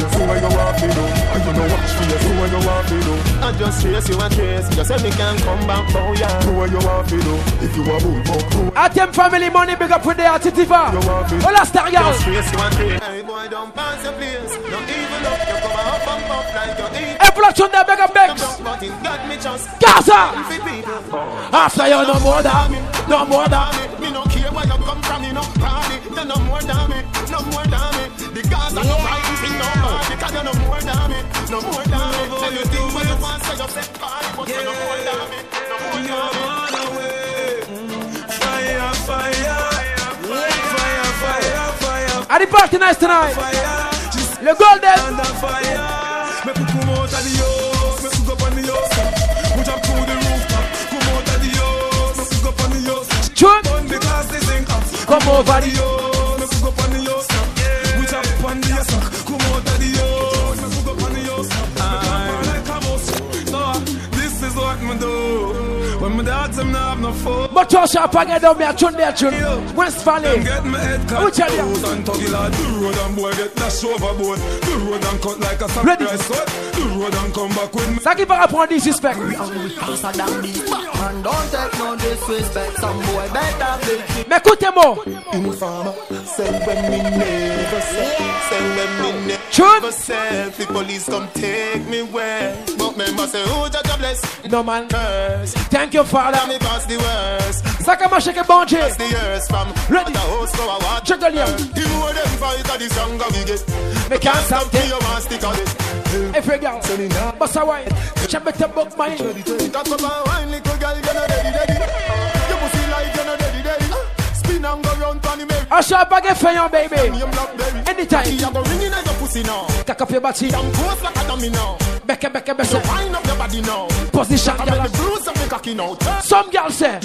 I just chase you and chase. You said me can't come back for ya. If you are move, Atem family money big up with the Atitiva. Hola star girl. Just chase you and chase. Hey boy, don't pass the place. No even up, you come up and up like you eat. Inflation there, big up Bex. Gaza. After you no more than me, no more than me. Me no care where you come from, you no party. You no more than me, no more than me. The Gaza no right, see no party. Because you no more than me, no more than me. Say you think what you want, say you set party, but you no more than me, no more than me. Fire, fire, fire, fire, fire. At the party nice tonight. Le golden. Me put come out of the house, me put up on the house. Put up to the rooftop, come out of the house, me put up on the house. Chun. Because they think come over the house, me put up on the house. Put up on the house, come out of the house, me put up on the house. I like a mouse. So this is what me do. When my dogs them not have no phone. But you shall pack it down me a tune there tune. West Valley. Get my head cut. Who tell you? And tuggy lad, the road and boy get dashed overboard. The road and cut like a samurai sword. The road and come back with me. Ça qui va apprendre disrespect. And don't take no disrespect. Some boy better be. Mais écoutez-moi. Informer, send when me never say, send when me Chun. never say. The police come take me where. But member say, oh, Jah bless. No man. Curse. Thank you, Father. Me pass the word. worse. Ça comment checker bon Dieu. That's the years from. Ready. The host go a what? Check the liam. The more them fight, the stronger we get. Me can't stop till you want stick on it. Every girl, bust a wine. Check better book mine. Talk about wine, little girl, you're not ready, ready. You pussy like you're not ready, ready. Spin and go round on the merry. I shall bag it for you, baby. Anytime. You go ringing at your pussy now. Cock up your body. I'm close like a dummy now. Becca, Becca, Becca. So wind up your body now. Position. I'm the bruise of the cocky now. Some girls say.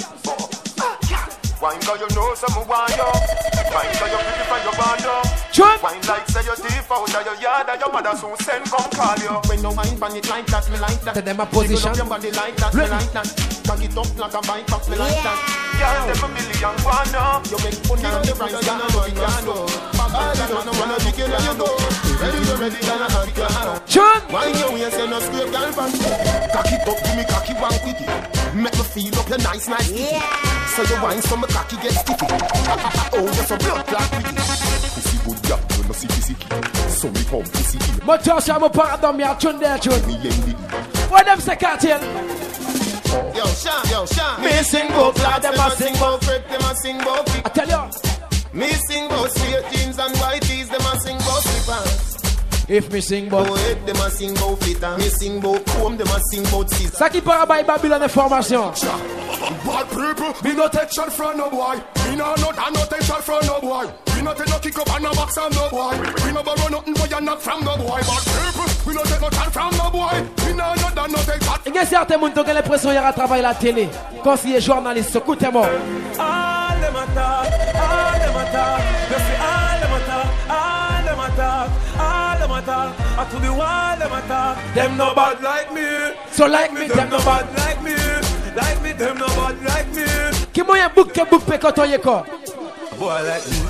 Wine girl, you know some wine up. Wine girl, you pretty for your band up. Jump. Wine like say your teeth out of your yard and your mother soon send come call you. When you wine pan it like that, me like that. Tell them a position. Your body like that, me like that. Cock it up like a bike up, me like that. Girl, them a million one up. You make money on the price, you know you know. Papa, you don't wanna be killed, you know. Ready, you ready, you know you know. Jump. Wine your waist, you know scrape, girl, pan. Cock it up, give me cocky one quickie. Make me feel up your nice, nice kitty. So you wine from a cocky get sticky. Oh, you're so blood clot with it. Pussy good girl, you know sicky sicky. So me come pussy here. But just I'm a part of me, I tune there, tune. Me envy. What them say, cartel? Yo, Sean, yo, Sean. Me sing bout lad, them a sing bout crepe, them a sing bout feet. I tell you. Me sing bout straight jeans and white tees, them a sing bout slippers. If me sing bout head, them a sing bout flitter. Me sing bout comb, them a sing bout scissors. Ça qui part by Babylon information. Bad people, me no take shot from no boy. Me no not and no take shot from no boy. We no take no kick up and no box on no boy. We no borrow nothing but you not from no boy. Bad people, we no take no shot from no boy. We no not and no take shot. Il y a certains gens qui ont l'impression qu'il y a un travail à la télé. Conseiller journaliste, écoutez-moi. All them attack, all them attack. You see all them attack, all them attack, all them attack. I to the wall them attack. Them no bad like me. So like me, them no bad like me. Like me, them no bad like me. Qui moyen book que book pe quand y quoi? Boy like me.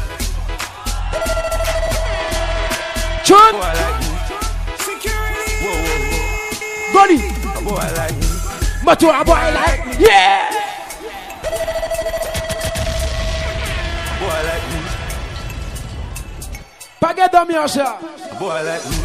John. Boy like me. Security. Whoa, whoa, whoa. Body. A boy like me. But to a boy like me. Yeah. Boy like me. Pas get dans mi ça. Boy like me.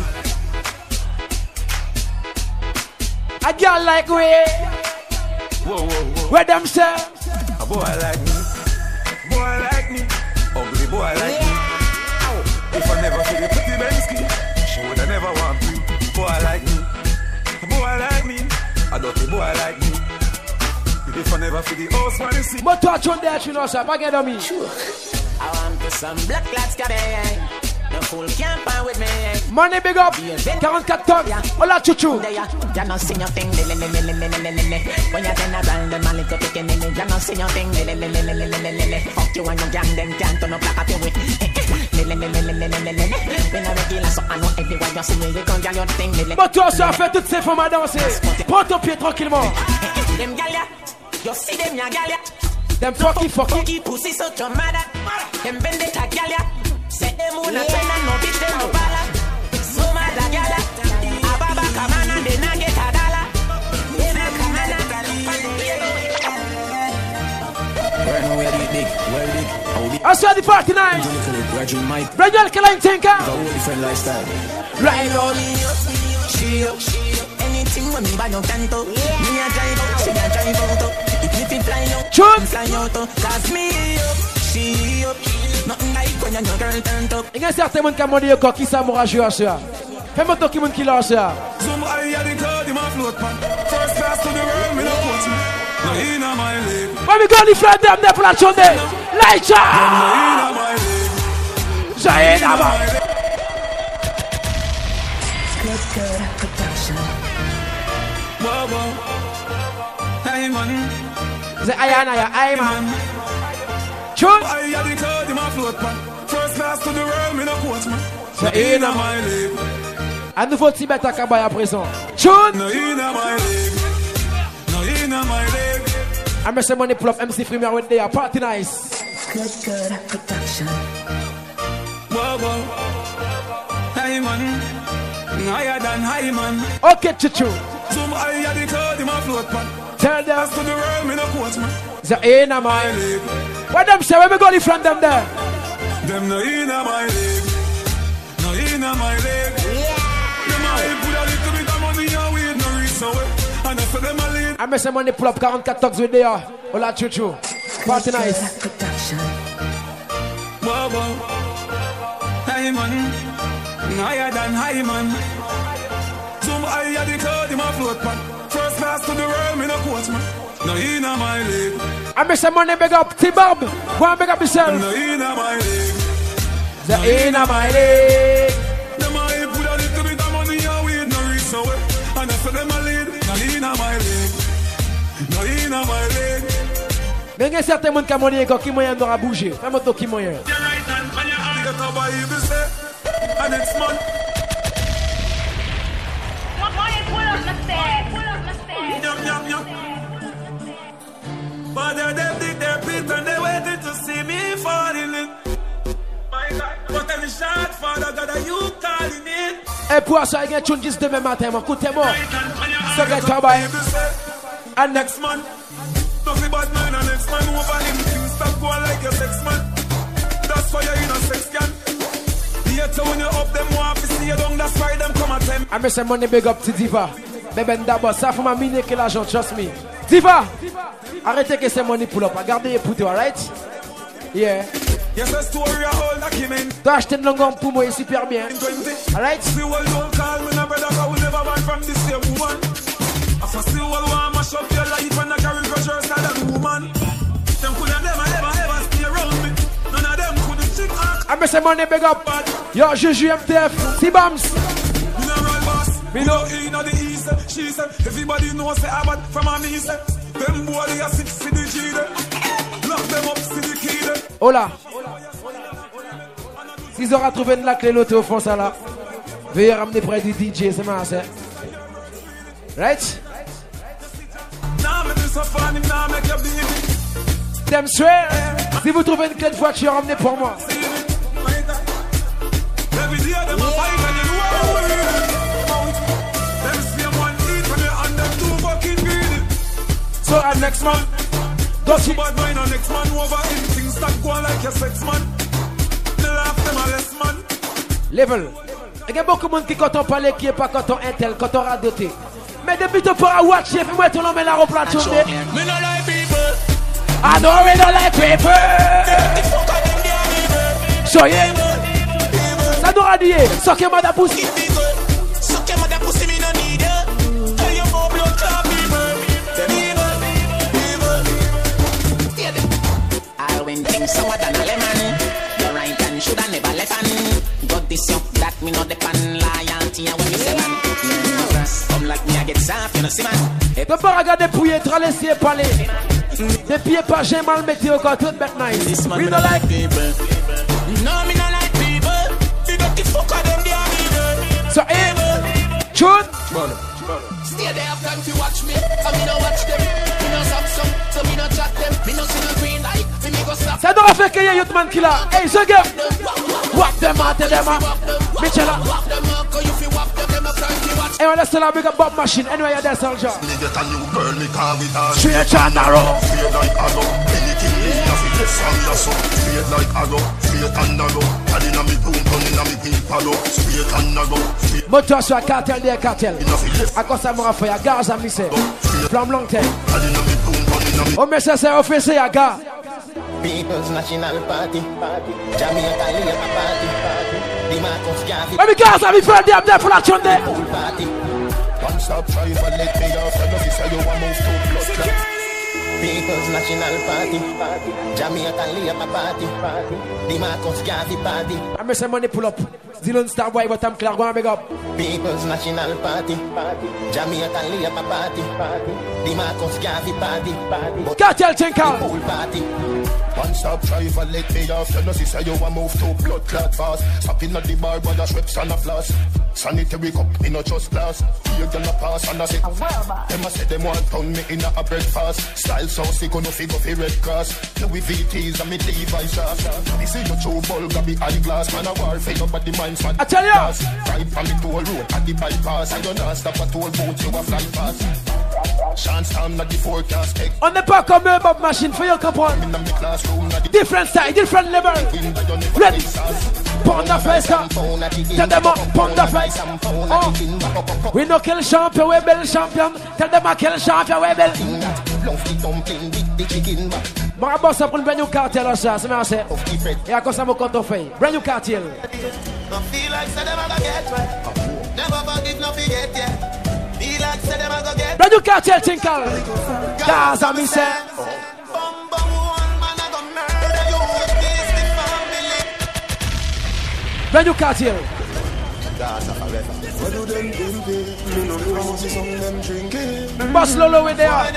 A girl like we. Whoa, whoa, whoa. Where them say? A boy like me. Boy like me. Ugly boy like me. If I never feel the pretty Bensky, she would never want me. Boy like me. A boy like me. A dirty boy like me. If I never feel the house money see. But toi, John there, tu know ça. Pas get dans mi. I want to some black lads come in. The fool can't find with me. Money big up. forty-four tonnes. Hola, chuchu. You not see your thing. When you turn around, them a little picking in it. You not see your thing. Fuck you and your gang, them can't turn up like a way. When I regular, so I know everywhere you see me, you can't get your thing. But toi, ça fait toutes ces femmes à danser. Prends ton pied tranquillement. Them galia, you see them ya galia. Them fucky fucky. Pussy so your mother. Them vendetta galia. Say them wanna turn and no bitch them no bala. So mother gala. Ababa kamana they na get a dollar. Ena kamana. Right now we are the big, well big. I saw the party night. Graduate Mike. Graduate Kaline Tinker. Got a different lifestyle. Right now. She up, she up. Anything when me buy no tanto. Me a drive out, she a drive out. If me fly out, Chun. fly out. Cause me up, she up. Nothing like when your girl turn up. Il y a certains gens qui ont dit que qui ça m'aura joué à ça. Fais-moi ton qui m'ont qui l'a ça. Zoom I the cloud in my float pan. First class to the world, me no coach me. No in my league. When we go the flat them there for that Sunday. Lights out. No in my league. Zaina ba. Good, good production. Whoa, whoa. Hey man. The Ayana ya Ayman. Chun. I had the cloud in my float pan. First class to the world, me no coach me. So in my league. Un nouveau Tibet à Kabay à présent. Chun. No in my league. No in my league. I miss the money pull up M C Premier with their party nice. Good, good production. Whoa, whoa. Hey man. Higher than high man. Okay, chuchu. Zoom I had the cloud in my float pan. Tell them to the world, me no coach me. The in my league. What them say? Where we go in front them there? Them no in my league. No in my league. Them a put a little bit of money and weed no reason way. And I saw them a lead. I miss some money pull up forty-four talks with there. Hola Chuchu. Party nice. Whoa, whoa. Hey man. Higher than high man. Zoom higher the cloud in my float man. First class to the world, me no coach man. No in my league. I miss some money big up T-Bob. Go and big up yourself. No in my league. The in my league. The money put a little bit of money and weed no reach nowhere. And I said them a lead. No in my league. No in my league. Mais il y a certains gens qui ont moyen qui moyen d'aura bouger. Fais-moi ton qui moyen. And it's man. Yum, yum, yum. But they're them dig their pit and they waiting to see me falling in. My God, but every shot, Father God, are you calling it? Et pour ça, il y a un tune juste demain matin, mon coup de moi. So get your boy. And next man. Nothing but man and next man over him. Things stop going like your sex man. That's why you're in a sex can. When you up them want to see you down, that's why them come at them. I miss some money big up to Diva. Bébé d'abord, ça faut m'aminer que l'argent, trust me. Diva! Arrêtez que c'est money pull up. Regardez les poutous, alright? Yeah. Yes, a story a whole document. T'as acheté une longue pour moi, super bien. Alright? See what don't call me, no brother, I will never want from this same woman. I for still will want mash up your life and I carry pressure style that woman. Them couldn't never ever ever stay around me. None of them couldn't chick act. I miss some money big up. Yo, Juju M T F, T-Bams. Me know in the east, she said, everybody knows the Abbott from a me say. Them boy they are six to the G there. Lock them up to the key there. Hola. S'ils aura trouvé de la clé l'autre au fond ça là. Veuillez ramener près du D J, c'est ma c'est. Right? Them swear. Si vous trouvez une clé de voiture, ramenez pour moi. Every day them a fight and you know how we read. Them same one eat when they and them too fucking greedy. So our next man, don't you bad mind and next man over in things start going like your sex man. They laugh them a less man. Level. Il y a beaucoup de monde qui quand on parle qui est pas quand on intel, quand on radoté. Mais depuis tu pourras watcher, fais-moi ton nom et la replace. Me no like people. I know we don't like people. So yeah. Ça doit dire, soquez-moi da pussy. Soquez-moi da pussy, me no need you. Tell you more blood clot people. I'll win things sour than a lemon. You're right and should have never left on. Got this up that me not the pan loyalty and when me say man. Come like me I get soft, you know see man. Ne pas regarder pouiller, tra laisser parler. Des pieds pas j'ai mal météo quand tout bête nice. We don't like people. No, me no like people. You got the fuck of them, they are evil. So evil. Chun. Stay there have time to watch me. So me no watch them. Me no Samsung. So me no chat them. Me no see no green light. Me me go stop. Ça doit faire qu'il y a youth man qui là. Hey, ce gars. Wap them out, tell them out. Michela. Wap them up, cause you feel wap them. Them up time to watch. Hey, let's tell her big up Bob Machine. Anyway, you're there, soldier. Me get a new girl, me call with her. Straight and narrow. Straight like arrow. Anything me have to get from your soul. Straight like arrow. Straight and narrow. And inna me boom, gun inna me people. Straight and narrow. Moteur sur cartel des cartels. À quoi ça m'a fait? À gaz à misser. Flamme long terme. Oh, mais ça c'est offensé à gars. People's National Party. Jamaica League Party. The Marcus Garvey. Let me go, let me find them there for that Sunday. One stop drive and let me off. I know this how you want move to blood clot. People's National Party. Jamaica League Party. The Marcus Garvey Party. I miss some money pull up. Zilon Star Boy, but I'm clear. Go and big up. People's National Party. Jamaica League Party. The Marcus Garvey Party. Cartel Tinkal. Party. One stop drive and let me off. You know this how you want move to blood clot fast. Stopping at the bar with a Schweppes and a floss. Sanitary cup, me no just glass. You gonna pass and I say, them a say them want pound me in a breakfast. Style so sick, no figure for Red Cross. Louis V T's and me Levi's shots. This is your true ball, got be eyeglass. Man a war, fade up at the minds, man. I tell you, ride from the toll road at the bypass. I don't know, stop at toll boat, you a fly fast. Chance time not the forecast. On n'est pas comme un Bob Machine, faut y comprendre. Different style, different level. Ready? pound the face. Tell them up, pound the face. Oh. We no kill champion, we build champion. Tell them I kill champion, we build. Ma boss up un brand new cartel or ça, c'est moi c'est. Et à cause ça me compte fait. Brand new cartel. I feel like say them a go get wet. Never forgive, no forget, yeah. Feel like say them a go get. Brand new cartel tinkle. Gaza me say. Brand new cartel. Boss Lolo with there. I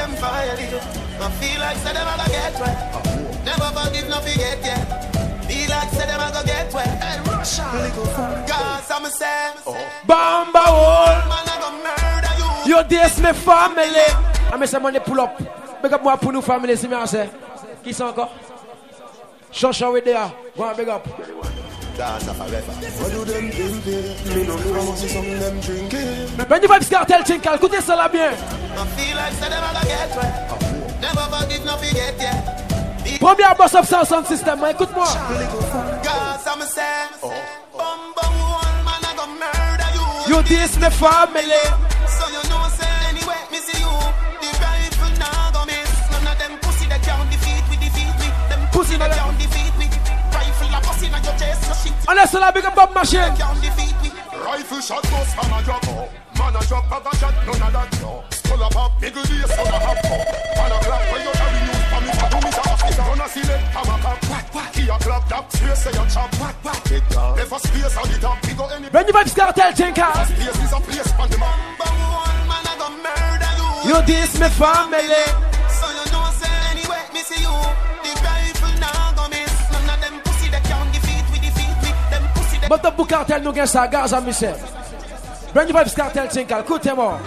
feel like say them a go get wet. Never forgive, no forget, yeah. Feel like say them a go get wet. Hey, Russia. Gaza me say. Bamba wall. Yo, this my family. I me say money pull up. Big up moi pour nous family, si me say. Qui sont encore? Shosha with there. Go on, big up. Gaza forever. What do them think? Me no know how see some them drinking. When you vibes cartel tinkle, écoutez ça là bien. I feel like say them a go get wet. Never forgive, no forget, yeah. Premier boss of sound system, écoute-moi. Gaza me say. Bum bum one man a go murder you. You this my family. So you know say anyway, me see you. The rifle now go miss. None of them pussy that can't defeat we defeat we. Them pussy that can't defeat we. Rifle a pussy na your chest, so shit. On laisse la big up Bob Machine. Rifle shot goes from a drop. Man a drop, have a shot, none of that. No. Skull a pop, big deal, son a hop. Man a clap, when you carry news from me, for me to office. Gonna see them, I'm a cop. Key a clap, that space say a chop. Never space on the top, we go any. When you vibes cartel tinkle. Space is a place on the map. Man a go murder you. You this my family. So you know say anyway, me see you. The rifle now go miss. None of them pussy that can't defeat we defeat we. Them pussy that. But the book cartel nous gagne ça, Gaza me say. When you vibes cartel tinkle, écoutez-moi.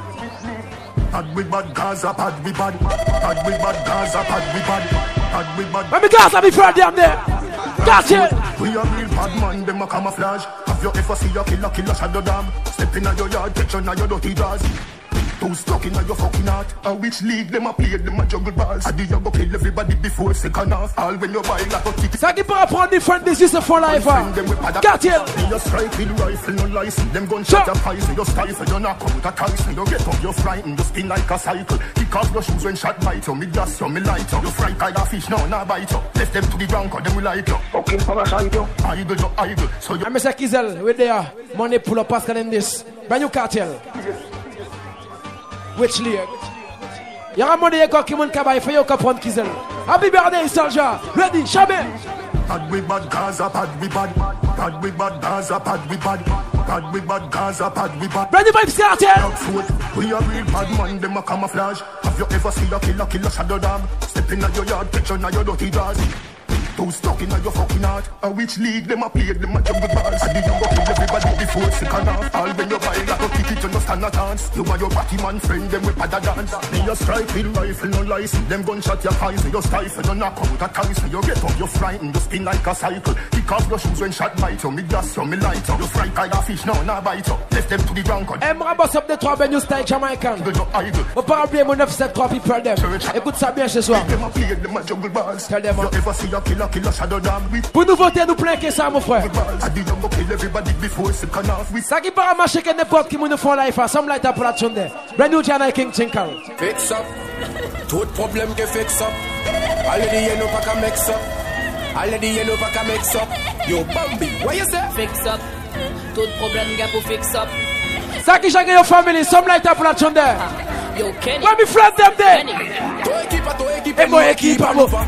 Bad we bad Gaza, bad we bad. Bad we bad Gaza, bad we bad. Bad we bad. Let me Gaza be proud them there. Got it. We are real bad man, them a camouflage. Have you ever seen a killer, killer shadow dog? Step in your yard, catch on your dirty jaws. Too stuck in your fucking heart. A which league them a play, them a juggle balls. I did you go kill everybody before second half. All when you buy like a ticket. Ça qui peut apprendre different business for life. Got it. You strike with rifle, no license. Them gunshot a poison. You stifle, you knock out a Tyson. You get up, you frightened. You spin like a cycle. Kick off your shoes when shot bite you. Me gas you, me light you. You fry kind of fish, no, not bite you. Left them to the ground, cause them will like you. Fucking parasite you. Idle, you idle. So you... I'm Mister Kizel, with there. Money pull up, Pascal in this. Brand new cartel. Which league? Y'a un money qui monte cabaye, fait y'a qu'à prendre Kizel. Happy birthday, soldier. Ready, jamais. Bad we bad Gaza, bad we bad. Bad we bad Gaza, bad we bad. Bad we bad Gaza, bad we bad. Brand new vibes cartel. We are real bad man, them a camouflage. Have you ever seen a killer, killer shadow dog? Step in your yard, catch on your dirty jaws. Too stuck in your fucking heart. A which league them a play, them a juggle balls. I did you go kill everybody before second half. All when you buy like a ticket, you no stand a chance. You and your party man friend, them with a dance. Me a strike with rifle, no license. Them gunshot your eyes, you stifle, you knock out a Tyson. You get up, you frightened, you spin like a cycle. Kick off your shoes when shot bite you. Me gas you, me light you. You fry kind of fish, no, not bite you. Left them to the ground. Aimerait boss up des trois ben new style Jamaican. Au pas oublier mon neuf sept trois people them. Écoute ça bien ce soir. Them a play, them a juggle balls. Tell them. You ever see a killer, killer shadow dog? Pour nous voter, nous planquer ça, mon frère. Ça qui part à marcher que n'importe qui nous font life, some light up pour la tune there. Brand new Jana King Tinkle. Fix up. Tout problème que fix up. Already you know pas qu'à mix up. Already you know pas qu'à mix up. Yo Bambi, what you say? Fix up. Tout problème que pour fix up. Ça qui chacun your family, some light up pour la tune there. Yo Kenny. Let me flat them there. Toi équipe, toi équipe. Et moi équipe, à moi.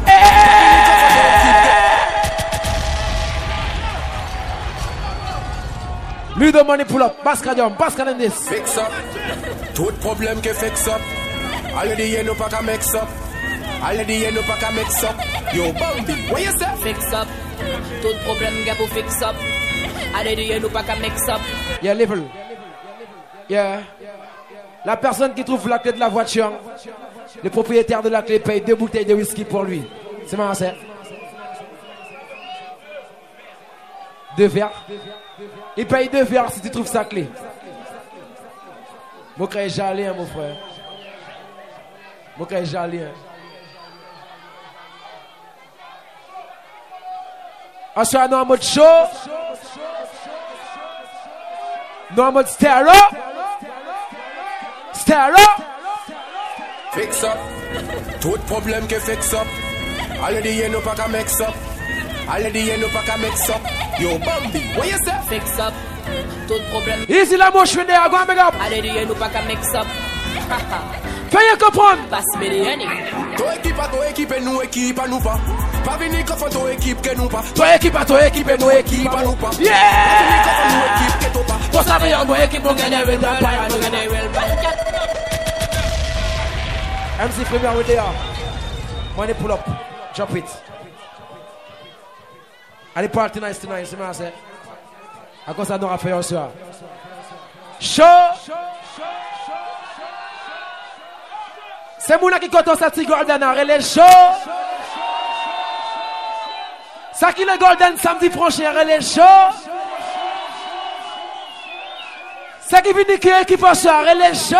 Ludo money pull up, Bascadium, Bascal in this. Fix up. Tout problème que fix up. Already you know pas qu'à mix up. Already you know pas qu'à mix up. Yo Bambi, what you say? Fix up. Tout problème que pour fix up. Already you know pas qu'à mix up. Yeah, level. Yeah. La personne qui trouve la clé de la voiture, le propriétaire de la clé paye deux bouteilles de whisky pour lui. C'est marrant, c'est. Deux verres. Il paye deux verres si tu trouves sa clé. Mon frère est jalé, hein, mon frère. Mon frère est jalé. Hein. On soit en mode show. No more stare up. Stare up. Fix up. Tout problème que fix up. Already you know pas qu'à mix up. Already you know pas qu'à mix up. Yo Bambi, what you say? Fix up. Tout problème. Easy la mouche with there, go and make up. Already you know pas qu'à mix up. Fais-y comprendre. Passe-moi des henny. Toi équipe à toi équipe et nous équipe à nous pas. Pas venir qu'à faire toi équipe que nous pas. Toi équipe à toi équipe et nous équipe à nous pas. Yeah! Pas venir qu'à faire nous équipe que toi pas. Toi ça veut dire nous équipe nous gagner with that fire, nous gagner with that. M C Premier with there. Money pull up. Drop it. And the party nice tonight, see what I say? À cause ça nous a fait un soir. Show! C'est moi qui compte ça petit golden à relais show. Ça qui le golden samedi prochain relais show. Ça qui vient qui qui passe à relais show.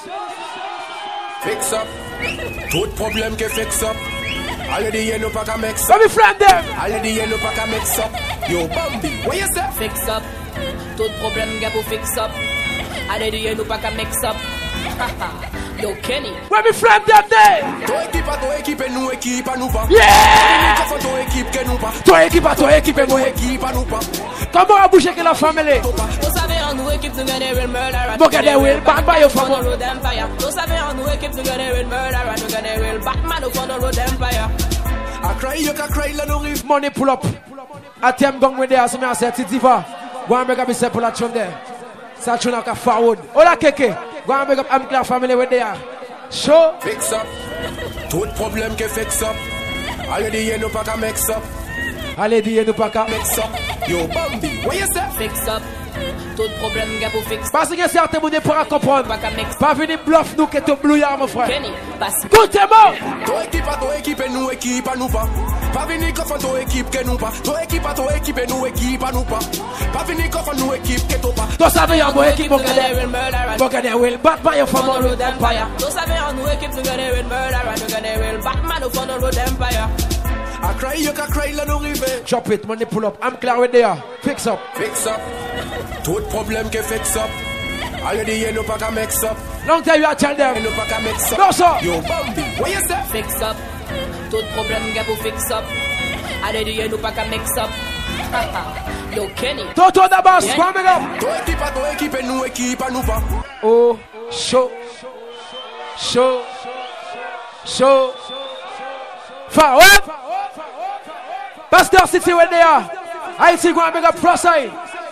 Fix up. Tout problème que fix up. Already you know pas qu'à mix up. Let me friend them. Already you know pas qu'à mix up. Yo Bambi, what you say? Fix up. Tout problème gars pour fix up. Already you know pas qu'à mix up. Yo Kenny. Let me friend them there. Toi équipe à toi équipe et nous équipe à nous pas. Yeah. Toi toi équipe que nous pas. Toi équipe à toi équipe et nous équipe à nous pas. Comment a bougé que la famille? Vous savez en nous équipe nous gagner will murder. Vous gagner will bad by your family. Vous savez en nous équipe nous gagner will murder. Nous gagner will Batman on the road empire. I cry you can cry la no rive. Money pull up. Atem gong with there so me say Diva. Go and make up yourself pull that tune there. Ça tune like a forward. Ola keke. Go and make up am clear family with there. Show. Fix up. Tout problème que fix up. Already you know pas qu'à mix up. Already you know pas qu'à mix up. Yo Bambi, what you say? Fix up. Tout problème gars pour fix. Parce que certains monde pas comprendre. Pas venir bluff nous que tu blouillard mon frère. Kenny, passe. Tout est bon. Toi équipe à toi équipe et nous équipe à nous pas. Pas venir qu'à faire toi équipe que nous pas. Toi équipe à toi équipe et nous équipe à nous pas. Pas venir qu'à faire nous équipe que toi pas. Toi savez en moi équipe pour gagner will murder. Pour gagner will bat by your family road empire. Toi savez en nous équipe nous gagner will murder. Nous gagner will Batman on the road empire. I cry you can cry la no rive. Drop it, money pull up. I'm clear with there. Fix up. Fix up. Tout problème que fix up. Already you know pas qu'à mix up. Long time you tell them. You know pas qu'à mix up. No sir. Yo Bambi, what you say? Fix up. Tout problème gars pour fix up. Already you know pas qu'à mix up. Yo Kenny. Toto da bass, go make up. Toi équipe à toi équipe et nous équipe à nous pas. Oh, show. Show. Show. Forward. Pastor City where they are. I see go and make up cross side.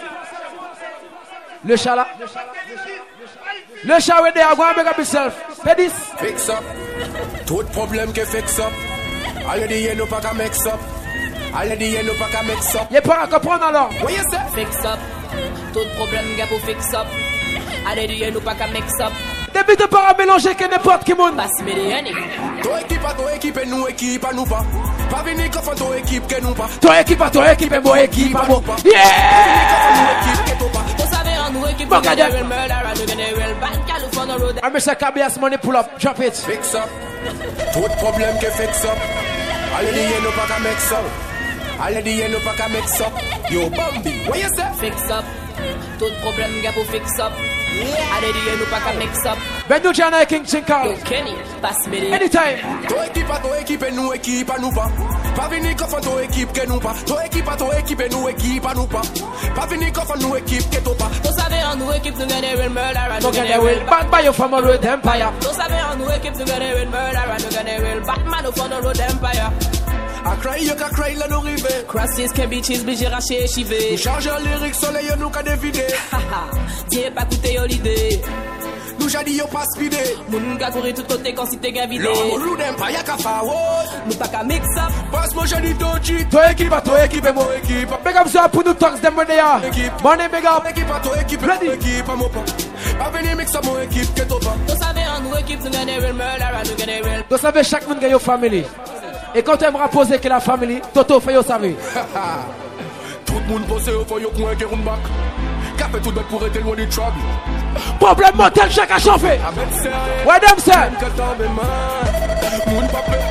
Le chat là. Le chat where they are. Go and make up yourself. Pay this. Fix up. Tout problème que fix up. Already you know pas qu'à mix up. Already you know pas qu'à mix up. Y'a pas à comprendre alors. What you say? Fix up. Tout problème gars pour fix up. Already you know pas qu'à mix up. Début de pas mélanger que n'importe qui monde. Passe-moi des henny. Toi équipe à toi équipe et nous équipe à nous pas. Pas venir qu'à faire toi équipe que nous pas. Toi équipe à toi équipe et moi équipe à moi. Yeah! Vous savez en nous équipe nous gagner will murder. Nous gagner will Batman on the road. I'm Mister Kabias money pull up. Drop it. Fix up. Tout problème que fix up. Already you know pas qu'à mix up. Already you know pas qu'à mix up. Yo Bambi, what you say? Fix up. Tout problème gars pour fix up. Already you know pas qu'à mix up. Bendu Jana King Chinkal. Yo Kenny, passe-moi des. Anytime. Toi équipe à toi équipe et nous équipe à nous pas. Pas venir qu'à faire toi équipe que nous pas. Toi équipe à toi équipe et nous équipe à nous pas. Pas venir qu'à faire nous équipe que toi pas. Vous savez en nous équipe nous gagner will murder. Nous gagner will bad by your family road empire. Vous savez en nous équipe nous gagner will murder. Nous gagner will Batman on the road empire. I cry you can cry la no rive. Crosses can be cheese bi j'ai raché chivé. Nous charge lyrics soleil nous ka dévider. Dieu pas coûter yo l'idée. Nous jadi yo pas speedé. Moun ka courir tout côté quand si t'es gain vidé. Lo road empire ka forward. Nous pas ka mix up. Passe moi jadi doji. Toi équipe à toi équipe et moi équipe. Big up ça pour nous talks them where they are. Money big up. Équipe à toi équipe et moi équipe à moi pas. Pas venir mix up mon équipe que toi pas. Vous savez en nous équipe nous gagner will murder. Nous gagner will. Vous savez chaque monde gagne family. Et quand tu aimeras poser que la famille, Toto fait yo savez. Tout le monde pose au fond yo coin qui roule back. Café tout bête pour être loin du trouble. Problème mortel chaque a chauffé. Ouais dem ça. Moun pas prêt.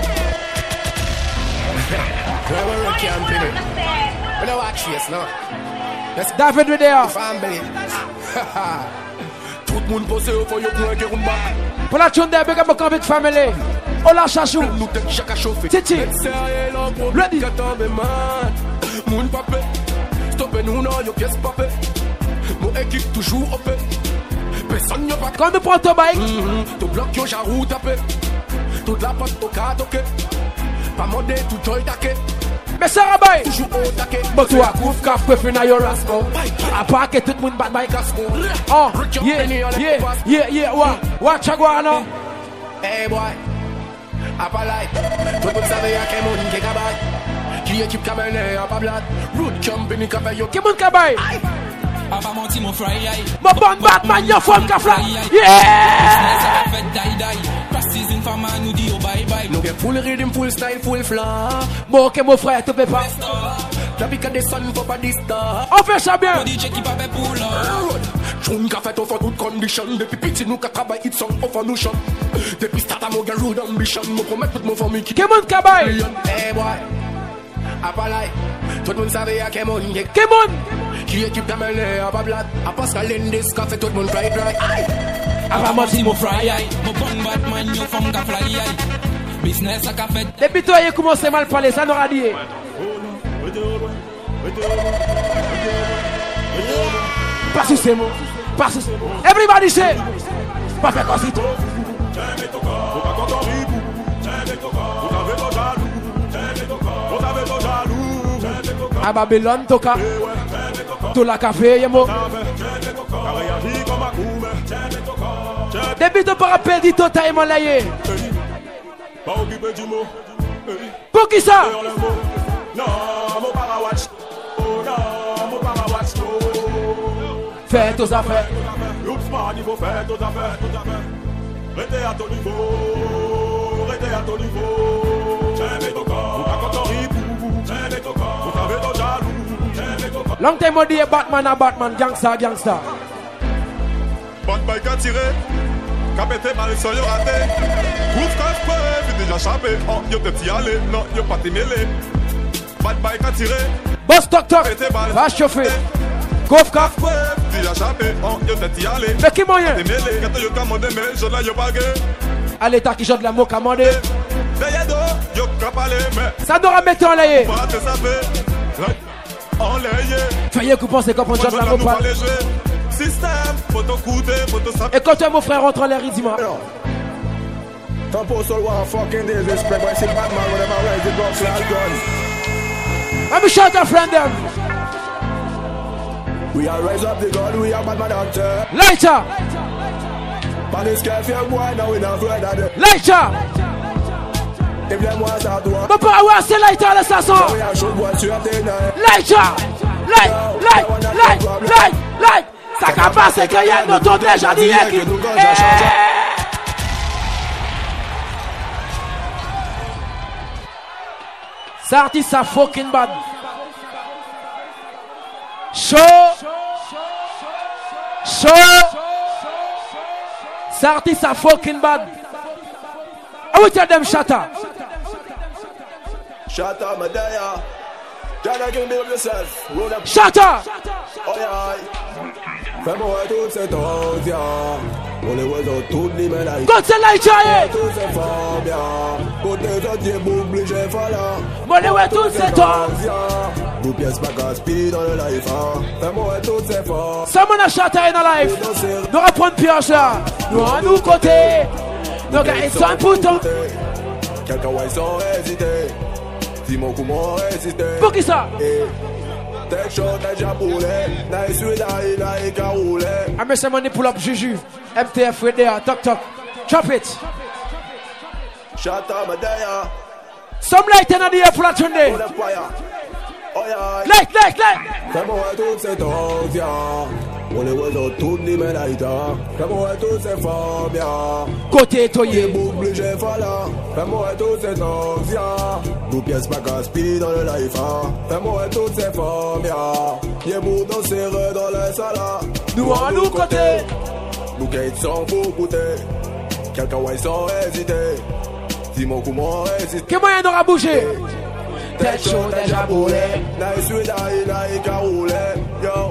Where we camping? We don't watch this now. David with there. Family. Tout le monde pose au fond, y'a point qui rumba. Pour la tune de big up my big family. Ola Chachou. Titi. Ready. Moun papé. Stoppez nous, non, y'a pièce papé. Mon équipe toujours opé. Personne n'a pas. Quand nous prenons ton bike. Tout bloc, y'a jarou tapé. Toute la pote au cas toqué. Pas modé, tout joy taqué. Mais ça rabaye. Toujours au taqué. But tu as couvre caf préféré na yo rasco. A part que tout le monde bat by casco. Oh, yeah, yeah, yeah, yeah, wa, wa chagwana. Hey boy, a pas like. Tout le monde savait à quel monde qui est cabay. Qui équipe cabernet à pas blade. Road company café yo. Qui monde cabay? A pas menti mon fry. Mon bon Batman yo femme ka fly. Yeah. Fait die die. Passes une femme nous dit oh bye bye. Nous get full rhythm, full style, full flow. Bon que mon frère te peut pas. La pique des sun pour pas distar. On fait ça bien. D J qui pas pour là. Tune ka fait over toute condition. Depuis petit nous ka travaille it song over nous shop. Depuis start à mon gars road ambition. Nous promet toute mon famille qui. Qui monde cabay? Hey boy. A pas like. Tout le monde savait à quel monde. Qui monde? Qui équipe cabernet à pas blade. A Pascal Lendis ka fait tout le monde fly dry. A pas menti mon fry. Mon bon Batman yo femme ka fly. Business a ka fait. Depuis toi il commence mal parler ça n'aura dit. Pas sous ces mots. Pas sous ces mots. Everybody say. Pas faire comme si toi. À Babylone, toka. Tout la café, yemo. Depuis tu peux rappeler dit tout à mon laïe. Pour qui ça? Fais tes affaires. Il faut faire tes affaires. Restez à ton niveau. Restez à ton niveau. J'aime ton corps. J'aime ton corps. Vous savez ton jaloux. Long time on dit Batman à Batman, gangsta, gangsta. Bonne balle qu'a tiré. Qu'a pété mal sur yo raté. Couvre quand je peux, puis déjà chapé. Oh, yo te petit aller. Non, yo pas t'y mêler. Bonne balle qu'a tiré. Boss toc toc. Va chauffer. Couvre quand déjà chapé. Oh, yo te petit aller. Mais qui moyen? T'y mêler. Quand yo commandé, mais je l'ai yo pas gué. Allez, t'as qui joue de la mot commandé. Yo capalé, mais. Ça n'aura mettre en l'air. Pas te saper. Fayez que penser qu'on prend de la mot pas. Système, faut t'écouter, faut te saper. Et quand toi, mon frère, rentre en l'air, il dit moi. Tom Postal want fucking disrespect, but I see Batman whenever I raise the box like gun. Let me shout a friend them. We are raise up the gun, we are Batman doctor. Lighter. But this guy fear boy, now we not afraid of them. Lighter. If them want start to want. But I want to say lighter à la station. Lighter. Light, light, light, light, light. Ça capable c'est qu'il y a notre déjà dit qui. Ça artiste ça fucking bad. Show. Show. Ça artiste ça fucking bad. I will tell them shut up. Shut up, Medea. Jana can build yourself. Roll up. Shut up. Oh yeah. Fais-moi tout cet odia. On les voit dans toutes les médailles. God c'est là, Jaye. Tout c'est fort bien. Côté autres, boucle, j'ai fallu. On les voit tous cet odia. Nous pièces pas gaspillées dans le life. Fais-moi tout c'est fort. Someone a shut up in a life. Nous reprendre pioche là. Nous à nous côté. Nos gars, ils sont importants. Quelqu'un va sans hésiter. Dis-moi comment résister. Pour qui ça? Tech shot déjà boulé. Nice with I like a roulé. I miss some money pull up Juju. M T F with there. Talk talk. Drop it. Shut up, Medea. Some light in the air for that Sunday. Light, light, light. Fais-moi tout cet odia. On les voit dans toutes les médailles. Fais-moi tout c'est fort bien. Côté toyé. Boucle, j'ai fallu. Fais-moi tout c'est odia. Nous pièces pas gaspillées dans le life. Fais-moi tout c'est fort bien. Y'a beau danser dans les salades. Nous à nous côté. Nous gagnons sans vous goûter. Quelqu'un va sans hésiter. Dis-moi comment résister. Quel moyen d'aura bougé? Tech show déjà boulé. Nice with I like a roulé. Yo, frappez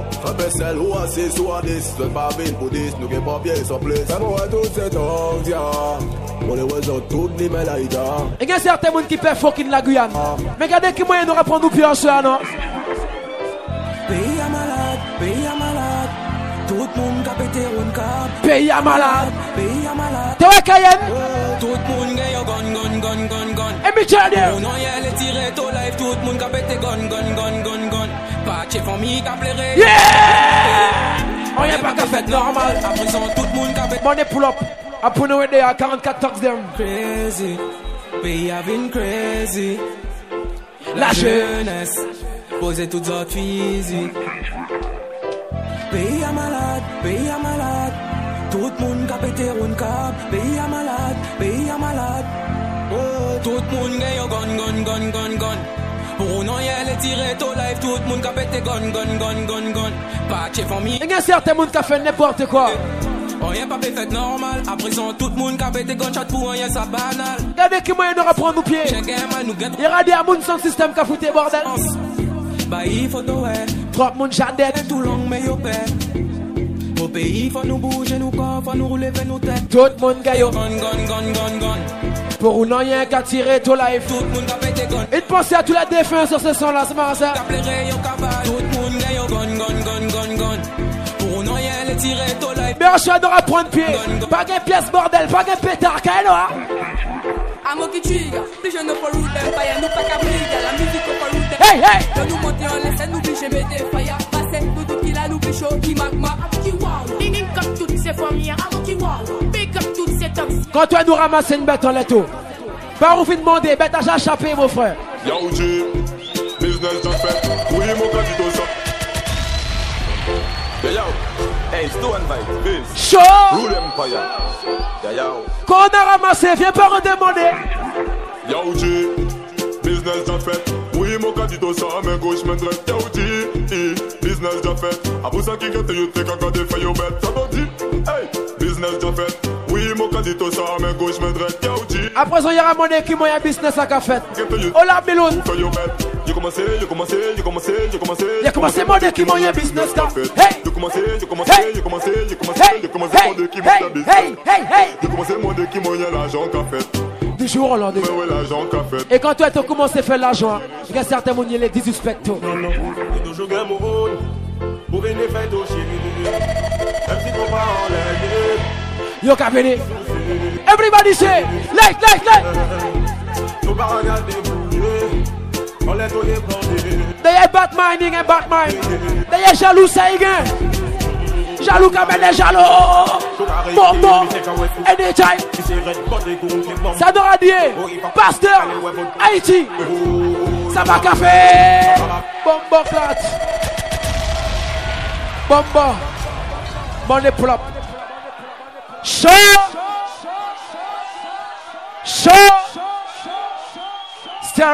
vaisselle ou assis ou à dix. Le pas vite pour dix, nous qui papier sur place. Fais-moi tout cet angia. On les voit toutes les mélaïdas. Et il y a certains gens qui peuvent fucking la Guyane. Mais regardez qui moyen nous reprendre nous plus en soi, non? Pays à malade, pays à malade. Tout le monde a pété un cap. Pays à malade. Pays à malade. T'es où Cayenne? Tout le monde a gun, gun, gun, gun, gun. Et Michel there. On a les tiré tout life. Tout le monde a pété gun, gun, gun, gun, gun. Pas de famille qui a pleuré. Yeah! On y a pas qu'à faire normal. À présent, tout le monde a pété. Money pull up. Après nous aider à quarante-quatre tox them. Crazy. Pays a been crazy. La, La jeunesse. Poser toutes autres physiques. Pays à malade, pays à malade. Tout le monde a pété un cap. Pays à malade, pays à malade. Oh, tout le monde a gun, gun, gun, gun, gun. Pour nous, y'a les tirés tout life. Tout le monde a pété gun, gun, gun, gun, gun. Pas de famille. Il y a certains gens qui ont fait n'importe quoi. On y'a pas fait normal. À présent, tout le monde a pété gun shot pour un y'a ça banal. Regardez qui moyen nous reprendre nos pieds. Il y a des gens sans système qui a foutu bordel. Bah, il faut tout ouais. Trop moun jadette. Tout long, mais yo père. Au pays, faut nous bouger, nous corps, faut nous relever nos têtes. Tout le monde gagne. Gun, gun, gun, gun, gun. Pour nous, il y a qu'à tirer tout life. Tout le monde a pété gun. Et de penser à tous les défunts sur ce son-là, c'est marrant ça. Tout le monde gagne. Gun, gun, gun, gun, gun. Pour nous, il y a les tirer tout life. Mais on choisit de reprendre pied. Pas de pièce bordel, pas de pétard, qu'elle a. Amo qui tue, les jeunes pour route d'empire, nous pas qu'à briller, la musique pour route d'empire. Hey, hey! Quand nous montons en laisse, nous biche mettez fire. Passez, nous tout qui la nous biche, qui magma, qui wow. Big up toutes ces familles, amo qui wow. Big up toutes ces tops. Quand toi nous ramasser une bête en letto, pas où vous demander, bête à échappé, mon frère. Yo, G, business just fait. Oui, mon candidat, ça. Yo, yo, hey, Sto and Vibe, Biz. Show! Rule Empire. Yo, yo. Quand on a ramassé, viens pas redemander. Yo, G, business just fait. Oui, mon candidat, ça, mais gauche, main droite. Yo, G, business just fait. A pour ça qui gâte, you take a god if you bet. Ça va dire, hey, business just fait. Oui, mon candidat, ça, mais gauche, main droite. Yo, G. À présent, il y a monnaie qui m'a business à qu'a fait. Oh la biloune. You commencé, you commencé, you commencé, you commencé. You commencé monnaie qui m'a business à fait. Hey. You commencé, you commencé, you commencé, you commencé, you commencé monnaie qui m'a business. Hey, hey, hey. You commencé monnaie qui m'a l'argent qu'a fait. Du jour au lendemain. Ouais, ouais, l'argent qu'a fait. Et quand toi, tu as commencé à faire l'argent, il y a certains gens qui les disrespectent. Non, non, il toujours gagne mon rôle. Pour venir faire ton chien. Même si ton pas en l'air. Yo, qu'a venu. Everybody say, like, like, like. Ton pas regarder bouger. On les donne bandés. D'ailleurs, Batman, il y a Batman. D'ailleurs, jaloux, ça y est. Jaloux, comme elle est jaloux. Bon, bon. Anytime. Ça doit dire. Pasteur. Haïti. Ça va café. Bombo plate. Bombo. Money plop. Show. Show. Stereo.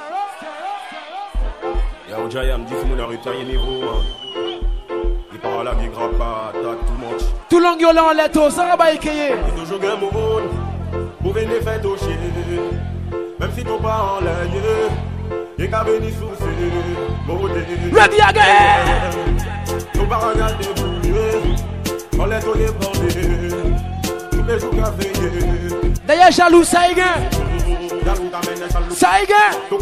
Yo, Jayam, dis mon arrêté niveau. Il parle à qui grappe pas, t'as tout much. Tout long yo là en letto, ça va pas écayer. Il toujours gagne mon rôle. Pour venir faire ton chien. Même si ton pas en l'air. Il qu'à venir sous ses. Ready again. Ton pas regarder bouger. On les donne bandés. Tous les jours qu'a veillé. D'ailleurs, jaloux, ça y est. Ça y est.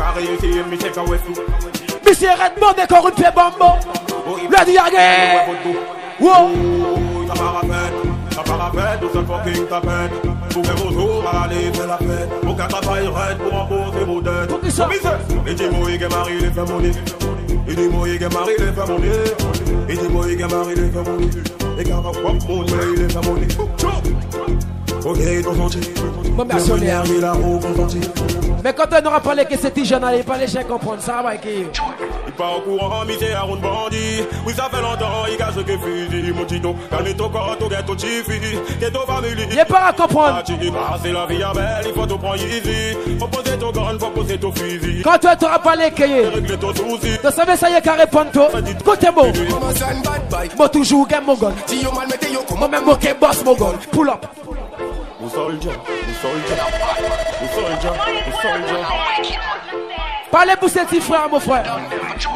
Mais c'est Redmond et encore une fait bombo. Ready again. Wow. Ça part à peine, ça part à peine, tout ça fucking tapette. Pour que vos jours aller faire la fête. Pour qu'un travail raide pour emposer vos dettes. Pour qui ça? Et dis-moi, il est marié, il est fait monnaie. Et dis-moi, il est marié, il est fait monnaie. Et dis-moi, il est marié, il est fait monnaie. Et car à quoi mon mais il est fait monnaie. Ok, ton sentier. Bon, merci, il a haut consenti. Mais quand on aura parlé que c'était jeune, il fallait bien comprendre ça va qui. Il part au courant, mais c'est un round bandit. Oui, ça fait longtemps, il cache que fusil. Mon tito, calme ton corps, ton ghetto chifi. T'es ton famille. Il est pas à comprendre. C'est la vie à belle, il faut te prendre easy. Faut poser ton gun, faut poser ton fusil. Quand toi t'auras parlé que. Régler ton souci. Tu savais ça y est qu'à répondre toi. Côté beau. Moi toujours gagne mon gun. Moi même moi qui boss mon gun. Pull up. Ou soldier, ou soldier, ou soldier, ou soldier. Parlez pour ces petits frères, mon frère.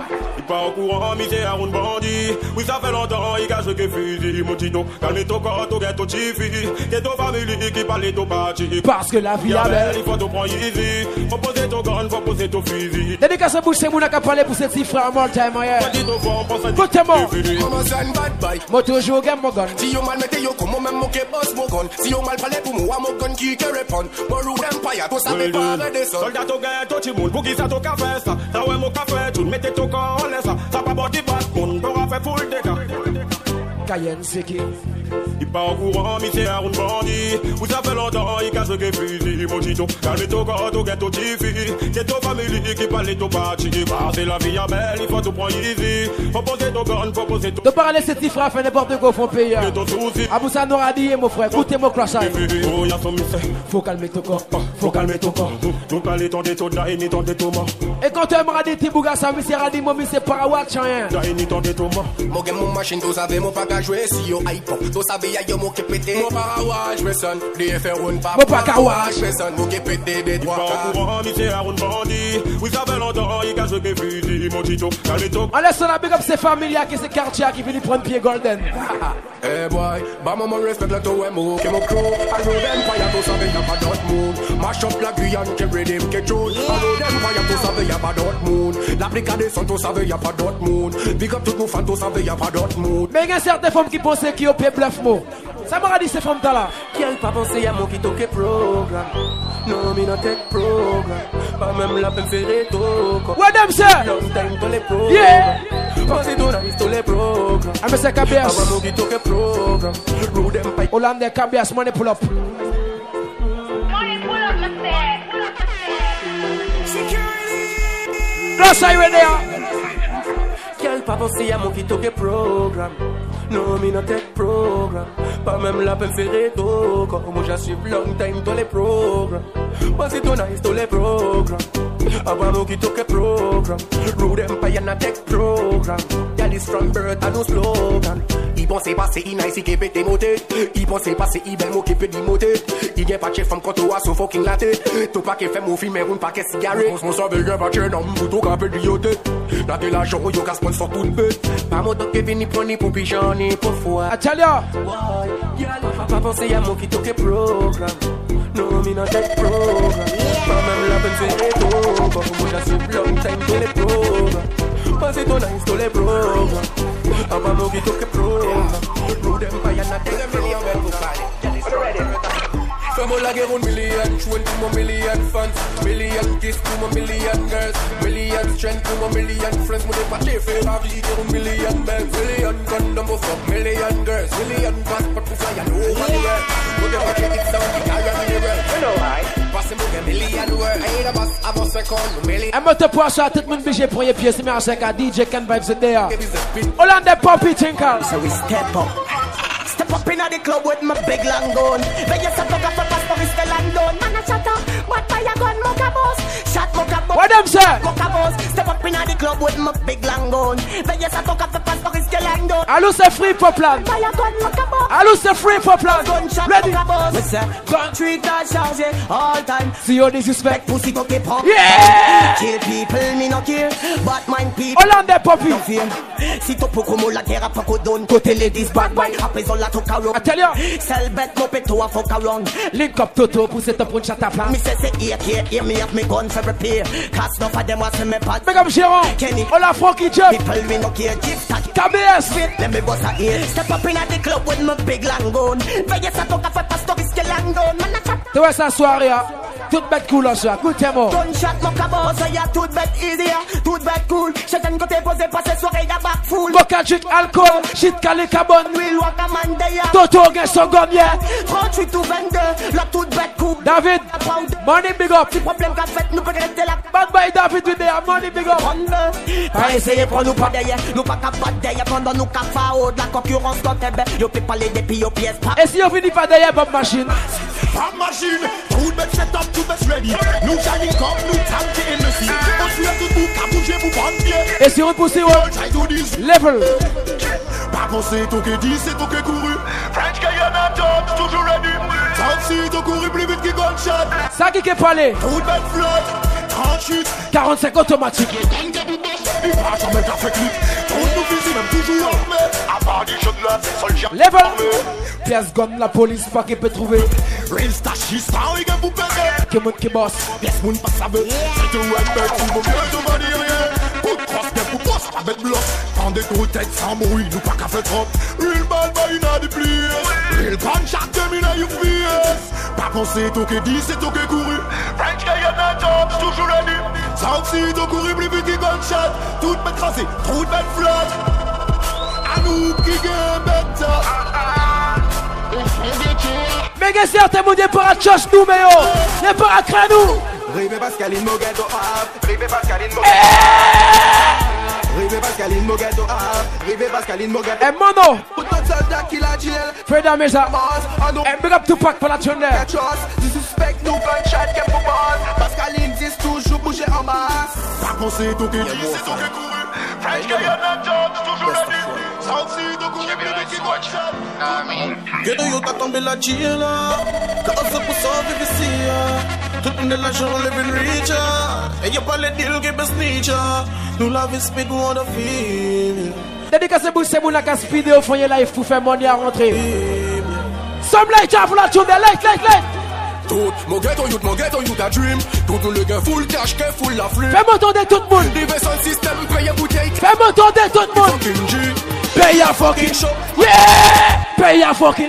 pas au courant, mais c'est un round bandit. Oui, ça fait longtemps, il cache que fusil. Mon tito, calme ton corps, ton ghetto chifi. Que ton famille qui parle ton parti. Parce que la vie est belle. Il faut te prendre easy. Faut poser ton gun, faut poser ton fusil. Dédicace à bouche, c'est mon qui a parlé pour cette cifre à mon time, yeah. Écoutez-moi. Moi toujours game mon gun. Si yo mal mette yo comme même mon boss mon gun. Si yo mal parler pour moi, mon gun qui te répond. Mon road empire, tout ça me pas descendre. Soldat au ghetto, tu moun, pour qui ça ton café ça. Ça ouais mon café, tu mettez ton corps en l'air ça. Ça pas body bat, mon t'aura fait full dégâts. Cayenne c'est qui? Il pas au courant, mais c'est un round bandit. Vous ça fait longtemps, il cache que fusil. Mon tito, calme ton corps, ton ghetto chifi. C'est ton famille qui parle ton parti. Parce que la vie est belle, il faut te prendre easy. Faut poser ton gun, faut poser ton... De parler cette cifre à faire n'importe quoi, faut payer. Aboussa n'aura dit, mon frère, écoutez mon croissant. Faut calmer ton corps, faut calmer ton corps. Nous parlons ton détour, d'aïe ni ton détour. Et quand tu aimeras des petits bougas, ça me sert dit, mon c'est parawatch, rien. D'aïe ni ton détour. Mon game, mon machine, tu savais, mon pas qu'à jouer si yo iPod. Tu savais, y'a yo mon qui pété. Mon parawatch, personne. Les F R one pas. Mon pas qu'à watch. Personne, mon qui pété des trois quarts. Au courant, mais c'est un round bandit. Vous savez longtemps, il cache que fusil. Mon tito, calme ton... On laisse la big up ces familles qui c'est quartier qui viennent prendre pied golden. Hey boy, bah maman respect la to emo. Que mon crew, I roll empire, tu savais, y'a pas d'autre monde. Mash up la Guyane, que redeem, que tune. I roll empire, tu savais, y'a pas d'autre monde. L'applica des sons, tu savais, y'a pas d'autre monde. Big up tout nos fans, tu savais, y'a pas d'autre monde. Mais il y a certaines femmes qui pensent qu'il y a au bluff mot. Ça m'a dit ces femmes là. Qui a pas pensé à mon qui toque programme. Non, mais non tête programme. Pas même la peine faire tout. What them say? Long time to les programmes. Yeah. Pensez tout nice to les programmes. Ah mais c'est K B S. Pas mon qui toque programme. Rude Empire. Hollande K B S, money pull up. Money pull up, my set. Pull up, my set. Security. Plus I ready. Quel pas pensé à mon qui toque programme. Non, mais non tête programme. Pas même la peine faire tout. Comme moi j'assume long time to les programmes. Pensez tout nice to les programmes. Avant nous qui toque programme. Rude Empire na tech programme. Y'a des strong bird à nos slogans. Il pensait passer il nice qui peut démoter. Il pensait passer il bel mot qui peut démoter. Il y'a pas de chef femme quand tu as son fucking latte. Tout pas qui fait mon film mais roule pas qui cigarette. On s'en veut y'a pas de chef non tout qu'un peu d'ioté. La de l'argent yo qu'à sponsor tout peu. Pas mon doc qui vient ni prendre ni pour pigeon ni pour foi. Atalia. Pas penser à mon qui toque programme. Non mais non tech programme. Pas même la peine faire tout. Comme moi j'assume long time to les programmes. Pensez ton nice to les programmes. Avant mon qui toque programme. Rude Empire na tech programme. Fais-moi la guerre une million, chouette pour mon million fans. Million kiss pour mon million girls. Million strength pour mon million friends. Mon départé fait la vie, guerre une million men. Million condom pour fuck, million girls. Million passport pour fly and over the world. Mon départé it's down, the iron in the world. You know why? Passe mon gars million world. I ain't a boss, I'm a second million. Un mot de poisson, tout le monde bégé pour y pied. C'est bien avec un D J Ken Vibes in there. Hollande Poppy Tinker. So we step up. Step up in the club with my big long gun. When you step up for passport, it's the long done. Man, I shut up. What fire gun, mocha boss? Shot mocha boss. What them say? Mocha boss. Step up in the club with my big long gun. When you step up for passport, it's the long done. Allô, c'est free for plan. Fire gun, mocha boss. Allô, c'est free for plan. Gunshot, ready? mocha boss. We say, gun treat that charge all time. See you disrespect. Pussy to keep up. Yeah. Kill people, me no care. But mind people. Hollande Poppy. No fear. Si to poco la terre a poco don. Côté ladies bad boy. Après on la toca round. I tell you. Sell bet no pay to a fuck around. Link up Toto, pousse it up on chat plan. Me say say here here here me have me gun for repair. Cast no for them was me bad. Make up Jérôme. Kenny. Hola Frankie Jeff. People me no care. Gift that K B S. Let me bust a ear. Step up in the club with my big long gun. Veillez ça toca for pastor is que long gun. Man a chat. Tu vois sa soirée, toute bête cool en soir. Good tempo. Gunshot mocha boss. So ya toute bête easier. Toute bête cool. Chacun côté posé passer soirée ya back full. Mocha drink alcool. Shit calé carbone. Will walk a man there. Toto gagne son gomme, yeah. trente-huit ou vingt-deux, la toute bête coupe. David, money big up. Si problème qu'a fait, nous peut rester là. Bad boy David with there, money big up. Pas essayer pour nous pas derrière, nous pas qu'à pas derrière pendant nous qu'à faire de la concurrence dans tes bêtes. Yo peut parler des pieds aux pièces. Et si on finit pas derrière Bob Machine? Bob Machine, tout bête set up, tout bête ready. Nous shining comme nous tank in the sea. On suit tout bout, qu'à bouger pour prendre pied. Et si on pousse, level. Pas penser tout que dit, c'est tout que couru. French Guyana top, toujours ready. Taxi, tout couru plus vite que gunshot. Ça qui est parlé. Tout bête flotte, trente-huit. quarante-cinq automatique. Il va jamais qu'à faire clip. Tout nous vise même toujours armé. À part des jeunes là, soldiers. Level. Pièce gonne la police pas qu'il peut trouver. Real stachista, il va vous péter. Qui monte qui bosse. Pièce moun pas saveux. C'est tout un mec qui vaut mieux de manier. Pour cross bien pour boss avec bloc. Prends des gros têtes sans bruit, nous pas qu'à faire trop. Real bad boy in a the place. Real gunshot them in a you face. Pas penser tout que dit, c'est tout que couru. French guy and a job, toujours ready. Southside tout couru plus vite que gunshot. Tout bête crasé, trop de bête flat. À nous qui gagne bête. Mais qu'est-ce que c'est mon départ à Tchoch nous, mais yo. Départ à Kranou. Rive Pascaline Mogato Ab, Rive Pascaline Mogato Rive Pascaline Mogato Ab, Rive Pascaline Mogato. Eh mono. Put notre soldat qui la jail. Freda Mesa. Eh big up Tupac pour la tune there. Du suspect nous gunshot qu'est pour base. Pascaline dit toujours bouger en masse. Pas penser tout que dit, c'est tout que couru. French guy and a job, toujours ready. Southside tout couru plus vite que gunshot. Que de yo t'as tombé la jail là. Quand on se pousse en V V C. Tout le monde est l'argent, living richer. Et y'a pas les deals qui baissent niche. Nous la vie speak, on the feel. Dédicacé pour ces mounas qui speed au fond de life pour faire money à rentrer. Some light up pour la tune, light, light, light. Tout, mon ghetto youth, mon ghetto youth a dream. Tout le gars full cash, que full la flûte. Fais m'entendre tout le monde. Live sans système, paye bouteille. Fais m'entendre tout le monde. Paye à fucking show. Yeah! Paye à fucking.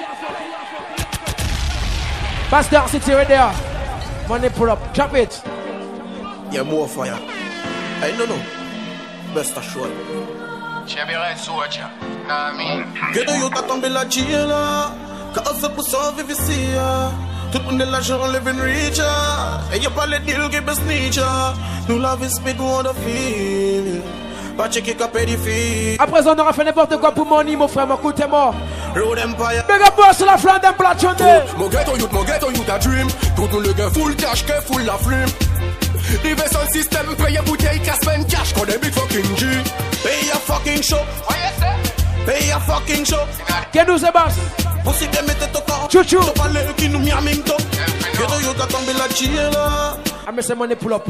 Pastor, sit here right there. Money pull up, drop it. Yeah, more fire. I don't know. Best assured. Chabira Soja. Amen. Que de yo t'as tombé la jail là. Quand on se pousse en V V C. Tout le monde est l'argent, living richer. Et y'a pas les deals qui baissent niche. Nous la vie speak, on the feel. Pas checker qu'à pédophilie. À présent, on aura fait n'importe quoi pour money, mon frère, mon coup t'es mort. Road Empire. Big up boss, la flamme d'un plat chondé. Mon ghetto youth, mon ghetto youth a dream. Tout le gars full cash, que full la flume. Live sans système, paye bouteille, casse peine cash, qu'on est big fucking G. Pay a fucking show. Pay a fucking show. Qu'est nous c'est basse? Possible de mettre ton corps. Chouchou. T'as parlé qui nous miaming top. Ghetto youth a tombé la jail là. Ah mais c'est money pull up.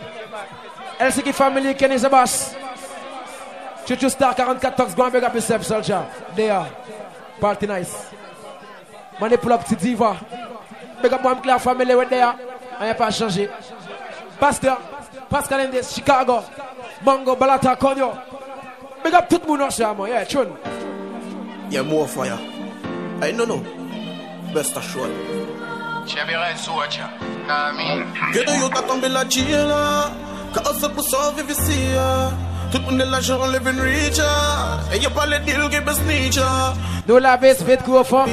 L C K family, Kenny c'est basse. Chouchou Star quarante-quatre tox, go and big up yourself, soldier. There. Party nice. Money pull up, petit diva. Big up one clear family right there. On n'a pas changé. Pasteur, Pascal Indes, Chicago, Bongo, Balata, Konyo. Big up tout le monde aussi, man. Yeah, tune. Yeah, more fire. I don't know. Best assured. Chabira Soja. Amen. Que de yo t'as tombé la jail là. Quand on se pousse en V V C. Tout le monde est l'argent, living richer. Et y'a pas les deals qui baissent niche. Nous la baisse vite qu'on fond.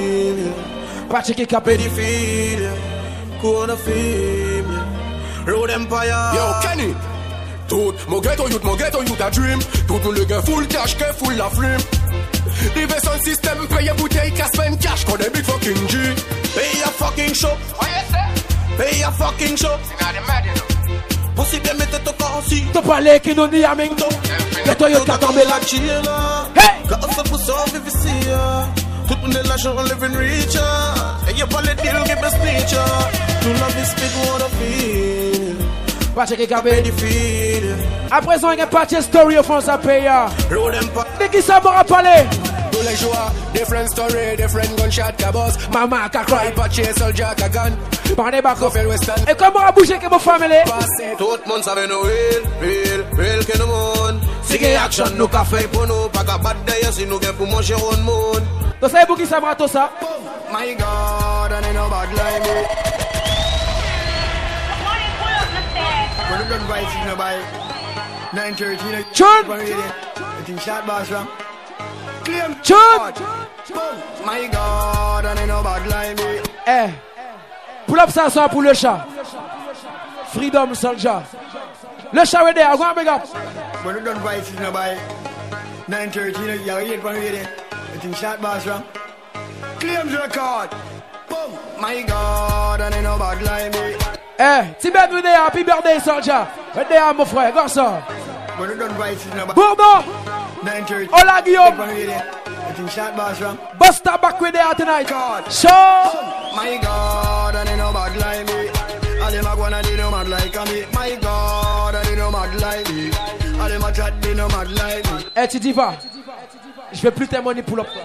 Pas checker capé. Pédophile. Qu'on a fait. Road Empire. Yo, Kenny. Tout, mon ghetto youth, mon ghetto youth a dream. Tout le gars full cash, que full la flume. Live sans système, paye bouteille, casse peine cash, qu'on est big fucking G. Pay a fucking show. Pay a fucking show. Possible de mettre ton corps aussi. T'as parlé qui nous dit à Mingdo. Que toi y'as tombé la jail là. Quand on se pousse en V V C. Tout le monde est l'argent, living richer. Et y'a pas les deals qui baissent niche. Nous la vie speak, on the feel. Pas checker capé. À présent, il y a pas de story au fond, ça paye. De qui ça m'aura parlé? Tous les jours, different story, different gunshot cabos. Maman qui a cry, pas chez soldier qui a gun. Par des bacs western. Et comment a bougé que vos familles? Tout le monde savait nous real, real, real que nous monde. Si qu'il y a action, nous qu'a fait pour nous. Pas qu'à battre d'ailleurs si nous gagnons pour manger au monde. Tu sais pour qui ça m'a tout ça? My God, and ain't no bad like me. When you done right, you know, by nine thirty, you know, Chud! I think shot boss from Claim Chud! My God, and ain't no bad like me. Eh, pull up ça, ça pour le chat. Freedom soldier. Le chat est there, go and big up. When you done right, you know, by nine thirty, you know, you're eight from here. I think shot boss from Claims record. Boom. My God, and ain't no bad like me. Eh, Tibet with there, happy birthday, soldier. Right there, mon frère, go ça. When you done right, you know, by Bourneau. nine thirty. Hola, Guillaume. I think shot boss from Buster back with there tonight. God. Show. My God, and ain't no bad like me. All them a gonna do no mad like me. My God, and ain't no mad like me. All them a try mad like me. Eh, Tidiva, je vais plus tes money pull up.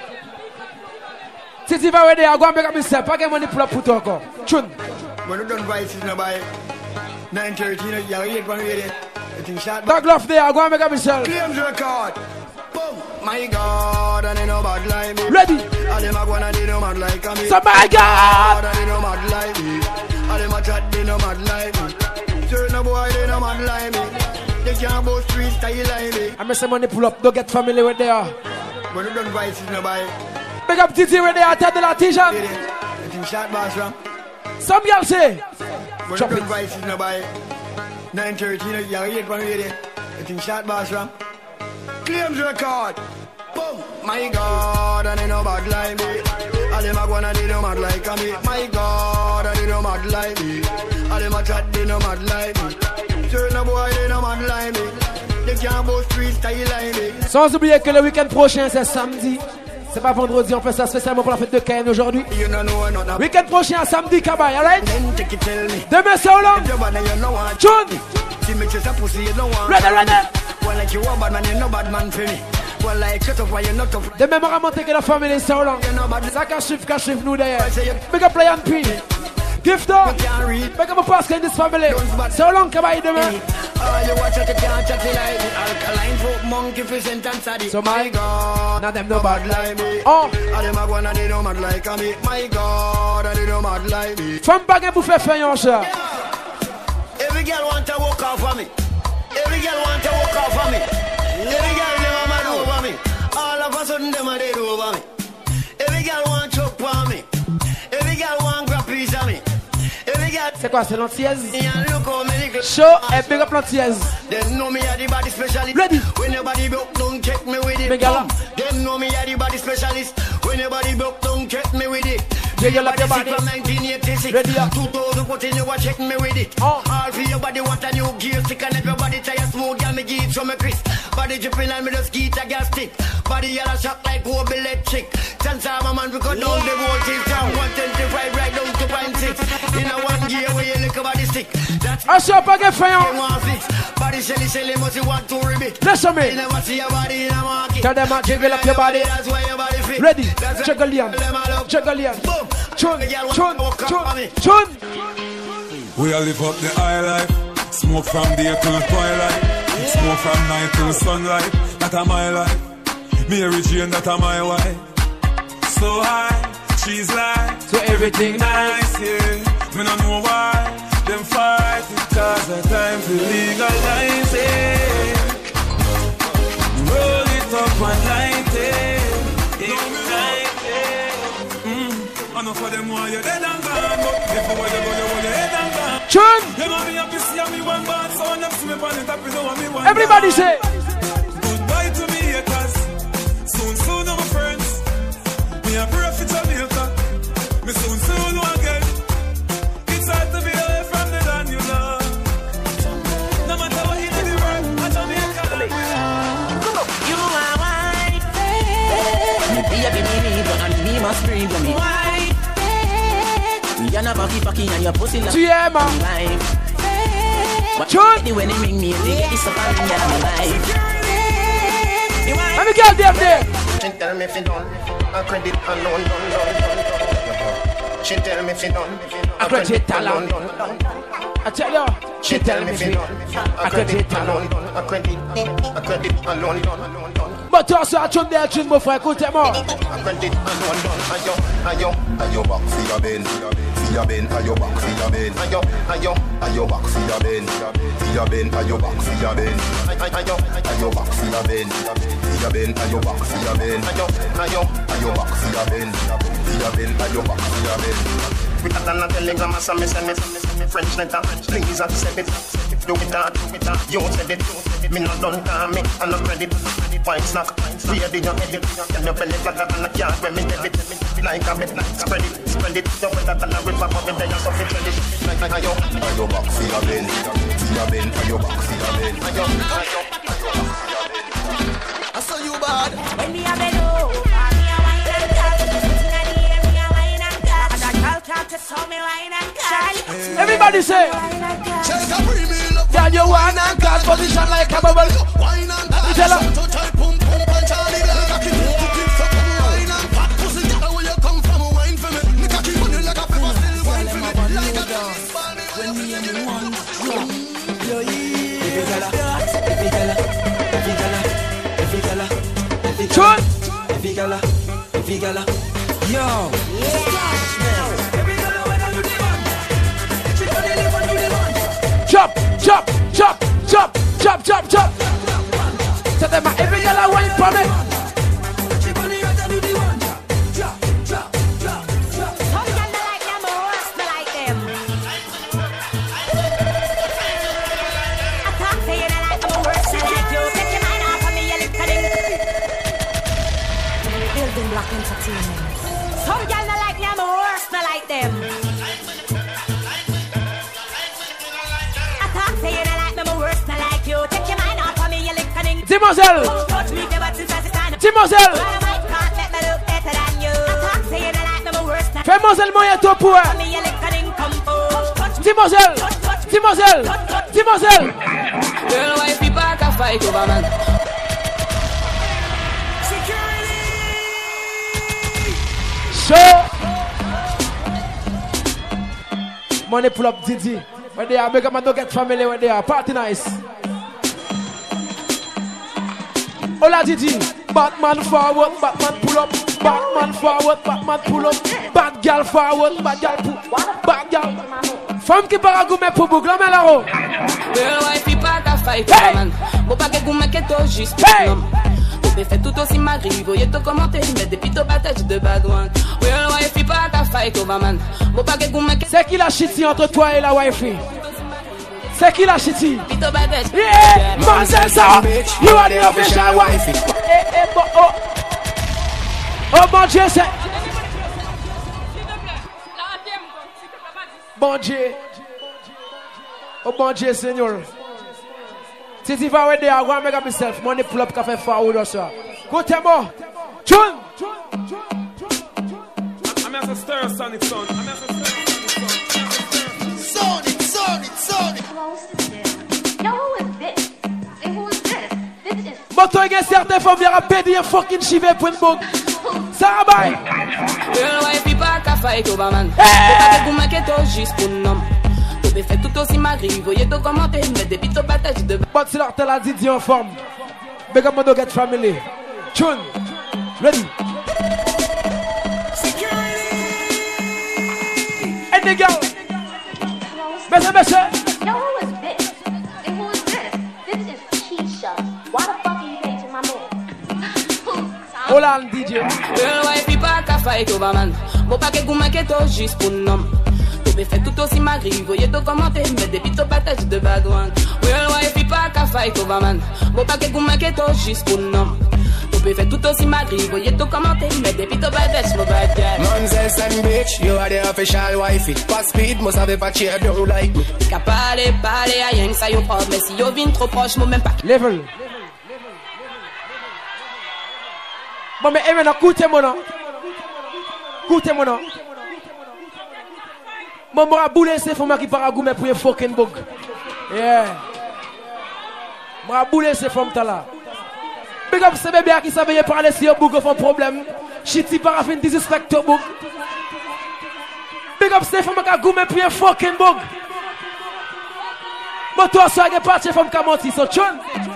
Tidiva, where they are going to make myself. Pas que money pull up pour toi encore. Chun. When you done vice is nobody. nine thirteen, you have eight one ready. I think shot. Dog love there, I'm going to make myself. Claims record. Boom. My God, and they no bad like me. Ready. And them a go and they no mad like me. So my God. And they no mad like me. And them a chat, they no mad like me. Turn a boy, they no mad like me. They can't boast street style like me. I miss some money pull up, don't get familiar with there. When you done vice is nobody. Big up Titi where they are, tell the Latijan. I think shot boss from. Some girl say. When you done vice is nobody. nine thirteen, you have eight one ready. I think shot boss from. Claims record. Boom. My God, and they no bad like me. And them a go and they no mad like me. My God, and they no mad like me. And them a chat, they no mad like me. Turn a boy, they no mad like me. They can't boast street style like me. Sans oublier que le week-end prochain c'est samedi. C'est pas vendredi, on fait ça spécialement pour la fête de Ken aujourd'hui. Week-end prochain, samedi, Kabay, alright? Demain, c'est Hollande. June. Ready, ready. Demain, on va monter que la famille, c'est Hollande. Ça cache-chiffre, cache-chiffre, nous derrière. Big up, Play and P. Gift up. Big up, Pascal in this family. C'est Hollande, Kabay, demain. So my God, now them no bad like me. Oh, and them a go and they no mad like me. My God, and they no mad like me. From baguette pour faire faire cher. Every girl want to walk off for me. Every girl want to walk off for me. Every girl never mad over me. All of a sudden them a dead over me. Every girl want choke for me. Every girl want grab piece of me. C'est quoi, c'est l'antillaise? Show et big up l'antillaise. Ready? When your body broke, don't check me with it. Them know me are the body specialist. When your body broke, don't check me with it. Yeah, you love your body. From nineteen eighty-six. Ready up. two thousand fourteen, you are checking me with it. Oh. All for your body want a new gear stick and everybody tire smooth, got me get from a crisp. Body dripping and me just get a gas stick. Body yellow shock like whole electric. Chance of a man we cut down the voltage down one twenty-five right down to point six. In a one gear where you look about the stick. That's I shall pas get fair. Body shelly shelly must you want to ribbit. Listen me. You never see your body in a market. Tell them I jiggle up your body. That's why your body fit. Ready? Juggalian. Juggalian. Boom. Chun. Chun. Chun. Chun. We all live up the high life. Smoke from day till twilight. Smoke from night till sunlight. That a my life. Mary Jane, that a my wife. So high, she's like. So everything nice, yeah. Me no know why them fight because the time to legalize it. Roll it up and light it. Ignite it. Mm. I know for them why you're dead and gone, but if you want to go, you want your head and gone. Chun. You know me happy see me one bad, so I'm see me on it up, you know me one. Everybody say goodbye to me haters. Soon, soon, my friends. Me a pray for Jamaica. Me soon, soon, again. It's hard to be away from the land you love. No matter what you do, the world, I Jamaica. You are white. Me be a baby, and me must breathe me. White. You're not a fucking and your pussy like yeah, man. Life. Chun. When they ring me, they get this up on me and my life. Let me get them there. She tell me if you done, I credit alone, done, done, done. She tell me if you done, I credit alone, done, done. I tell you. She tell me if you done, I credit alone, done. I credit, I credit alone, done, done. But toi, ça a chun des chun, mon frère, écoutez-moi. I credit alone, done. Ayo, ayo, ayo, back for your ben, for your ben, ayo, back for your ben, ayo, ayo, ayo, back for your ben, for your ben, ayo, back for your ben, ayo, ayo, back for your ben. Your ben, and your back for your ben. Ayo, ayo, ayo back for your ben. Your ben, and your back for your ben. With that and a telegram, I send me, send me, send me French letter. Please accept it. Do it that, do it that. You said it. Me not done call me, and no credit. Wine snack, we are the young edit. Can you belly flat and a can't when me debit. Like a bit, spread it, spread it. You put that and a river, but me there you suffer credit. Ayo, ayo back for your ben. For your ben, ayo back for your ben. Ayo, ayo, ayo back for your ben. I saw you bad. When me a bed over, me a wine and talk. Sitting at the air, me a wine and talk. And a girl talk to so me wine and talk. Everybody say. Tell girl, you wanna cause position like a bubble. Wine and dance, tell her. so tight, pum pum punch all the girl. Cocky, cocky, fuck up, wine and fat pussy. Girl, where you come from, wine for me. Me cocky on you like a pepper, still wine for me. Like a dance, when me and you one drop. Yo, yeah. Every gala, every gala, every gala, every gala, every gala, every gala, every gala. Yo, every gala when I do the one, she gonna live and do the one. Chop, chop, chop, chop, chop, chop, chop. Tell them every girl I wine for me. She gonna live and do the one. Chop, chop, chop, chop. Some girl they like them, but worse they like them. I talk to you they like them, but worse they like you. Take your mind off of me, you little thing. Building Block Entertainment. Some girl they like them, but worse they like them. I talk to you they like them, but worse they like you. Take your mind off of me, you little thing. Demoiselle. Demoiselle. Fais-moi moyen toi pour elle. Demoiselle. Demoiselle. Demoiselle. Girl, why people can fight over man? Show. Money pull up Didi. When they are, make a man don't get family when they are. Party nice. Hola Didi. Batman forward, Batman pull up. Batman forward, Batman pull up. Bad girl forward, bad girl pull. Bad girl. Femme qui part à goumer pour boucle, mais là-haut. Girl, why people can fight over man? Bon, pas que goumer que toi juste pour l'homme. Vous fait tout aussi magri, voyez tout commenter, mais depuis tout battage de bad one. Girl, why people can fight over man? Bon, pas que goumer que. C'est qui la chiti entre toi et la wifey? C'est qui la chiti? Yeah, man, c'est ça. You are the official wife. Eh, eh, bon, oh. Oh, bon Dieu, c'est. Bon Dieu. Oh, bon Dieu, Seigneur. Si tu vas aider à go make up yourself, money pull up café forward or so. Go tell me. Chun. I'm as a stir sonic son. I'm as a stir Sonic, Sonic, Sonic. Yo, who is this? And who is this? This is. But toi, il y a certaines femmes qui ont pédé un fucking chivet pour une boucle. Ça va, bye. Girl, why people can fight over man? Bon, pas que goumer que toi juste pour l'homme. Vous fait tout aussi magri, voyez tout commenter, mais depuis tout battage de. But c'est là que la Didi en forme. Big up my get family. Chun. Ready. And the girl. Bessa, bessa. Yo, who is this? And who is this? This is Keisha. Why the fuck are you dating my man? Hold on, D J. Girl, why people can fight over man? Bon, pas que goumer que toi juste pour l'homme. Vous fait tout aussi magri, voyez tout commenter, mais depuis tout battage de bad one. Girl, why people can fight over man? Bon, pas que goumer que toi juste pour l'homme. Vous fait tout aussi magri, voyez tout commenter, mais depuis tout battage de bad girl. Monzels and bitch, you are the official wifey. Pas speed, moi savais pas chier, don't like me. Qu'à parler, parler, à rien que ça y prend, mais si yo vient trop proche, moi même pas. Level. Bon, mais maintenant, écoutez-moi, non? Écoutez-moi, non? Mon bras boulé, c'est pour moi qui part à goumer pour un fucking bug. Yeah. Bras boulé, c'est pour moi là. Big up, c'est bébé qui savait parler si un bug a un problème. Chiti parafin disrespect au bug. Big up, c'est pour moi qui a goumer pour un fucking bug. Bon, toi, ça, il y a parti pour moi qui so chun.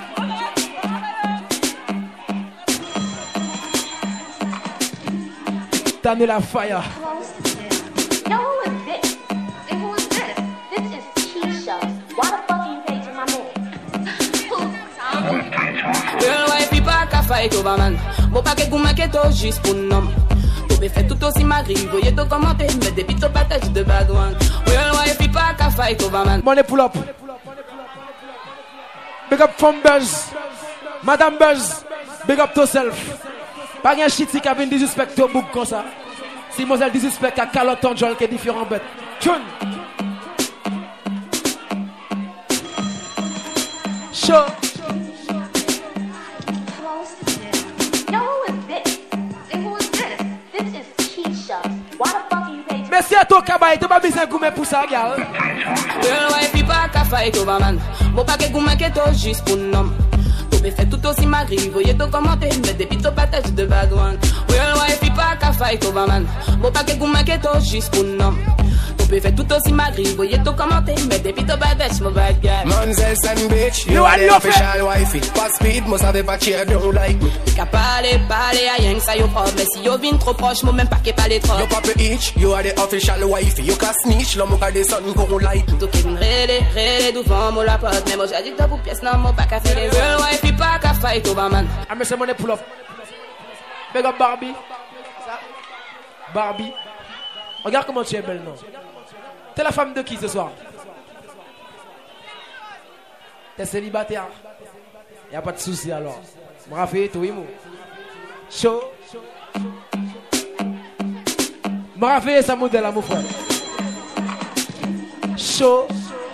T'as mis la fire. Yo, who is this? And who is this? This is Keisha. Why the fuck are you dating my man? Girl, why people can fight over man? Bon, pas que goumer que toi juste pour l'homme. Vous fait tout aussi magri, voyez tout commenter, mais depuis tout battage de bad one. Girl, why people can fight over man? Money pull up. Big up from Buzz. Madame Buzz. Big up yourself. Pas un shit qui a bien disrespect au book comme ça. Si moi elle disrespect à calotte en jol qui est différent bête. Chun. Show. Yo, who is this? And who is this? This is Keisha. Why the fuck are you dating? Merci à toi, Kabaï. Tu vas bien goumer pour ça, gal. Girl, why people can fight over man? Bon paquet gourmet que toi juste pour nom. Tout fait tout aussi magri, voyez tout commenter, mais des pito patates de bad one. Real wife, il pas qu'à fight over man. Bon paquet gourmet que toi juste pour nom. Tout fait tout aussi magri, voyez tout commenter, mais des pito patates, my bad guy. Manzel and bitch, you are the official wifey. Pas speed, moi ça veut pas tirer, don't like me. Qu'à parler, parler à rien que ça yo propre, mais si yo vin trop proche, moi même pas qu'à parler trop. Yo papa itch, you are the official wifey. You can snitch, l'homme qu'a des sons qu'on like. Tout qui me rélé, rélé devant moi la porte, mais moi j'ai dit pour pièce, non, moi pas qu'à faire les real wifey, pas qu'à fight over man. I miss money pull up. Big up Barbie. Barbie. Regarde comment tu es belle, non? T'es la femme de qui ce soir? T'es célibataire? Y'a pas de souci alors. M'rafé, tout imo. Chaud. M'rafé, ça modèle à mon frère. Chaud.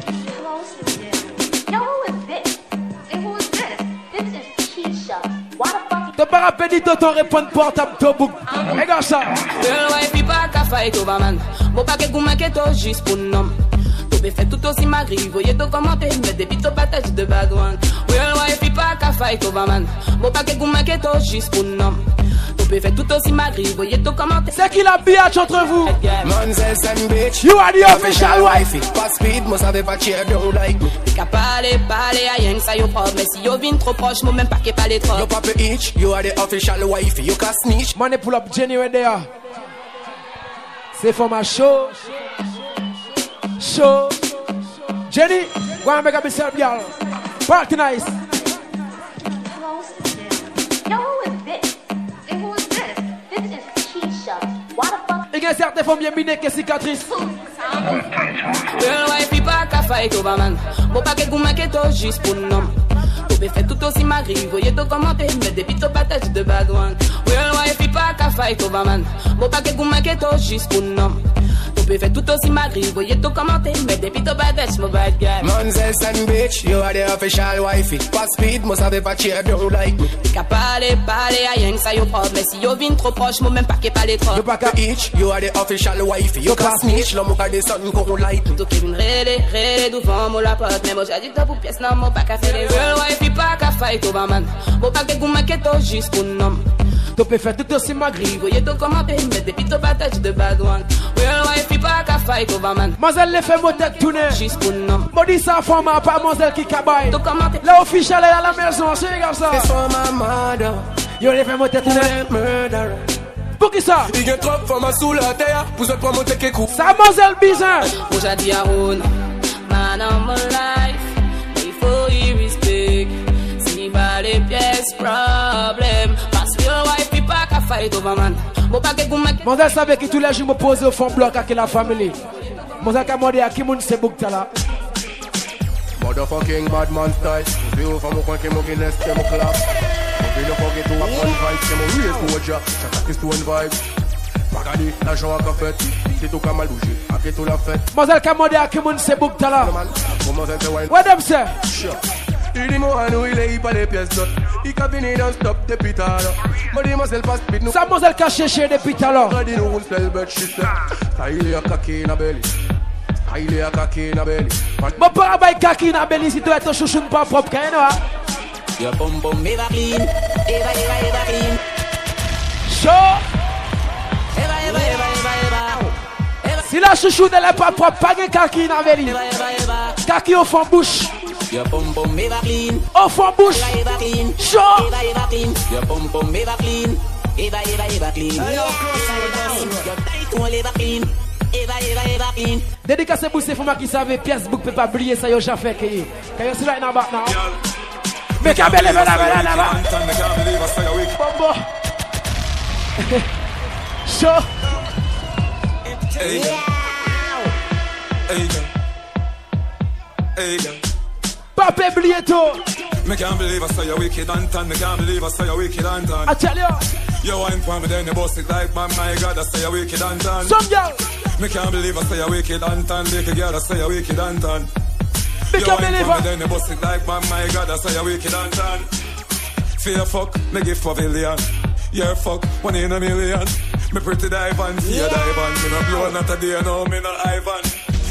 T'as pas rappelé de ton répondre portable de book. Regarde ça. Real wife, pas qu'à fight over man. Bon paquet gourmet que toi juste pour nom. Tout fait tout aussi magri, voyez tout commenter, mais des pito patates de bad one. Real wife, pas qu'à fight over man. Bon paquet gourmet que toi juste pour nom. Tout fait tout aussi magri, voyez tout commenter. C'est qui la biatch entre vous? Manzel and bitch, you are the official wifey. Pas speed, moi ça veut pas tirer, don't like me. Qu'à parler, parler à rien que ça yo propre, mais si yo vin trop proche, moi même pas qu'à parler trop. Yo papa itch, you are the official wifey. You can snitch. Money pull up Jenny right there. C'est for my show. Show. Jenny, go and make up yourself, y'all. Party nice. Yo, who is this? And who is this? This is Keisha. Why the fuck? Il y a certaines femmes bien minées que cicatrices. Real wife, pas qu'à fight over man. Bon paquet gourmet que toi juste pour nom. Tout fait tout aussi magri, voyez tout commenter, mais des pito patates de bad one. Real wife, pas qu'à fight over man. Bon paquet gourmet que toi juste pour nom. Tout fait tout aussi magri, voyez tout commenter, mais des pito patates, my bad guy. Manzel and bitch, you are the official wifey. Pas speed, moi ça veut pas tirer, don't like me. Qu'à parler, parler à rien que ça yo propre, mais si yo vin trop proche, moi même pas qu'à parler trop. You pas qu'à itch, you are the official wifey. You can snitch, l'homme qu'a des sons qu'on like. Tout qui me rélé, rélé devant moi la porte, mais moi j'ai dit pour pièce, non, moi pas qu'à faire les real wife, pas qu'à fight over man. Bon paquet gourmet que toi juste pour nom. Tu peux faire tout aussi magri, voyez tout commenter, mais des pito patates de bad one. Real wife, pas qu'à fight over man. Mazel les fait mon tête tourner. Juste pour nom. Body ça forme à pas Mazel qui cabaye. Tout commenter. La official est à la maison, c'est regarde ça. C'est for my mother. Yo les fait mon tête tourner. Murder. Pour qui ça? Il y a trop de femmes sous la terre. Pour se prendre mon tête qui coupe. Ça Mazel bizarre. Moi j'ai dit à Ron, man of my life. Before you respect. Si pas les pièces, problème. Parce que real wife, pas qu'à fight over man. Bon paquet gourmet. Mazel savait que tous les jours me pose au fond bloc avec la famille. Mazel qu'a demandé à qui moun se book ta là. Motherfucking bad man style. Si vous faites mon coin qui m'a Guinness, c'est mon clap. Vous ne forget to have one vibe, c'est mon real poja. Chaque acte one vibe. Pagani, l'argent à café. C'est tout comme à bouger. Après tout la fête. Mazel qu'a demandé à qui moun se book ta là. What them say? Sure. Il dit moi à nous, il est pas des pièces d'autres. Il a fini dans stop depuis tard. Moi dis moi c'est le passe vite nous. Ça Mazel qu'a cherché depuis tout à l'heure. Dis nous on se le bet shit. Ça il est à kaki na belly. Ça il est à kaki na belly. Mon père a kaki na belly si tu es ton chouchou pas propre, quand même. Your bum bum eva clean, eva eva eva clean. Chaud. Eva eva eva eva eva. Si la chouchou n'est pas propre, pas de kaki na belly. Kaki au fond bouche. Your bum bum eva clean. Au fond bouche. Eva eva clean. Chaud. Eva eva clean. Your bum bum eva clean. Eva eva eva clean. Your tight one eva clean. Eva eva eva clean. Dédicacé pour ces femmes qui savent pièce book peut pas briller ça yo jamais fait que. Quand yo right now back now. Mais quand belle belle belle là. Bombo. Chaud. Hey girl. Hey girl. Hey girl. Papa oublié tout. Me can't believe I saw you wicked and tan. Me can't believe I saw you wicked and tan. I tell you. You wine for me then you bust it like man. My God, I say you wicked and tan. Some girl. Me can't believe I say you wicked and tan. Little girl, I say you wicked and tan. Me can't believe it. Then you bust it like man. My God, I say you wicked and tan. Fear fuck, me give pavilion. You're fuck, one in a million. Me pretty dive and see a dive and me no blow not a day, no me no Ivan.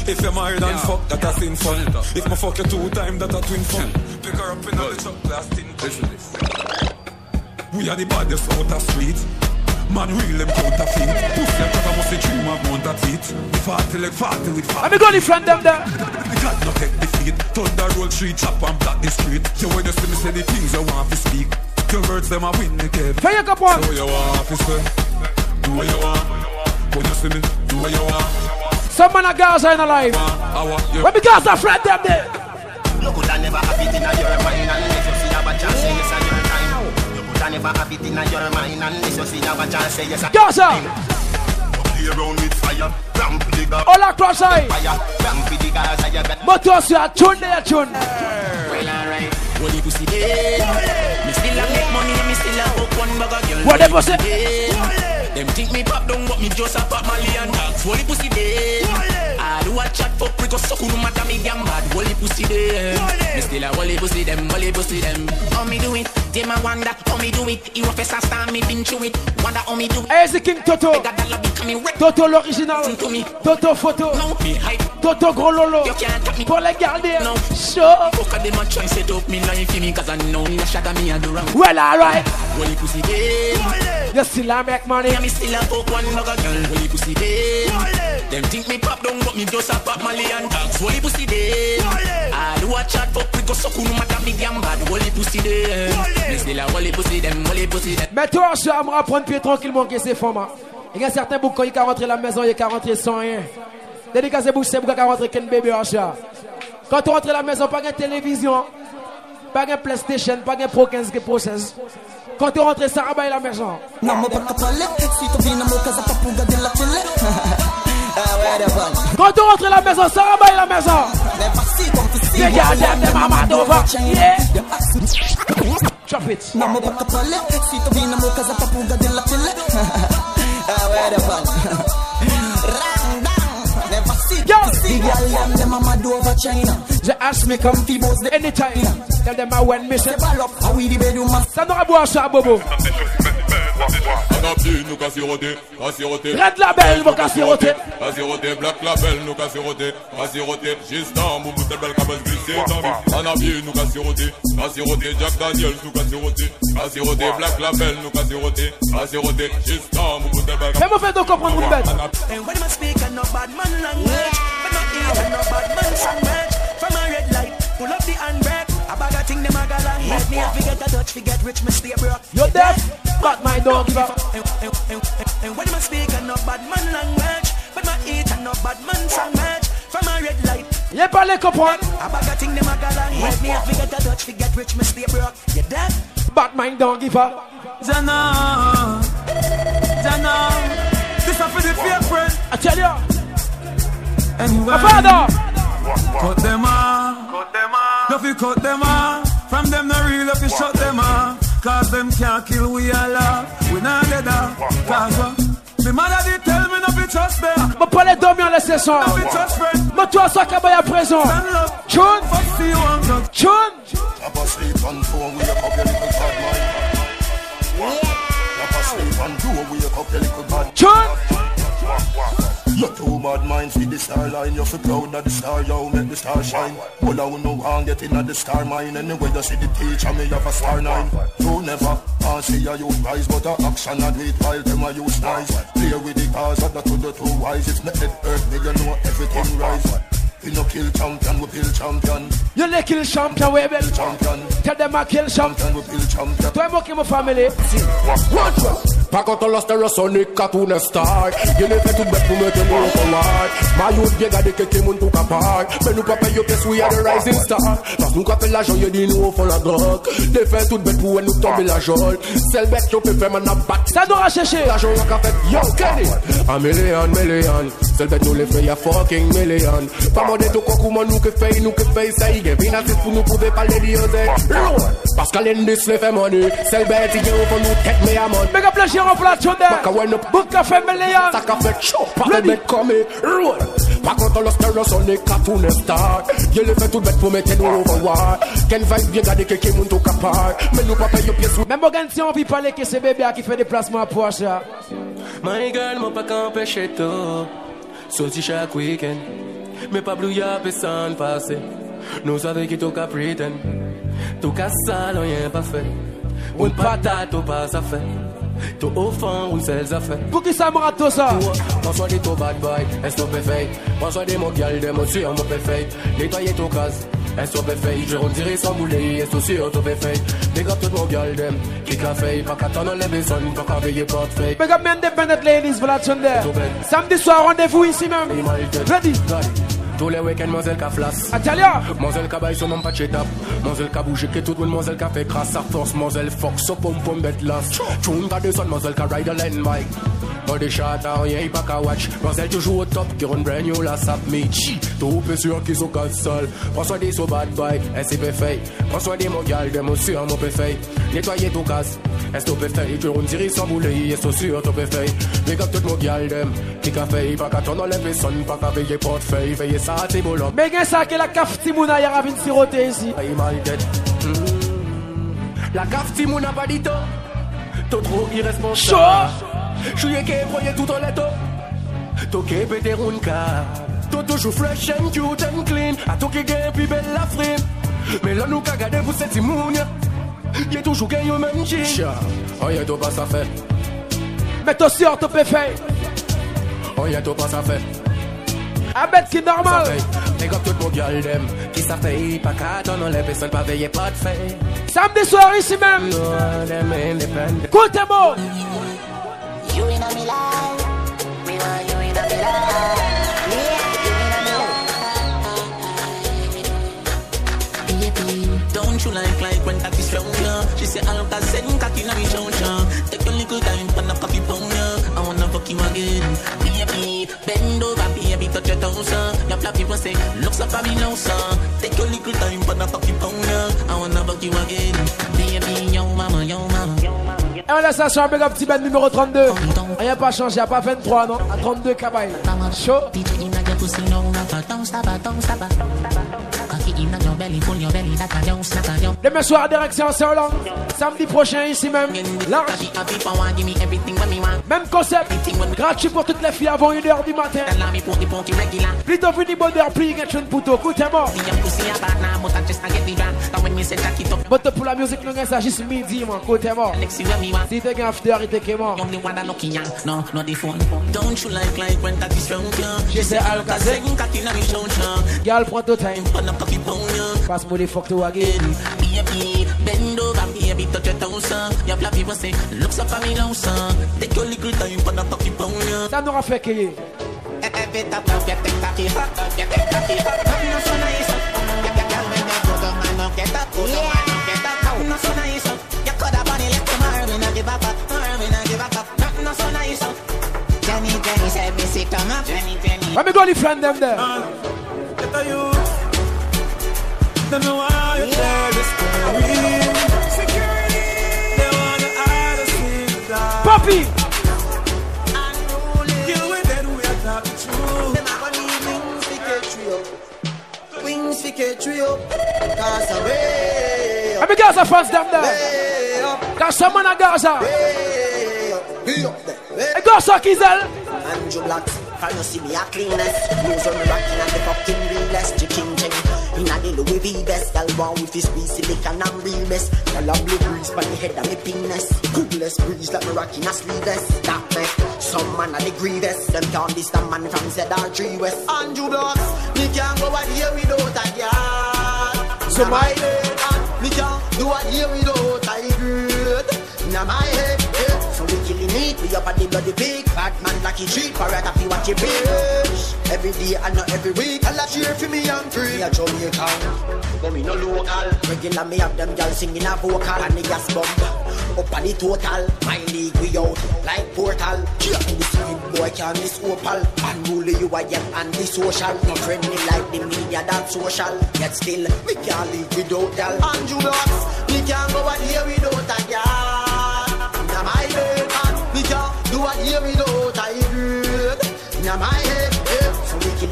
If you're married and fuck, that a sin fun. If my fuck you two times, that a twin fun. Pick her up in the truck, last tin. Listen this. We are the baddest out of street. Man, real them counterfeit. Pussy like a musty dream of mount of teeth. Forty like forty with forty. Let me go in front them there. God no take defeat. Thunder roll street, chop and block the street. You when you see me say the things you want to speak. Your words them a win the game. Fire your cup on. Do what you want to say. Do what you want. When you see me, do what you want. Some man of girls are in alive. When the girls are friend them there. You could have never have it in your mind unless you see a chance say yes at your time. You could have never have it in your mind unless you see a chance say yes at your time. Play around with fire, ramp the gas. All across side. Fire, ramp the gas. I bet. But you see a tune there, tune. Well, alright. What you pussy dead? Me still a make money, me still a hook one bag of girl. What they pussy? Them think me pop down, but me just a pop Mali and dogs. What you pussy dead? I do a chat fuck because so cool no matter me damn bad. What you pussy dead? Me still a what you pussy them, what you pussy them. How me do it? They ma wonder how me do it. You a face a star, me been through it. Wonder how me do it. Hey, the King Toto. Toto l'original. Toto photo. Toto gros lolo. Pour les garder. Show. Fuck a dem a try set up me life for me cause I know me a shatter me a do wrong. Well, alright. What you pussy dead? You still a make money. Yeah, me still a fuck one bag of girl. What you pussy dead? Them think me pop down but me just a pop Mali and dogs. What you pussy dead? I do a chat fuck because so cool no matter me damn bad. What you pussy dead? Me still a what you pussy them, what you pussy them. Mais toi, je vais me reprendre pied tranquillement que c'est format. Il y a certains boucs quand il est rentré à la maison, il est rentré sans rien. Dédicacé bouc, c'est bouc qui est rentré qu'un bébé en chat. Quand tu rentres à la maison, pas de télévision, pas de PlayStation, pas de Pro quinze qui processe. Quand tu rentres, ça rabat à la maison. Non, mais pas de palais, si tu viens à mon casa, pas pour garder la télé. Quand tu rentres à la maison, ça rabat à la maison. Regarde tes mamas d'ova. Yeah. Chop it. Non, mais pas de palais, si tu viens à mon casa, pas pour garder la télé. Ah ouais, d'abord. They ask me come anytime. Tell them I went missing. Ça n'aura boire ça, Bobo. Red Label, nous qu'à siroter. À siroter, Black Label, nous qu'à siroter. À siroter, Gistan, Boubou, tel bel cabane glissé dans vie. Anabi, nous qu'à siroter. À siroter, Jack Daniels, nous qu'à siroter. À siroter, Black Label, nous qu'à siroter. À siroter, Gistan, Boubou, tel bel cabane. Fais-moi faire de comprendre une bête. And when I speak, I know bad man language. But not eat, I know bad man sandwich. From a red light, pull up the handbrake. A bag of thing, them a galang. Let me have to get a Dutch, forget rich, me stay broke. You're deaf, but my dog give up. And, and, and, and when I speak, I know bad man language. But not eat, I know bad man sandwich. From a red light. Y'a pas les comprendre. A bag of thing, them a galang. Let me have to get a Dutch, forget rich, me stay broke. You're deaf, but my dog give up. Jana, Jana. This is for the fake friend. I tell you. Anyway, my father. Cut them off. Cut them off. If you cut them off, from them not real if you shut them off. Cause them can't kill we all off. We not dead off. Cause uh, the mother did tell me not to trust them. Mais pas les dormir les sessions. Mais toi ça qu'à à présent. Chun. Chun. Papa sleep on four, wake up your little bad mind. Papa sleep on two, wake up your little bad. Chun. You're too bad mind, see the star line. You're so proud of the star, yo, make the star shine. Well, I will know how get in at the star mine. Anyway, you see the teacher, me have a star nine. You never can't see a youth rise, but a action I do it while them a use nice. Play with the cars, that to the two wise. If not head hurt me, you know everything rise. We no kill champion, we kill champion. You no kill champion, we kill champion. Tell them I kill champion, we kill champion. Toi moi qui mon famille. Pas quand on l'a Stereosonic, cartoon star. You ne fais tout bête pour me tenir au combat. Ma youth bien gardé quelqu'un moun tout capable. Mais nous pas payer pièce, we are the rising star. Parce nous qu'appelle l'argent, you dit nous au fond la drogue. Des fait tout bête pour nous tomber la jolle. C'est le bête qui peut faire man a bat. Ça nous a cherché. L'argent qu'a fait, yo Kenny. A million, million. C'est le bête nous les fait, y'a fucking million. Pas mon détour comment nous que fait, nous que fait ça. Il y a bien assez pour nous prouver par les dieux. Parce qu'à l'indus les fait money. C'est le bête qui vient au fond nous tête mais à mon. Méga plaisir en plate there. Book a fait million. Ça qu'a fait chaud. Pas de bête comme roll. Pas quand on l'a Stereosonic, cartoon star. Il les fait tout bête pour mettre nous over war. Ken vibe bien garder quelqu'un moun tout capable. Mais nous pas payer pièce. Même Morgan si on peut parler que c'est bébé qui fait des placements pour achat. My girl m'a pas qu'empêché tout. Sorti chaque week-end. mais pas blouillard personne passé. Nous savons qui tout qu'à prétendre. Tout qu'à ça, rien pas fait. Une patate, tout pas ça fait. Tout au fond, une seule affaire. Pour qui ça me rate tout ça? François dit tout bad boy, est-ce que tu fait? François dit mon gal, des mots sur mon fait. Nettoyer ton casse, est-ce que tu fait? Je retirer sans bouler, est-ce que sûr tu fait? Big up tout mon gal, dem, qui qu'a fait? Pas qu'à t'en enlever son, pas qu'à veiller porte fait. Big up Independent Ladies, voilà Tchonder. Samedi soir, rendez-vous ici même. Ready? Tous les week-ends, Moselle qu'a flasse. Atalia! Moselle qu'a baille son nom pas de chez-tap. Moselle qu'a bougé que tout le monde, Moselle qu'a fait crasse à force. Moselle fox, so pom pom bête las. Tune qu'a descend, Moselle qu'a ride a land bike. But the shot a rien, il pas qu'à watch. Moselle toujours au top, qui run brand new la sap me chi. Tout peu sûr qu'ils sont casse sale. François des so bad boy, est-ce que fait? François des mon gal, des mots sur mon fait. Nettoyer ton casse, est-ce que fait? Je run tirer sans bouler, est-ce que sûr tu fait? Big up tout mon gal, dem, qui qu'a fait? Pas qu'à t'en enlever son, pas qu'à veiller porte fait. Veiller ça, c'est bon. Mais qu'est-ce que la caf Timouna y a ravine siroté ici? La caf Timouna pas dit tout. T'es trop irresponsable. J'suis qui voyait tout en letto. T'es qui pété une cave. T'es toujours fresh and cute and clean. A tout qui gagne plus belle la frime. Mais là nous qu'a gardé pour cette Timouna. Y'a toujours gagné au même jean. Oh y'a tout pas ça fait. Mais toi sûr t'as pas fait. Oh y'a tout pas ça fait. A bête qui normal. Make up tout mon gal dem. Qui ça fait pas qu'à t'en enlever personne pas veiller pas de fait. Samedi soir ici même. Écoutez-moi. You in a me life, me want you in a me life. Don't you like like when that is stronger? She say I'll got send cocky na me shoulder. Take a little time for the coffee pounder. I wanna fuck you again. Baby, bend over, baby, touch your toes. Your flat people say looks like a me now, son. Take a little time for the coffee pounder. I wanna fuck you again. Baby, yo mama, yo mama. Et on laisse ça sur un big up petit band numéro trente-deux. Rien pas changé, y'a pas vingt-trois non, à trente-deux cabaye. Chaud. Demain soir, direction Saint-Hollande. Samedi prochain, ici même. Large. Même concept. Gratuit pour toutes les filles avant une heure du matin. Plutôt fini bonheur, plus quelque chose pour tout. Écoutez-moi. But pour la musique, nous avons juste midi, moi. Écoutez-moi. Si t'es un after, il t'est mort. No, no, the phone. Don't you like like when that is stronger? She say I'll got second cocky na me shoulder. Girl, prends ton time. Passe-moi les fuck to again. Baby, bend over, baby, touch your toes. Your flat people say, looks like a me now, son. Take your little time for the cocky pounder. Ça n'aura fait qu'il y ait. Let me go to friend them there. Get a youth. Don't know why you tell the story. Security. They wanna hide us in the dark. Papi. Kill with that we are talking true. Them a gonna need wings to catch you up. Wings to catch you up. Cause away up. Let me Gaza fans them there. Way up. Cause someone a Gaza. Way up. Way up there. Hey, Gaza Kizel. Andrew Blacks. Can you see me a cleanest? News on the rockin' and the fucking realest. Chicken King. Inna the Louis V best. Girl born with his squeeze silicon and real best. Girl a blue breeze by the head of me penis. Googless breeze like me rockin' a sleeveless. That make some man a the grievous. Them can't diss the man from Z R three West. Andrew Blacks. Me can't go out here without a girl. So my head. Me can't do out here without a girl. Inna my head. So we killing it, we up at the bloody pig. Bad man lucky treat, parrot if you watch your bitch. Every day and not every week. I'll cheer for me and free. Me a Jamaican, but me no local. Regular me have them girls singing a vocal. And the gas bomb, up at the total. My league we out, like portal. Cheer in the street, boy can't miss opal. Unruly you are young and the social. Not friendly like the media, that's social. Yet still, we can't live without y'all. Andrew Blacks, we can't go out here without a girl. Now my head, man, we can't do it here without a girl. Now my head, yeah. So we kill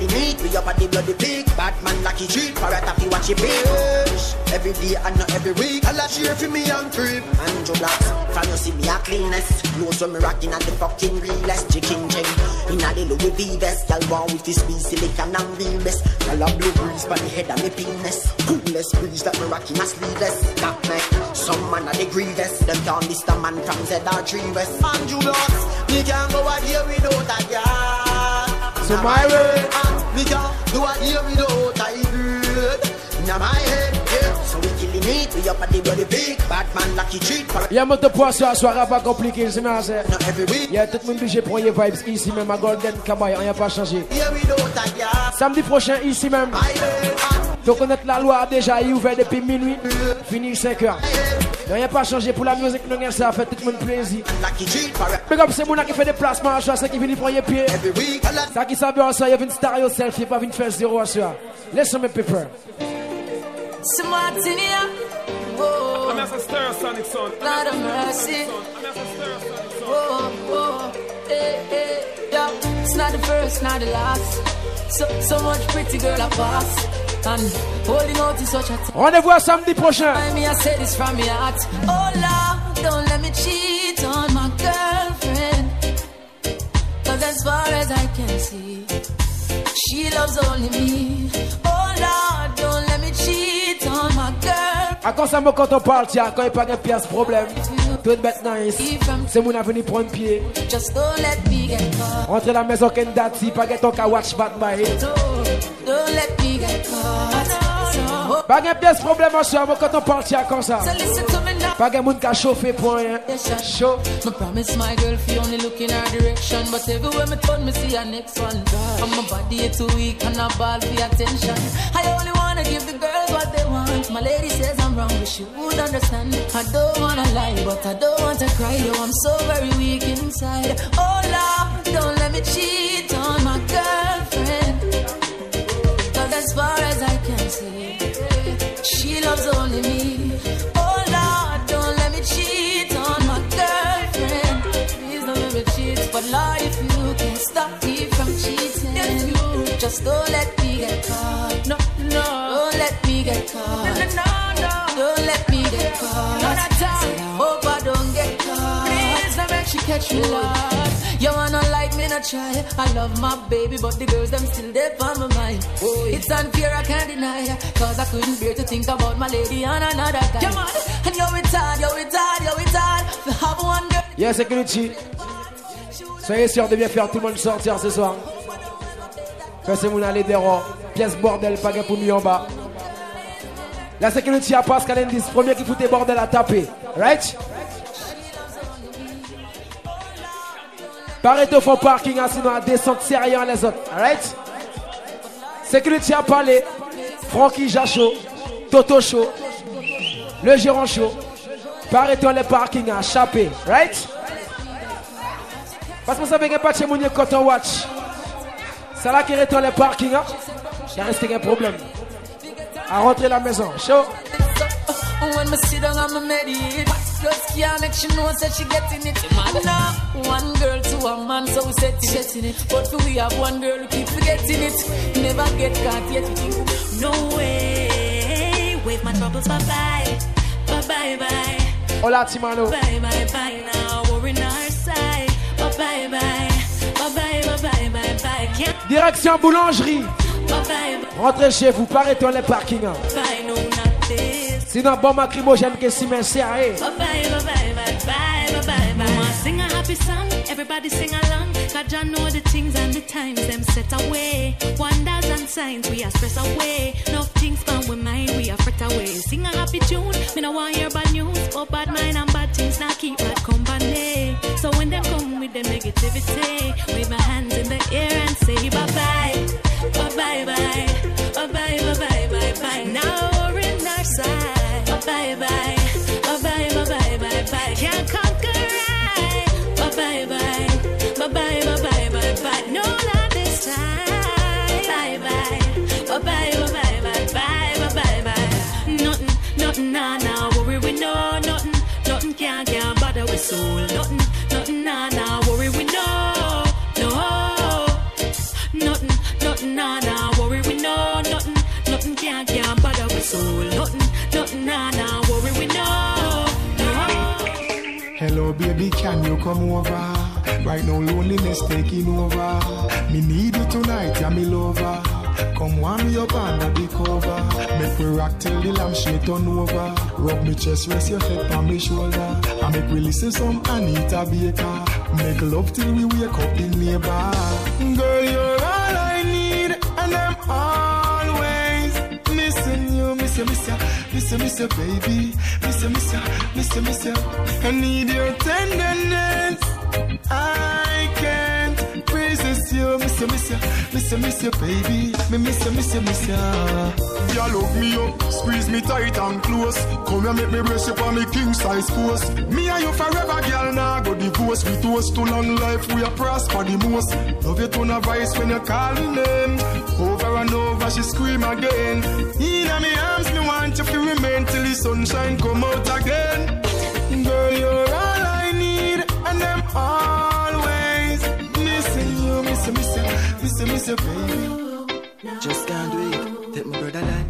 the meat, we up at the bloody peak. Batman lucky treat, parrot happy watch it bitch. Every day and not every week, I'll cheer for me and creep. And Joe Blacks, from you see me a cleanest. Clothes when me rocking at the fucking realest. Chicken chain, in a the Louis V vest. Y'all want with this speed, silicon and real best. Y'all a blue breeze by the head of me penis. Coolest breeze that me rocking a sleeveless. That make some man a the grievous. Them can't miss the man from Z R three West. And Joe Blacks, me can't go out here without a girl. So my way, me can't do a here without a girl. Now my head, yeah. So we killing it, we up at the bloody big Batman lucky treat. Y'a mon de poids sur la soirée pas compliqué, c'est bien ça. Y'a tout le monde obligé pour y vibes ici même à Golden Cabaye, on y a pas changé. Samedi prochain ici même. Faut connaître la loi déjà, il est ouvert depuis minuit, fini cinq heures. Il n'y a pas changé pour la musique, nous ça fait tout le monde plaisir. Mais comme c'est mon qui fait des placements à choix, c'est qui vient prendre pied. Ça qui savait en ça, il y a une star yourself, il pas venir faire zéro à soi. Laisse mes paper. C'est Martinia. Oh, I'm as a Stereosonic son. Lord of mercy. Oh, oh, hey, hey, yeah. It's not the first, not the last. So, so much pretty girl I pass. And holding out is such a thing. Rendez-vous à samedi prochain. I mean, I say this from my heart. Oh Lord, don't let me cheat on my girlfriend. Cause as far as I can see, she loves only me. Oh Lord, don't let me cheat on my girl. À quand ça me quand on parle, tiens, quand il n'y a pas de pièce, problème. Tout est bête nice. C'est mon avenir prendre pied. Just don't let me get caught. Rentre la maison qu'un dati, pas que ton ka watch bat by. Don't let me get caught. Pas de pièce, problème en soi, quand on parle, tiens, comme ça. So listen to me now. Pas de monde qui a chauffé pour rien. Chaud. I promise my girl she only look in her direction, but everywhere me turn me see her next one. And my body is too weak and I ball for attention. I only wanna give the girls what they want. My lady says I'm wrong, but she would understand. I don't wanna lie, but I don't want to cry. Yo, I'm so very weak inside. Oh Lord, don't let me cheat on my girlfriend. Cause as far as I can see, she loves only me. Oh Lord, don't let me cheat on my girlfriend. Please don't let me cheat. But Lord, if you can stop me from cheating, you just don't let me get caught. No, no, don't let me get caught. No, no, no, no. Don't let me get caught. No, not Said I hope I don't get caught. Please don't make she catch me, Lord. You wanna like me, not try. I love my baby, but the girls them still there on my mind. Oh, it's unfair, I can't deny. Cause I couldn't bear to think about my lady and another guy. Come on, and you're retarded, you're retarded, you're retarded. We have one girl. Yes, security. Soyez sûr de bien faire tout le monde sortir ce soir. Faites mon aller des rois. Pièce bordel, pas pour nous en bas. La sécurité à Pascal Endis, premier qui foutait bordel à taper. Right? Paraît au fond parking, sinon à descendre sérieux les autres. Right? Sécurité à parler. Francky Jachaud, Toto Chaud, le gérant chaud. Paraît au les parking à chapé. Right? Parce que vous savez qu'il n'y a pas de chez Mounier quand on watch. C'est là qu'il retourne les parkings. Hein? Il reste un problème. À rentrer la maison. Chaud. When me sit down, I'm a mediate. Just can't make she know that she getting it. Now, one girl to a man, so we setting it. But we have one girl who keep forgetting it. Never get caught yet. No way. Wave my troubles bye bye. Bye bye bye. Hola, Timano. Bye bye bye now. We're in our side. Bye bye bye. Bye bye bye bye bye bye. Can't Direction boulangerie. Rentrez chez vous, paraît-on les parkings. bye no not this. Sinon, bon macrimogène que si mais serré. Bye bye bye bye bye bye bye bye. Mama sing a happy song, everybody sing along. Cause I know the things and the times them set away. Wonders and signs we are stress away. No things from we mind we are fret away. Sing a happy tune, me no want hear bad news. But bad mind and bad things now keep bad company. So when they come with the negativity, wave my hands in the air and say bye bye. Bye bye bye. Bye bye bye bye bye bye. Now we're in our side. Bye bye bye. Bye bye bye bye bye bye. Can't conquer right. Bye bye bye. Bye bye bye bye bye bye. No, not this time. Bye bye. Bye bye bye bye bye bye bye bye. Nothing, nothing, nah nah. Worry we know nothing, nothing can't can't bother with soul. Nothing, nothing, nah nah. Worry we know no. Nothing, nothing, nah. Baby, can you come over? Right now, loneliness taking over. Me need you tonight, yeah, me lover. Come warm me up under the cover. Make we rock till the lampshade turn over. Rub me chest, rest your head on me shoulder. I make we listen some Anita Baker. Make love till we wake up the neighbor. Girl, you're all I need, and I'm always missing you. Miss you, miss you, miss you, miss you, baby. Miss you, miss you, miss you, miss you. I need your tenderness. I can't resist you. Miss you, miss you, miss you, miss you, baby. Me miss you, miss you, miss you. You look me up, squeeze me tight and close. Come here, make me brace you on me king size post. Me and you forever, girl, now go divorce. We toast to long life, we are prosper the most. Love you to no voice when you call me name. Over and over, she scream again. In my arms, me want you to remain till the sunshine come out again. Girl, you're all I need, and I'm always missing you. Miss you, miss you, miss you, miss you, baby. Just can't wait, take my brother line.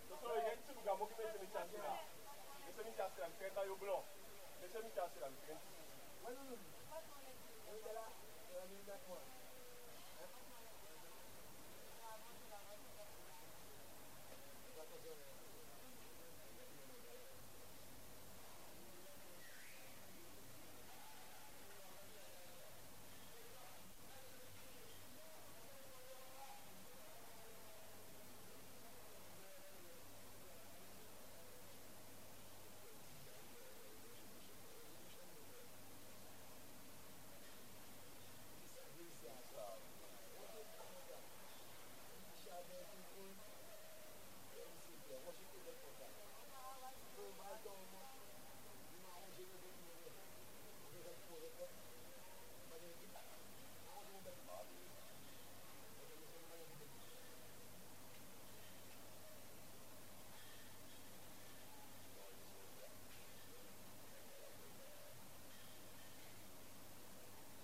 Laissez-moi casser la